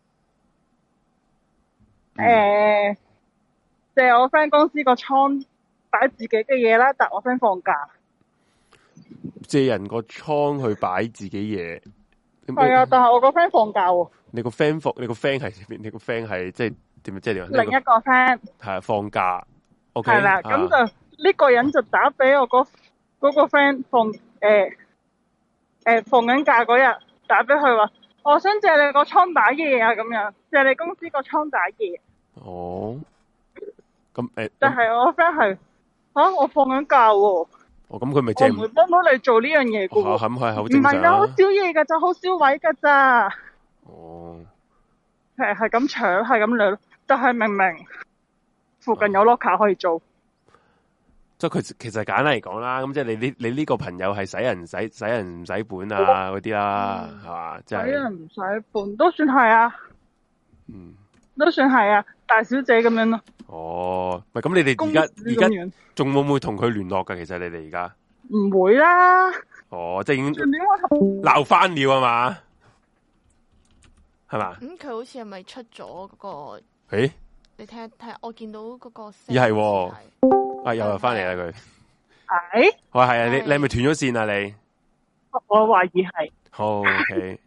Speaker 6: 誒借我 friend 公司個倉擺自己嘅嘢啦，但我 friend 放假，
Speaker 2: 借人個倉去擺自己嘢，
Speaker 6: 係啊，但係我個 friend 放假喎。
Speaker 2: 你個 friend 放，你個 friend 係邊？你個 friend 係即係點？即係點？
Speaker 6: 另一個 friend
Speaker 2: 係放假 ，OK，
Speaker 6: 係啦，咁就。呢個人就打俾我嗰嗰個 friend 放誒誒放緊假嗰日打俾佢話，我想借你個倉打嘢啊，咁樣借你公司個倉打嘢。
Speaker 2: 哦，咁誒，
Speaker 6: 但係我 friend 係吓我放緊假喎。
Speaker 2: 哦，咁佢咪借唔
Speaker 6: 會幫到你做呢樣嘢噶喎？
Speaker 2: 咁係好正常。
Speaker 6: 唔係啊，好少嘢噶，就好少位噶咋。
Speaker 2: 哦，
Speaker 6: 係係咁搶，係咁掠，但係明明附近有 locker 可以做。
Speaker 2: 即係佢其實簡單嚟講啦，咁即係你呢你呢個朋友係使人使使人唔使本啊嗰啲啦，係嘛？即係使
Speaker 6: 人唔使本都算係啊，
Speaker 2: 嗯，
Speaker 6: 都算係啊，大小姐咁樣咯。
Speaker 2: 哦，唔係咁，你哋而家而家仲會唔會同佢聯絡噶？其實你哋而家
Speaker 6: 唔會啦。
Speaker 2: 哦，即係已經鬧翻了啊嘛，係嘛？
Speaker 1: 咁佢好似係咪出咗嗰個？
Speaker 2: 誒，
Speaker 1: 你睇下睇下，我見到嗰個
Speaker 2: 咦係。啊！又又翻嚟啦佢，
Speaker 6: 係，
Speaker 2: 我係啊，你你係咪斷咗線啊你？
Speaker 6: 我懷疑係。
Speaker 2: 好 OK，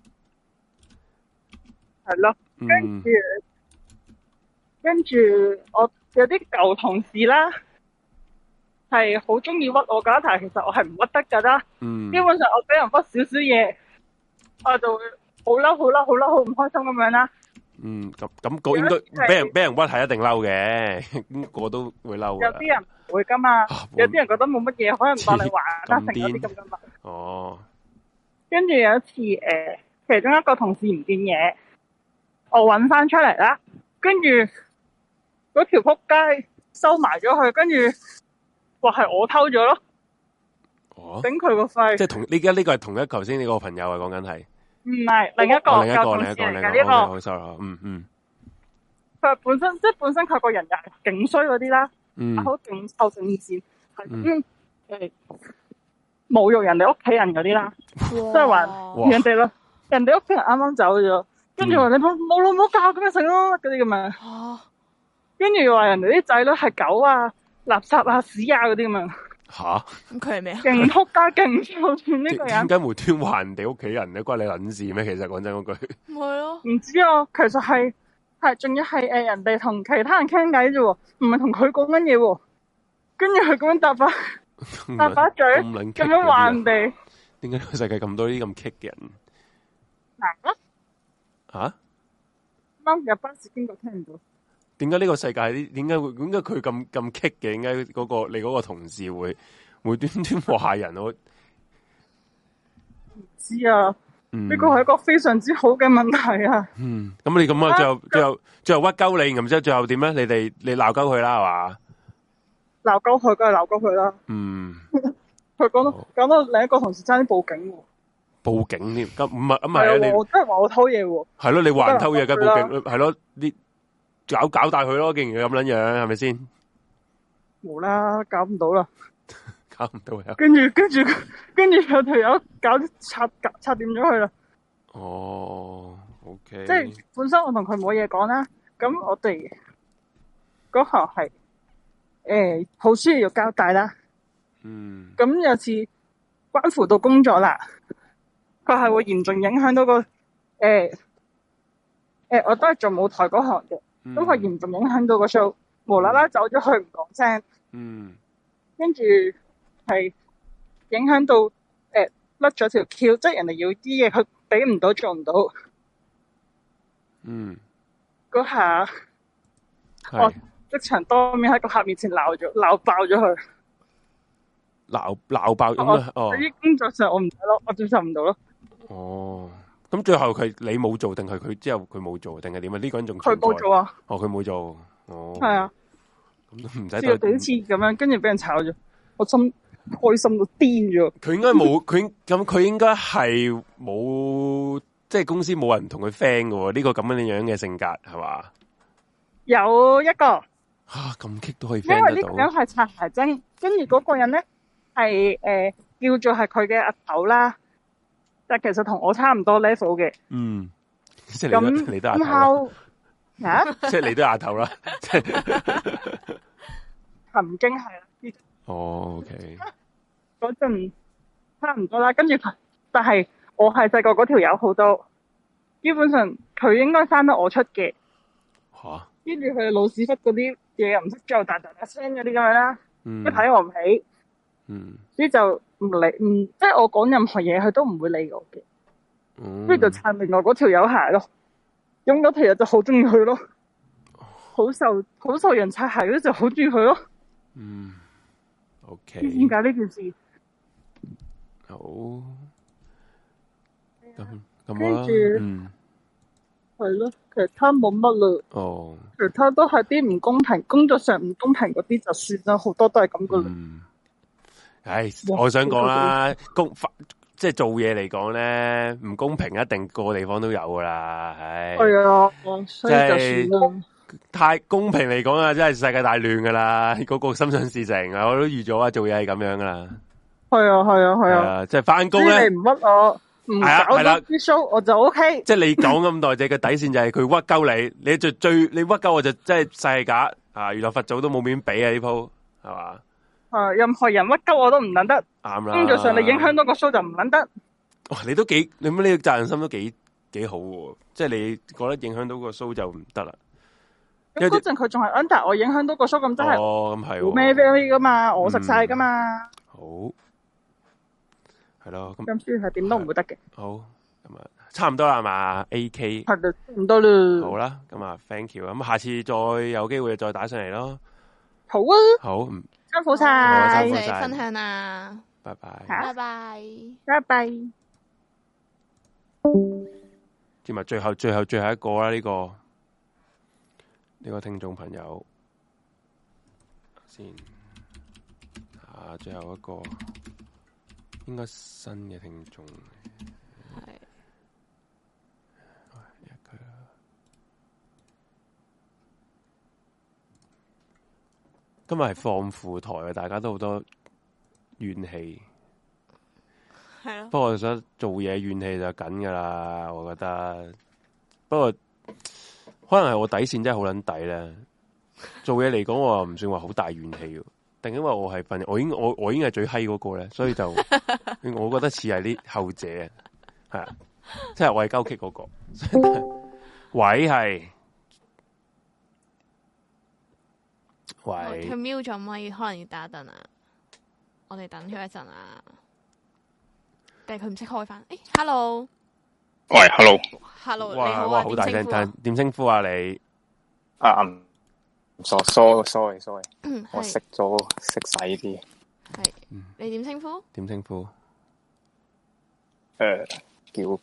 Speaker 6: 係咯，跟住跟住我有啲舊同事啦，係好中意屈我噶，但係其實我係唔屈得噶啦。嗯，基本上我俾人屈少少嘢，我就會好嬲、好嬲、好嬲、好唔開心咁樣啦。
Speaker 2: 嗯，咁咁個應該俾人俾人屈係一定嬲嘅，咁個都會嬲嘅。
Speaker 6: 有啲人唔會噶嘛，有啲人覺得冇乜嘢，可能當你玩啦，成嗰啲咁噶嘛。
Speaker 2: 哦。跟
Speaker 6: 住有一次，誒、呃，其中一個同事唔見嘢，我搵翻出嚟啦，跟住嗰條撲街收埋咗佢，跟住話係我偷咗咯。哦。頂佢個肺！
Speaker 2: 即係同呢家呢個係同一頭先呢個朋友啊，講緊係。
Speaker 6: 唔係另一個，
Speaker 2: 哦、另一個，另一個，另一個，好、okay, sorry，嗯嗯。
Speaker 6: 佢本身即係本身佢個人又係勁衰嗰啲啦，嗯，好勁臭正線，係咁誒侮辱人哋屋企人嗰啲啦，即係話人哋咯，人哋屋企人啱啱走咗，跟住話你冇冇老母教咁樣食咯，嗰啲咁樣。跟住話人哋啲仔女係狗啊、垃圾啊、屎啊嗰啲咁樣。
Speaker 2: 吓？
Speaker 1: 咁佢係咩啊？
Speaker 6: 勁仆街，勁臭串呢個人。
Speaker 2: 點解無端話人哋屋企人咧？關你撚事咩？其實講真嗰句。
Speaker 1: 唔係咯。唔
Speaker 6: 知啊，其實係係，仲要係誒人哋同其他人傾偈啫喎，唔係同佢講緊嘢喎。跟住佢咁樣答把答把嘴，咁樣話人哋。
Speaker 2: 點解呢個世界咁多啲咁棘嘅人？
Speaker 6: 嗱
Speaker 2: 啊？
Speaker 6: 啱入巴士經過聽唔到。
Speaker 2: 點解呢個世界啲？點解會？點解佢咁咁棘嘅？點解嗰個你嗰個同事會無端端話人？我
Speaker 6: 唔知啊。呢個係一個非常之好嘅問題啊。
Speaker 2: 嗯，咁你咁啊，最後最後最後屈鳩你，然之後最後點咧？你哋你鬧鳩佢啦，係嘛？
Speaker 6: 鬧鳩佢，梗係鬧鳩佢啦。
Speaker 2: 嗯。
Speaker 6: 佢講到講到另一個同事差啲報警喎。
Speaker 2: 報警添？咁唔係咁係啊？你
Speaker 6: 我真係話我偷嘢喎。
Speaker 2: 係咯，你話人偷嘢梗係報警，係咯啲。搞搞大佢咯，竟然咁撚樣，係咪先？
Speaker 6: 冇啦，搞唔到啦，
Speaker 2: 搞唔到呀！
Speaker 6: 跟住跟住跟住有條友搞插插掂咗佢啦。
Speaker 2: 哦 ，OK。
Speaker 6: 即係本身我同佢冇嘢講啦，咁我哋嗰行係誒好需要要交代啦。
Speaker 2: 嗯。
Speaker 6: 咁有次關乎到工作啦，佢係會嚴重影響到個誒誒、呃呃，我都係做舞台嗰行嘅。咁佢嚴重影響到個 show，無啦啦走咗去唔講聲，
Speaker 2: 嗯，
Speaker 6: 跟住係影響到誒甩咗條 Q，即係人哋要啲嘢佢俾唔到做唔到，
Speaker 2: 嗯，
Speaker 6: 嗰下我即場當面喺個客面前鬧咗鬧爆咗佢，
Speaker 2: 鬧鬧爆咁啊！哦，
Speaker 6: 喺工作上我唔得咯，我接受唔到咯。
Speaker 2: 哦。咁最後佢你冇做定係佢之後佢冇做定係點啊？呢個人仲
Speaker 6: 佢冇做啊！
Speaker 2: 哦，佢冇做，哦，係
Speaker 6: 啊，
Speaker 2: 咁都唔使。
Speaker 6: 試過幾次咁樣，跟住俾人炒咗，我心開心到癲咗。
Speaker 2: 佢應該冇，佢咁佢應該係冇，即係公司冇人同佢 friend 嘅喎。呢個咁樣樣嘅性格係嘛？
Speaker 6: 有一個
Speaker 2: 吓咁棘都可以 friend 得到。因為呢個人
Speaker 6: 係擦鞋精，跟住嗰個人咧係誒叫做係佢嘅阿頭啦。但其實同我差唔多 level 嘅，
Speaker 2: 嗯，即係你都你都阿頭
Speaker 6: 啊，
Speaker 2: 即係你都阿頭啦，即係
Speaker 6: 曾經係啦。
Speaker 2: 哦 ，OK，
Speaker 6: 嗰陣差唔多啦，跟住但係我係細個嗰條友好多，基本上佢應該生得我出嘅，
Speaker 2: 吓，
Speaker 6: 跟住佢老屎忽嗰啲嘢又唔識做，大大大聲嗰啲咁樣啦，
Speaker 2: 嗯，
Speaker 6: 一睇我唔起，
Speaker 2: 嗯，
Speaker 6: 所以就。唔理，唔即係我講任何嘢，佢都唔會理我嘅。
Speaker 2: 嗯，
Speaker 6: 所以就撐另外嗰條友鞋咯。咁嗰條友就好中意佢咯，好受好受人擦鞋嗰就好中意佢咯。
Speaker 2: 嗯 ，OK。
Speaker 6: 點解呢件事？
Speaker 2: 好。咁咁
Speaker 6: 跟住，嗯，係咯，其他冇乜啦。
Speaker 2: 哦。
Speaker 6: 其他都係啲唔公平，工作上唔公平嗰啲就算啦，好多都係咁噶啦。
Speaker 2: 嗯唉，我想講啦，公即係做嘢嚟講咧，唔公平一定個個地方都有噶啦，唉。
Speaker 6: 係啊，所以就算啦。
Speaker 2: 太公平嚟講啊，真係世界大亂噶啦，個個心想事成啊，我都預咗啊，做嘢係咁樣噶啦。
Speaker 6: 係啊，係啊，係啊，
Speaker 2: 即係翻工咧，
Speaker 6: 你唔屈我，唔搞到啲 show 我就 OK。
Speaker 2: 即係你講咁耐，只嘅底線就係佢屈鳩你，你最最你屈鳩我就真係世假啊！原來佛祖都冇面俾啊呢鋪，係嘛？
Speaker 6: 誒，任何人屈鳩我都唔撚得，
Speaker 2: 啱啦。
Speaker 6: 工作上你影響到個 show 就唔撚得。
Speaker 2: 哇，你都幾，你乜呢個責任心都幾幾好喎，即係你覺得影響到個 show 就唔得啦。
Speaker 6: 咁嗰陣佢仲係 under 我，影響到個 show 咁真係，
Speaker 2: 哦，咁係，
Speaker 6: 冇咩 value 噶嘛，我食晒噶嘛。
Speaker 2: 好，係咯，咁
Speaker 6: 咁所以係點都唔會得嘅。
Speaker 2: 好，咁啊，差唔多啦係嘛 ，A K
Speaker 6: 係啦，差唔多啦。
Speaker 2: 好啦，咁啊 ，thank you，咁下次再有機會再打上嚟咯。
Speaker 6: 好啊。
Speaker 2: 好。
Speaker 6: 辛苦晒，
Speaker 1: 多謝分享啊！
Speaker 2: 拜拜，
Speaker 1: 拜拜，
Speaker 6: 拜拜。
Speaker 2: 接埋最後、最後、最後一個啦，呢、這個呢、這個聽眾朋友先啊，最後一個應該新嘅聽眾係一個。今日係放負台啊！大家都好多怨氣，
Speaker 1: 係咯。
Speaker 2: 不過我想做嘢怨氣就緊噶啦，我覺得。不過可能係我底線真係好撚底咧。做嘢嚟講，我又唔算話好大怨氣嘅，定因為我係份，我已經我我已經係最閪嗰個咧，所以就我覺得似係啲後者，係啊，即係我係鳩棘嗰個。位係喂，
Speaker 1: 佢瞄咗咪，可能要打一陣啊。我哋等佢一陣啊。定係佢唔識開翻？誒 ，hello，
Speaker 7: 喂 ，hello，hello，
Speaker 1: 你好啊，
Speaker 2: 好大聲，但點稱呼啊你？
Speaker 7: 啊嗯。sorry sorry sorry，
Speaker 1: 嗯，
Speaker 7: 我識咗識晒呢啲。
Speaker 1: 係，你點稱呼？
Speaker 2: 點稱呼？
Speaker 7: 誒，叫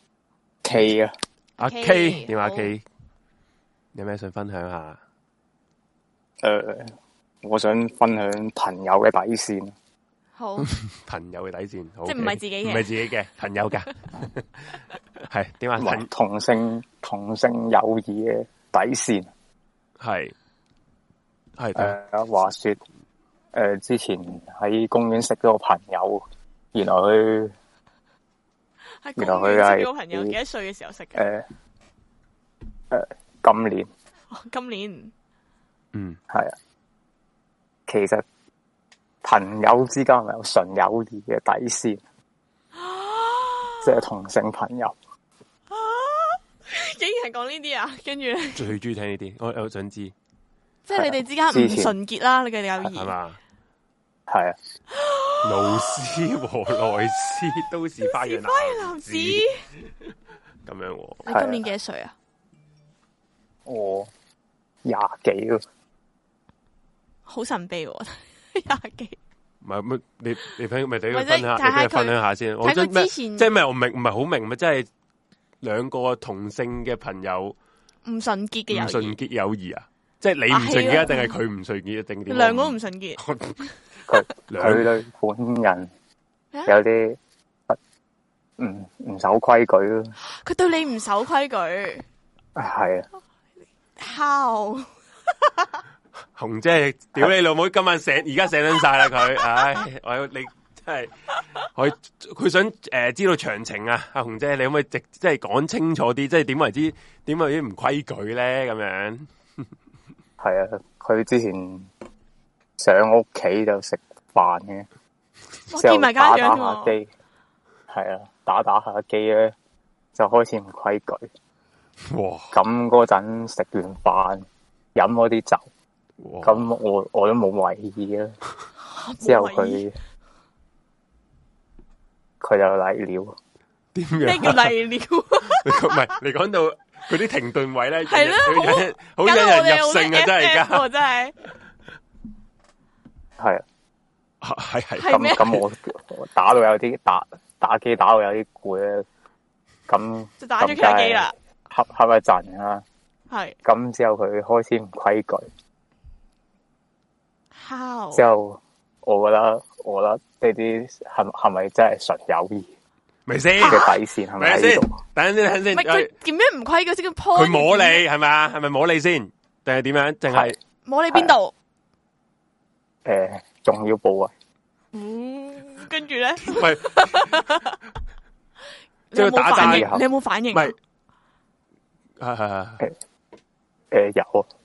Speaker 7: K 啊，
Speaker 2: 阿 K， 點啊 K？ 有咩想分享下？
Speaker 7: 誒，我想分享朋友嘅底線。
Speaker 1: 好，
Speaker 2: 朋友嘅底線，
Speaker 1: 即係唔係自己嘅，
Speaker 2: 唔係自己嘅朋友噶，係點啊？
Speaker 7: 同性同性友誼嘅底線
Speaker 2: 係。係
Speaker 7: 誒，話說誒、呃，之前喺公園識咗個朋友，原來佢，原來佢係
Speaker 1: 個朋友幾多歲嘅時候識嘅？
Speaker 7: 誒、呃、誒、呃，今年，
Speaker 1: 哦、今年，
Speaker 2: 嗯，
Speaker 7: 係啊。其實朋友之間係咪有純友誼嘅底線？即係同性朋友，
Speaker 1: 啊、竟然係講呢啲啊！跟住咧，
Speaker 2: 最中意聽呢啲，我我想知。
Speaker 1: 即係你哋之間唔純潔啦，你嘅友誼
Speaker 2: 係嘛？
Speaker 7: 係啊，
Speaker 2: 老師和萊斯都是花樣男子咁樣喎。
Speaker 1: 你今年幾多歲啊？
Speaker 7: 我廿幾咯，
Speaker 1: 好神秘喎，廿幾。
Speaker 2: 唔係乜？你你分咪俾佢分享，你分享下先。我
Speaker 1: 之前
Speaker 2: 即係咩？我明唔係好明咪？即係兩個同性嘅朋友
Speaker 1: 唔純潔嘅友誼，
Speaker 2: 唔純潔友誼啊！即係你唔純潔，定係佢唔純潔，定點？
Speaker 1: 兩個都唔純潔。
Speaker 7: 佢佢對本人有啲唔唔守規矩咯。
Speaker 1: 佢對你唔守規矩。
Speaker 7: 係啊。
Speaker 1: How？
Speaker 2: 紅姐，屌你老母！今晚醒，而家醒緊晒啦佢。唉，我要你真係，我佢想誒、呃、知道詳情啊！阿紅姐，你可唔可以直即係講清楚啲？即係點為之點為之唔規矩咧？咁樣。
Speaker 7: 係啊，佢之前上屋企就食飯嘅，之後打打下機，係啊，打打下機咧就開始唔規矩。
Speaker 2: 哇！
Speaker 7: 咁嗰陣食完飯飲嗰啲酒，咁我我都冇為意啊。之後佢佢就嚟了。
Speaker 2: 點樣？
Speaker 1: 咩叫嚟了？
Speaker 2: 唔係你講到佢啲停頓位咧，
Speaker 1: 係咯，
Speaker 2: 好引人入勝啊！真係而家，
Speaker 1: 真係
Speaker 7: 係
Speaker 2: 啊，係係
Speaker 7: 咁咁，我打到有啲打打機打到有啲攰咧，咁
Speaker 1: 就打咗佢機啦，
Speaker 7: 瞌瞌一陣啦，
Speaker 1: 係
Speaker 7: 咁之後佢開始唔規矩。
Speaker 1: How？
Speaker 7: 之後我覺得，我覺得呢啲係係咪真係純友誼？
Speaker 2: 咪先
Speaker 7: 嘅底線係咪喺度？
Speaker 2: 等陣先，等陣先。
Speaker 1: 唔係佢點樣唔規矩先？佢
Speaker 2: 摸你係咪啊？係咪摸你先？定係點樣？淨係
Speaker 1: 摸你邊度？
Speaker 7: 誒，重要部位。
Speaker 1: 嗯，跟住咧，
Speaker 2: 喂，即係打反應，
Speaker 1: 你有冇反應？
Speaker 2: 唔係，係係係。
Speaker 7: 誒誒，有啊。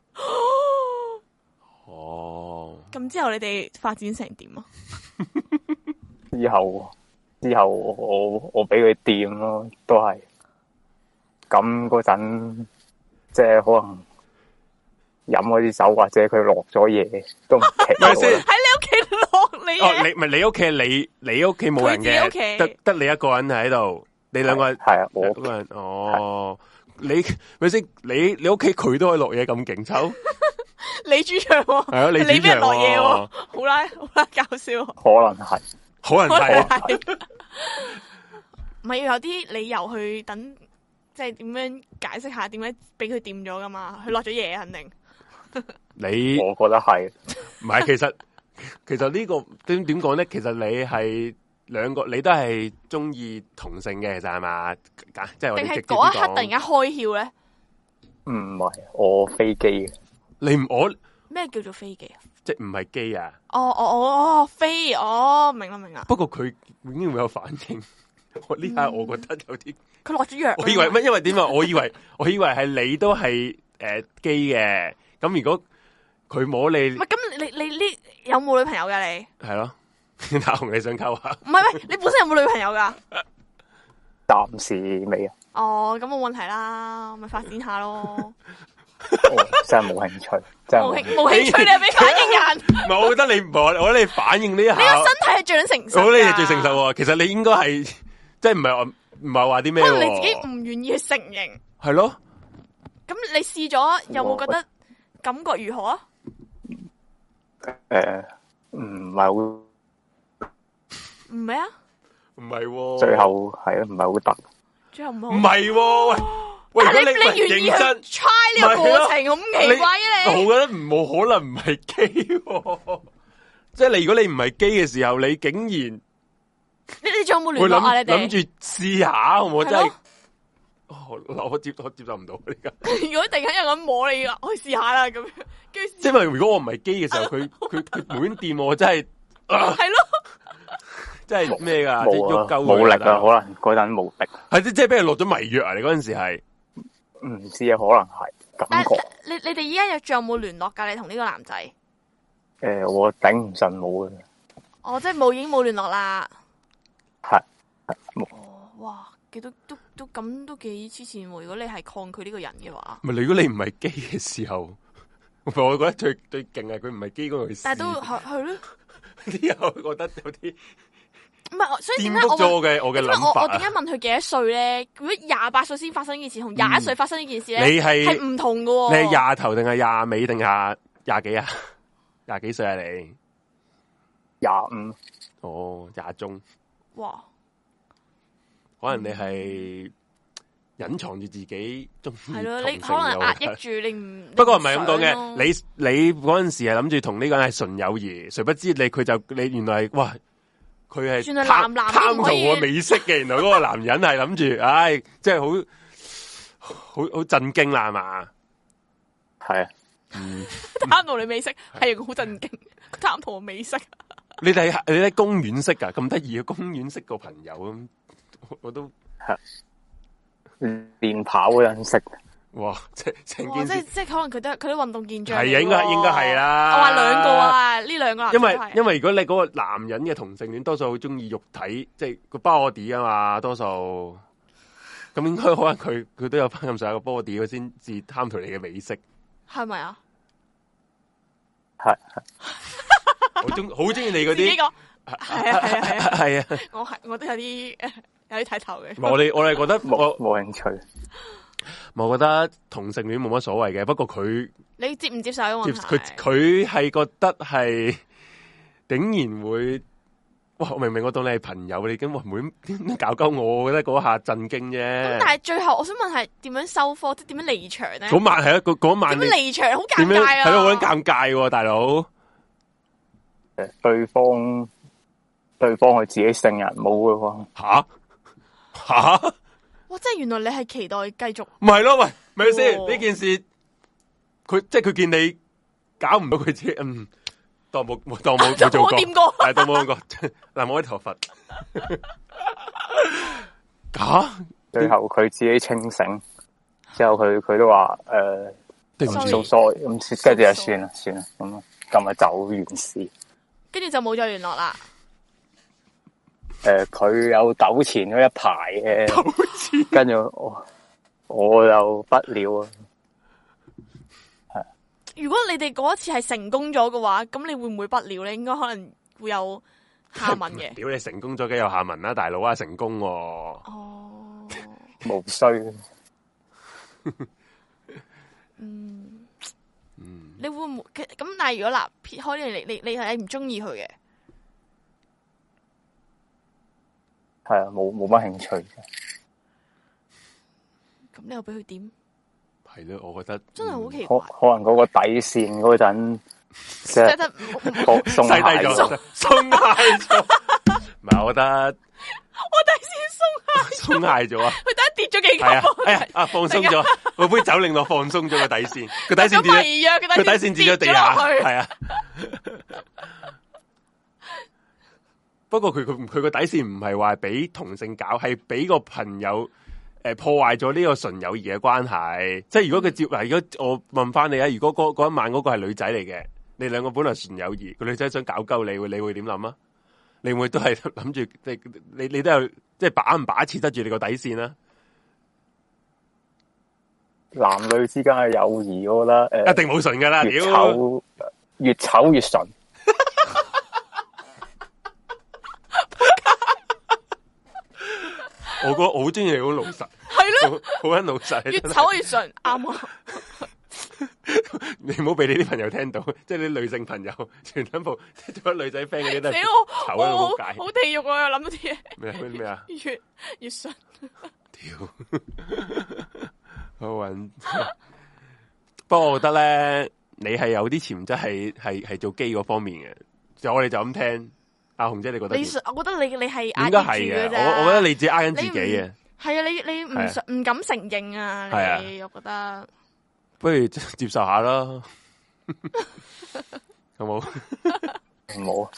Speaker 2: 哦。
Speaker 1: 咁之後你哋發展成點啊？
Speaker 7: 之後。之後我我俾佢掂咯，都係咁嗰陣，即係可能飲嗰啲酒或者佢落咗嘢都唔奇。
Speaker 2: 咪先
Speaker 1: 喺你屋企落你
Speaker 2: 哦，你咪你屋企你你屋企冇人嘅，得得你一個人喺度，你兩個
Speaker 7: 係啊，我
Speaker 2: 一個人哦，你咪先你你屋企佢都可以落嘢咁勁抽，
Speaker 1: 你主場係
Speaker 2: 啊，你
Speaker 1: 你俾人落嘢喎，好啦好啦，搞笑，
Speaker 7: 可能係。
Speaker 2: 可能係，
Speaker 1: 唔係要有啲理由去等，即係點樣解釋下點解俾佢掂咗噶嘛？佢落咗嘢肯定。
Speaker 2: 你
Speaker 7: 我覺得係，
Speaker 2: 唔係其實其實、這個、呢個點點講咧？其實你係兩個，你都係中意同性嘅，其實係嘛？即係我哋直接啲講。定係嗰一刻突然間開竅咧？
Speaker 7: 唔係，我飛機嘅。
Speaker 2: 你唔我
Speaker 1: 咩叫做飛機啊？
Speaker 2: 即係唔係機啊？
Speaker 1: 哦哦哦哦，飛哦，明啦明啦。
Speaker 2: 不過佢已經會有反應。我呢下我覺得有啲，
Speaker 1: 佢落咗藥。
Speaker 2: 我以為乜？因為點啊？我以為我以為係你都係誒基嘅。咁如果佢摸你，
Speaker 1: 唔係咁你你呢有冇女朋友噶你？
Speaker 2: 係咯，大雄你想溝下？
Speaker 1: 唔係喂，你本身有冇女朋友噶？
Speaker 7: 暫時未啊。
Speaker 1: 哦，咁冇問題啦，咪發展下咯。
Speaker 7: 真係冇興趣，真係冇興
Speaker 1: 冇興趣，你係俾反應人。
Speaker 2: 唔係，我覺得你唔係，我覺得你反應呢下，
Speaker 1: 你個身體係最成熟。
Speaker 2: 我覺得你係最成熟。其實你應該係，即係唔係話唔係話啲咩？
Speaker 1: 可能你自己唔願意去承認。係
Speaker 2: 咯。
Speaker 1: 咁你試咗有冇覺得感覺如何啊？
Speaker 7: 誒，唔係好，
Speaker 1: 唔係啊？
Speaker 2: 唔係，
Speaker 7: 最後係啊，唔係好得。
Speaker 1: 最後唔好。
Speaker 2: 唔係，喂。
Speaker 1: 但係你你願意去 try 呢個過程咁奇怪嘅你？
Speaker 2: 我覺得冇可能唔係基，即係你如果你唔係基嘅時候，你竟然你
Speaker 1: 你仲有冇聯絡啊？你哋
Speaker 2: 諗住試下，好唔好？真係，我接我接受唔到呢個。
Speaker 1: 如果突然間有人摸你噶，我去試下啦咁樣。
Speaker 2: 即係如果我唔係基嘅時候，佢佢佢滿掂我，真係
Speaker 1: 係咯。
Speaker 2: 真係咩噶？
Speaker 7: 即係喐鳩冇力啊！可能嗰陣冇力。
Speaker 2: 係即係俾人落咗迷藥啊！你嗰陣時係。
Speaker 7: 唔知啊，可能係感覺。
Speaker 1: 你你哋依家有仲有冇聯絡噶？你同呢個男仔？
Speaker 7: 誒、呃，我頂唔順冇嘅。
Speaker 1: 哦，即係冇已經冇聯絡啦。
Speaker 7: 係冇。
Speaker 1: 哦，哇，幾都都都咁都幾黐線喎！如果你係抗拒呢個人嘅話，
Speaker 2: 唔係如果你唔係基嘅時候，我覺得最最勁係佢唔係基嗰個去。
Speaker 1: 但係都係係咯。
Speaker 2: 之後覺得有啲。
Speaker 1: 唔係，所以點解
Speaker 2: 我嘅我嘅諗法？
Speaker 1: 我點解問佢幾多歲咧？如果廿八歲先發生呢件事，同廿一歲發生呢件事咧，
Speaker 2: 你係
Speaker 1: 係唔同嘅喎。
Speaker 2: 你係廿頭定係廿尾定廿廿幾啊？廿幾歲啊？你
Speaker 7: 廿五
Speaker 2: 哦，廿中
Speaker 1: 哇？
Speaker 2: 可能你係隱藏住自己中意
Speaker 1: 係咯，你可能壓抑住你唔。
Speaker 2: 不過唔係咁講嘅，你你嗰陣時係諗住同呢個人係純友誼，誰不知你佢就你原來係哇。佢係貪貪圖我美色嘅，原來嗰個男人係諗住，唉，即係好好好震驚啦，係嘛？
Speaker 7: 係啊，
Speaker 1: 貪圖你美色係好震驚，貪圖我美色。
Speaker 2: 你哋你喺公園識噶，咁得意嘅公園識個朋友咁，我都
Speaker 7: 係練跑嗰陣識。
Speaker 2: 哇！即成
Speaker 1: 件事，即即可能佢都佢都運動健將。
Speaker 2: 係啊，應該應該係啦。
Speaker 1: 我話兩個啊，呢兩個男。
Speaker 2: 因為因為如果你嗰個男人嘅同性戀，多數好中意肉體，即係個 body 啊嘛，多數。咁應該可能佢佢都有翻咁上下個 body，佢先至貪圖你嘅美色。
Speaker 1: 係咪啊？
Speaker 7: 係。
Speaker 2: 好中好中意你嗰啲。
Speaker 1: 呢個係啊係啊係啊。
Speaker 2: 係啊。
Speaker 1: 我係我都有啲有啲睇頭嘅。
Speaker 2: 我哋我哋覺得
Speaker 7: 冇冇興趣。
Speaker 2: 我覺得同性戀冇乜所謂嘅，不過佢
Speaker 1: 你接唔接受嘅問題？
Speaker 2: 佢佢係覺得係竟然會，哇！明明我當你係朋友，你咁會唔會搞鳩我？我覺得嗰下震驚啫。
Speaker 1: 咁但係最後我想問係點樣收科，即係點樣離場咧？
Speaker 2: 嗰晚係啊，嗰嗰晚
Speaker 1: 點樣離場好尷尬啊！
Speaker 2: 係咯，好撚尷尬喎，大佬。
Speaker 7: 誒，對方對方佢自己聖人冇嘅喎。
Speaker 2: 吓吓！
Speaker 1: 哇！即係原來你係期待繼續，
Speaker 2: 唔係咯？喂，咪先呢件事，佢即係佢見你搞唔到佢自己，嗯，當冇當冇冇做過，係當冇過，嗱冇啲頭髮，假，
Speaker 7: 最後佢自己清醒，之後佢佢都話誒，對唔住，sorry，咁跟住就算啦，算啦，咁咁啊走完事，
Speaker 1: 跟住就冇再聯絡啦。
Speaker 7: 誒，佢有糾纏咗一排嘅，跟住我我就不了啊。係，
Speaker 1: 如果你哋嗰一次係成功咗嘅話，咁你會唔會不了咧？應該可能會有下文嘅。
Speaker 2: 屌你成功咗，梗有下文啦，大佬啊，成功喎。
Speaker 1: 哦，
Speaker 7: 無需。
Speaker 1: 嗯嗯，你會唔會咁？但係如果嗱撇開你，你你你係唔中意佢嘅？
Speaker 7: 係啊，冇冇乜興趣嘅。
Speaker 1: 咁你又俾佢點？
Speaker 2: 係咯，我覺得
Speaker 1: 真係好奇怪。
Speaker 7: 可可能嗰個底線嗰陣，即係鬆懈咗，
Speaker 2: 鬆懈咗。唔係，我覺得
Speaker 1: 我底線鬆懈，
Speaker 2: 鬆懈咗啊！
Speaker 1: 佢底跌咗幾級？
Speaker 2: 係啊，哎呀啊，放鬆咗，我杯酒令我放鬆咗個底線，個底線跌咗，佢底線跌咗地下，係啊。 不過佢佢佢個底線唔係話俾同性搞，係俾個朋友誒、呃、破壞咗呢個純友誼嘅關係。即係如果佢接嗱，如果我問翻你啊，如果嗰嗰一晚嗰個係女仔嚟嘅，你兩個本來純友誼，個女仔想搞鳩你，你會點諗啊？你會都係諗住你你你都有即係把唔把持得住你個底線啦？
Speaker 7: 男女之間嘅友誼，我覺得誒、呃、
Speaker 2: 一定冇純噶啦，
Speaker 7: 越醜越醜越純。
Speaker 2: 我覺得我好中意你好老實，
Speaker 1: 係咯，
Speaker 2: 好撚老實，
Speaker 1: 越醜越純，啱啊！
Speaker 2: 你唔好俾你啲朋友聽到，即係啲女性朋友全部做咗女仔 friend 嗰啲都係醜得好解，
Speaker 1: 好地獄啊！又諗到啲嘢
Speaker 2: 咩咩咩啊？
Speaker 1: 越越純，
Speaker 2: 屌，好穩。不過我覺得咧，你係有啲潛質係係係做基嗰方面嘅，就我哋就咁聽。阿紅姐，你覺得？
Speaker 1: 你我覺得你你係
Speaker 2: 應該係嘅，我我覺得你自己呃緊自己嘅。
Speaker 1: 係啊，你你唔唔敢承認啊！你我覺得。
Speaker 2: 不如接受下啦，好冇？
Speaker 7: 唔好。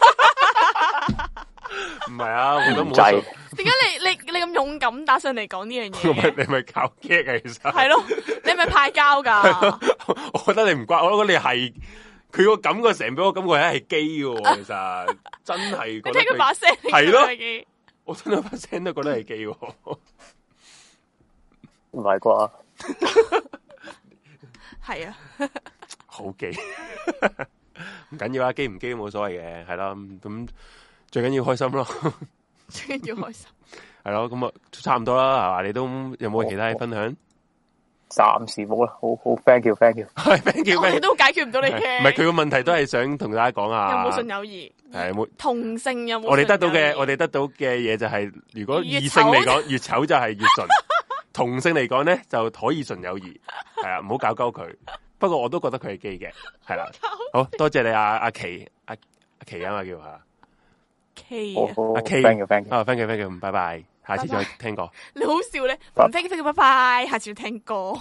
Speaker 2: 唔係啊，我都冇。
Speaker 1: 點解你你你咁勇敢打上嚟講呢樣
Speaker 2: 嘢？你咪搞激啊！其實
Speaker 1: 係咯，你咪派膠噶。
Speaker 2: 我覺得你唔乖，我覺得你係佢個感覺成俾我感覺係係基嘅，其實真係。你
Speaker 1: 聽佢把聲
Speaker 2: 係咯，我聽到把聲都覺得係基。
Speaker 7: 唔係啩？
Speaker 1: 係啊，
Speaker 2: 好基，唔緊要啊，基唔基都冇所謂嘅，係啦，咁最緊要開心咯，
Speaker 1: 最緊要開心，
Speaker 2: 係咯，咁啊差唔多啦，係嘛？你都有冇其他嘢分享？
Speaker 7: 暫時冇啦，好好 thank you，thank you，
Speaker 2: 係 thank you，
Speaker 1: 我哋都解決唔到你嘅，
Speaker 2: 唔係佢個問題都係想同大家講下，
Speaker 1: 有冇純友誼？係冇同性有冇？
Speaker 2: 我哋得到嘅，我哋得到嘅嘢就係，如果異性嚟講越醜就係越純。同性嚟講咧就可以純友誼，係啊，唔好搞鳩佢。不過我都覺得佢係基嘅，係啦。好多謝你阿阿琪阿阿琪啊嘛叫吓
Speaker 1: K
Speaker 2: 阿 K，thank you，thank you，啊 thank you，thank you，拜拜，下次再聽歌。
Speaker 1: 你好笑咧，唔 thank you，thank you，拜拜，下次聽歌。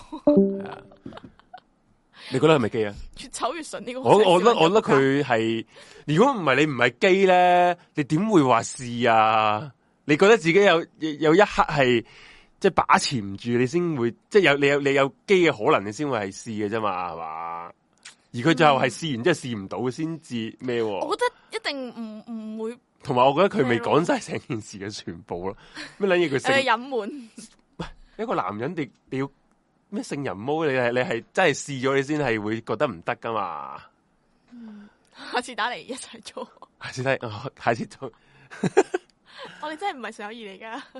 Speaker 2: 你覺得係咪基啊？
Speaker 1: 越醜越純呢個，
Speaker 2: 我我覺得我覺得佢係，如果唔係你唔係基咧，你點會話試啊？你覺得自己有有一刻係？即係把持唔住，你先會即係有你有你有機嘅可能，你先會係試嘅啫嘛，係嘛？而佢最後係試完，即係試唔到先至咩？
Speaker 1: 我覺得一定唔唔會。
Speaker 2: 同埋，我覺得佢未講晒成件事嘅全部咯。咩捻嘢佢性
Speaker 1: 隱瞞？
Speaker 2: 一個男人你你要咩聖人毛？你係你係真係試咗，你先係會覺得唔得噶嘛？
Speaker 1: 嗯，下次打嚟一齊做。
Speaker 2: 下次睇，哦，下次做。
Speaker 1: 我哋真係唔係純友誼嚟噶。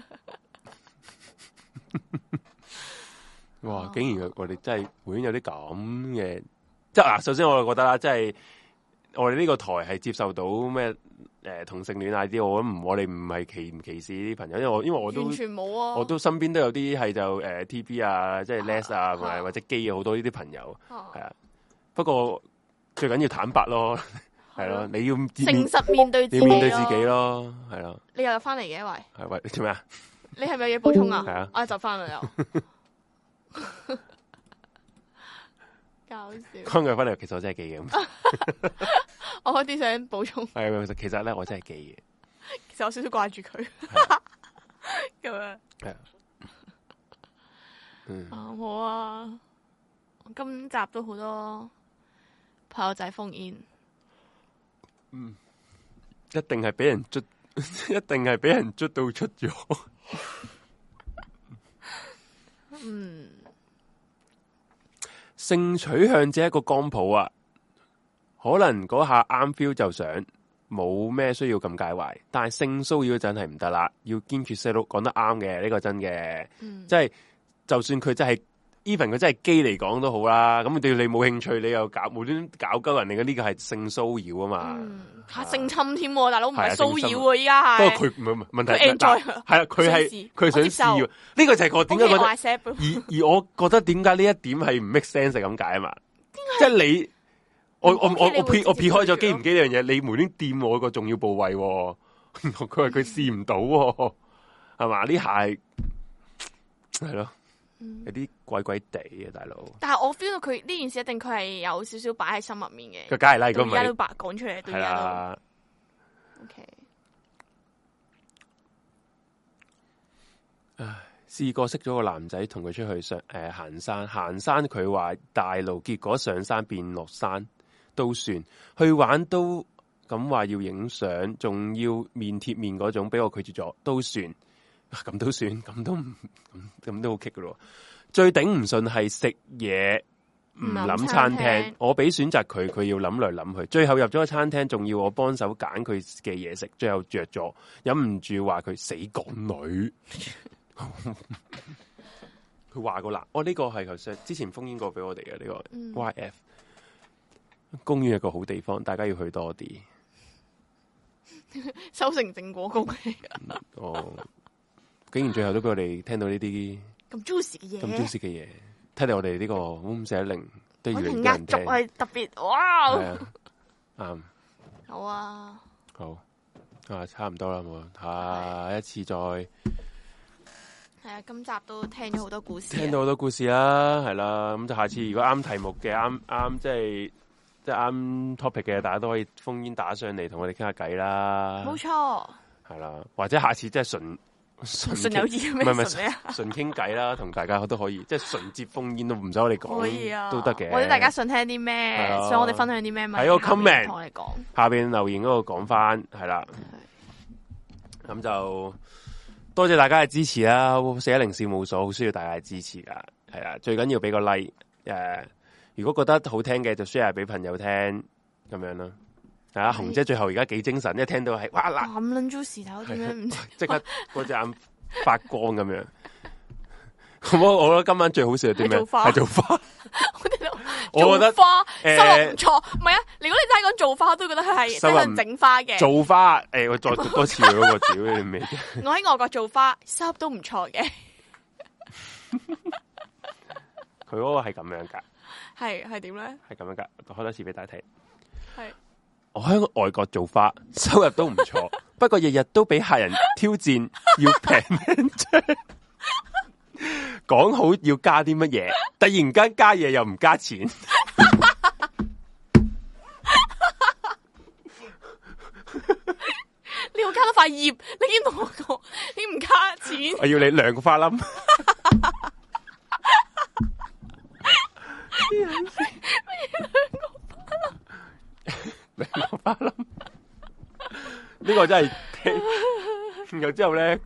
Speaker 2: 哇！竟然我哋真係會有啲咁嘅，即係嗱，首先我就覺得啦，即係我哋呢個台係接受到咩誒、呃、同性戀啊啲，我唔我哋唔係歧唔歧視啲朋友，因為我因為我都
Speaker 1: 完全冇啊，
Speaker 2: 我都身邊都有啲係就誒、呃、T B 啊，即係 Les 啊，或、啊、或者基啊，好多呢啲朋友係啊，啊。不過最緊要坦白咯，係咯、啊，你要誠
Speaker 1: 實面對自己，
Speaker 2: 要面對自己咯，係咯、啊。
Speaker 1: 你又入翻嚟嘅喂？
Speaker 2: 係喂，你做咩啊？
Speaker 1: 你係咪有嘢補充啊？
Speaker 2: 係啊，
Speaker 1: 我就翻嚟又。搞笑。
Speaker 2: 剛佢翻嚟，其實我真係基嘅。
Speaker 1: 我開啲想補充。
Speaker 2: 係，其實咧我真係基嘅。
Speaker 1: 其實我少少掛住佢。咁樣。係。嗯。啊好啊！今集都好多朋友仔封煙。
Speaker 2: 嗯。一定係俾人捉，一定係俾人捉到出咗。
Speaker 1: 嗯。
Speaker 2: 性取向只係一個光譜啊，可能嗰下啱 feel 就想，冇咩需要咁介懷。但係性騷擾真係唔得啦，要堅決 say no，講得啱嘅，呢個真嘅，
Speaker 1: 嗯、
Speaker 2: 即係就算佢真係 even 佢真係基嚟講都好啦。咁對你冇興趣，你又搞無端搞鳩人哋嘅呢個係性騷擾啊嘛，
Speaker 1: 吓、嗯、性侵添，大佬唔係騷擾啊，依家係。
Speaker 2: 不過佢唔係問題，係啊，佢係佢想試，呢、這個就係我點解覺得，而而我覺得點解呢一點係唔 make sense 咁解啊嘛？即係你，我我我我撇我撇開咗基唔基呢樣嘢，你無端掂我個重要部位，佢話佢試唔到，係嘛？呢下係係咯。有啲怪怪地嘅大佬，但係
Speaker 1: 我 feel 到佢呢件事一定佢係有少少擺喺心入面嘅。
Speaker 2: 佢梗係啦，如果唔係，
Speaker 1: 而家都白講出嚟，對而家都。O K，
Speaker 2: 唉，試過識咗個男仔，同佢出去上誒、呃、行山，行山佢話大路，結果上山變落山都算，去玩都咁話要影相，仲要面貼面嗰種，俾我拒絕咗，都算，咁、啊、都算，咁都唔咁咁都好棘噶咯。最頂唔順係食嘢唔諗餐廳，我俾選擇佢，佢要諗來諗去，最後入咗個餐廳，仲要我幫手揀佢嘅嘢食，最後着咗，忍唔住話佢死港女。佢話過啦，我、哦、呢、這個係頭先之前封煙過俾我哋嘅呢個 Y F、嗯、公園係個好地方，大家要去多啲。
Speaker 1: 收成正果公嚟噶。
Speaker 2: 哦，竟然最後都俾我哋聽到呢啲
Speaker 1: 咁 juicy 嘅嘢，
Speaker 2: 咁 juicy 嘅嘢，睇嚟我哋呢個五四一零都要人
Speaker 1: 壓軸係特別哇！
Speaker 2: 係啊，啱。
Speaker 1: 好啊，
Speaker 2: 好啊，差唔多啦，冇下一次再。
Speaker 1: 係啊，今集都聽咗好多故事，
Speaker 2: 聽到好多故事啦，係啦，咁就下次如果啱題目嘅，啱啱即係即係啱 topic 嘅，大家都可以烽煙打上嚟同我哋傾下偈啦。
Speaker 1: 冇錯，
Speaker 2: 係啦，或者下次即係純
Speaker 1: 純友誼咩？
Speaker 2: 唔係唔係純傾偈啦，同大家都可以，即係純接烽煙都唔使我哋講，可以啊，都得嘅。
Speaker 1: 或者大家想聽啲咩，想我哋分享啲咩，咪
Speaker 2: 喺個 comment
Speaker 1: 同我哋講，
Speaker 2: 下邊留言嗰度講翻，係啦，咁就。多謝大家嘅支持啦，四一零事務所好需要大家嘅支持噶，係啊，最緊要俾個 like，誒、uh，如果覺得好聽嘅就 share 俾朋友聽，咁樣咯。係啊，紅姐最後而家幾精神，一聽到係哇嗱，
Speaker 1: 咁撚 juicy 頭點樣唔
Speaker 2: 即刻嗰隻眼發光咁樣。我我覺得今晚最好笑係點樣？係做花。我覺得
Speaker 1: 花收入唔錯，唔係啊！如果你真係講做花，都覺得佢係真係整花嘅。
Speaker 2: 做花，誒、欸，我再讀多次嗰個屌你未？
Speaker 1: 我喺外國做花，收入都唔錯嘅。
Speaker 2: 佢嗰個係咁樣噶，
Speaker 1: 係係點咧？
Speaker 2: 係咁樣噶，開多次俾大家睇。
Speaker 1: 係
Speaker 2: 我喺外國做花，收入都唔錯，不過日日都俾客人挑戰，要平啫。講好要加啲乜嘢，突然間加嘢又唔加錢，
Speaker 1: 你要加多塊葉，你已經同我講，你唔加錢，
Speaker 2: 我要你兩個花冧，兩個花冧，呢個真係，然後之後咧。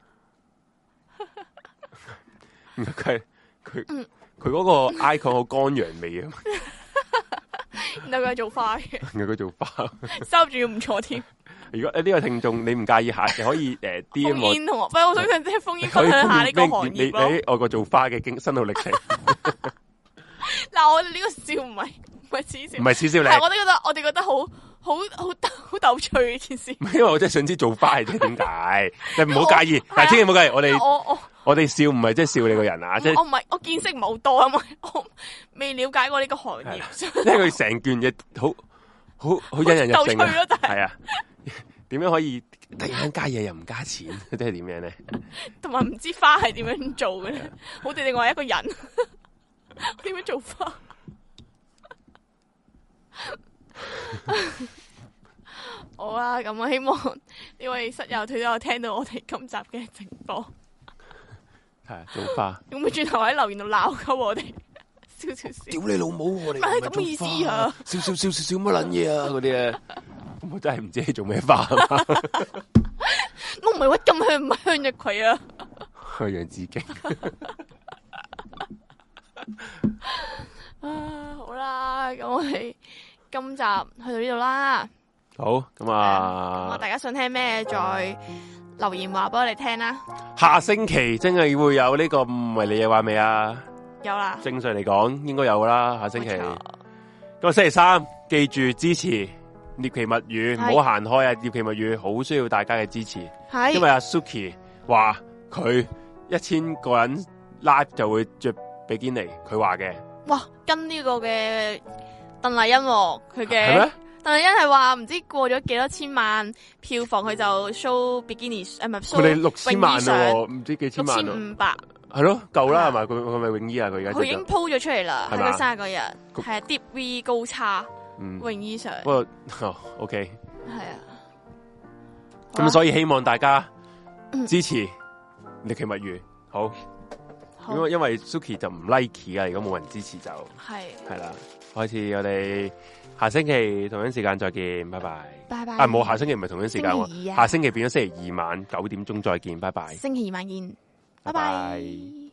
Speaker 2: 佢佢佢嗰個 icon 好乾陽味啊！
Speaker 1: 然後佢係做花嘅，
Speaker 2: 然後佢做花，
Speaker 1: 收住要唔錯添。
Speaker 2: 如果呢個聽眾你唔介意下，你可以誒 D M 我。烽煙
Speaker 1: 同學，喂，我想佢即係烽煙分享下呢個行業
Speaker 2: 你喺外國做花嘅經心路歷程。
Speaker 1: 嗱，我哋呢個笑唔係唔係恥笑，
Speaker 2: 唔係恥笑你。
Speaker 1: 係我哋覺得我哋覺得好好好好逗趣呢件事。
Speaker 2: 因為我真係想知做花係點解，你唔好介意，但係千祈唔好介意，我哋
Speaker 1: 我我。
Speaker 2: 我哋笑唔係即係笑你個人啊！即係
Speaker 1: 我唔係我見識唔係好多啊嘛，我未了解過呢個行業。
Speaker 2: 因為佢成件嘢好好好引人入勝啊！係啊，點樣可以突然間加嘢又唔加錢？即係點樣咧？
Speaker 1: 同埋唔知花係點樣做嘅咧？好似另外一個人點樣做花？好啦，咁我希望呢位室友佢都有聽到我哋今集嘅直播。
Speaker 2: 係做花，
Speaker 1: 咁咪轉頭喺留言度鬧鳩我哋，笑笑笑，
Speaker 2: 屌你老母！我哋
Speaker 1: 係咁嘅意思啊！
Speaker 2: 笑笑笑笑笑乜撚嘢啊！嗰啲啊，我真係唔知你做咩花。
Speaker 1: 我唔係屈咁向唔係向日葵啊，
Speaker 2: 向楊子敬。
Speaker 1: 啊，好啦，咁我哋今集去到呢度啦。
Speaker 2: 好，咁啊，
Speaker 1: 咁大家想聽咩再留言話俾我哋聽啦。
Speaker 2: 下星期真係會有呢個唔係你嘅話未啊？
Speaker 1: 有啦。正
Speaker 2: 常嚟講應該有噶啦。下星期咁星期三記住支持獵奇物語，唔好行開啊！獵奇物語好需要大家嘅支持，因為阿 Suki 話佢一千個人 live 就會着比基尼，佢話嘅。哇，
Speaker 1: 跟呢個嘅鄧麗欣佢嘅。鄧麗欣係話唔知過咗幾多千萬票房，佢就 show bikini 誒，唔係 show
Speaker 2: 佢哋六千萬咯，唔知幾千萬咯，
Speaker 1: 六千五百
Speaker 2: 係咯，夠啦係咪？佢佢咪泳衣啊？佢而家
Speaker 1: 佢已經 po 咗出嚟啦，喺佢生日嗰日係啊 Deep V 高叉泳衣上。
Speaker 2: 不過哦 OK
Speaker 1: 係啊，
Speaker 2: 咁所以希望大家支持獵奇物語好。因為因為 Suki 就唔 like 啊，如果冇人支持就係係啦。開始我哋下星期同樣時間再見，拜拜。拜拜。啊，冇，下星期唔係同樣時間喎，啊，下星期變咗星期二晚九點鐘再見，拜拜。星期二晚見，拜拜。拜拜。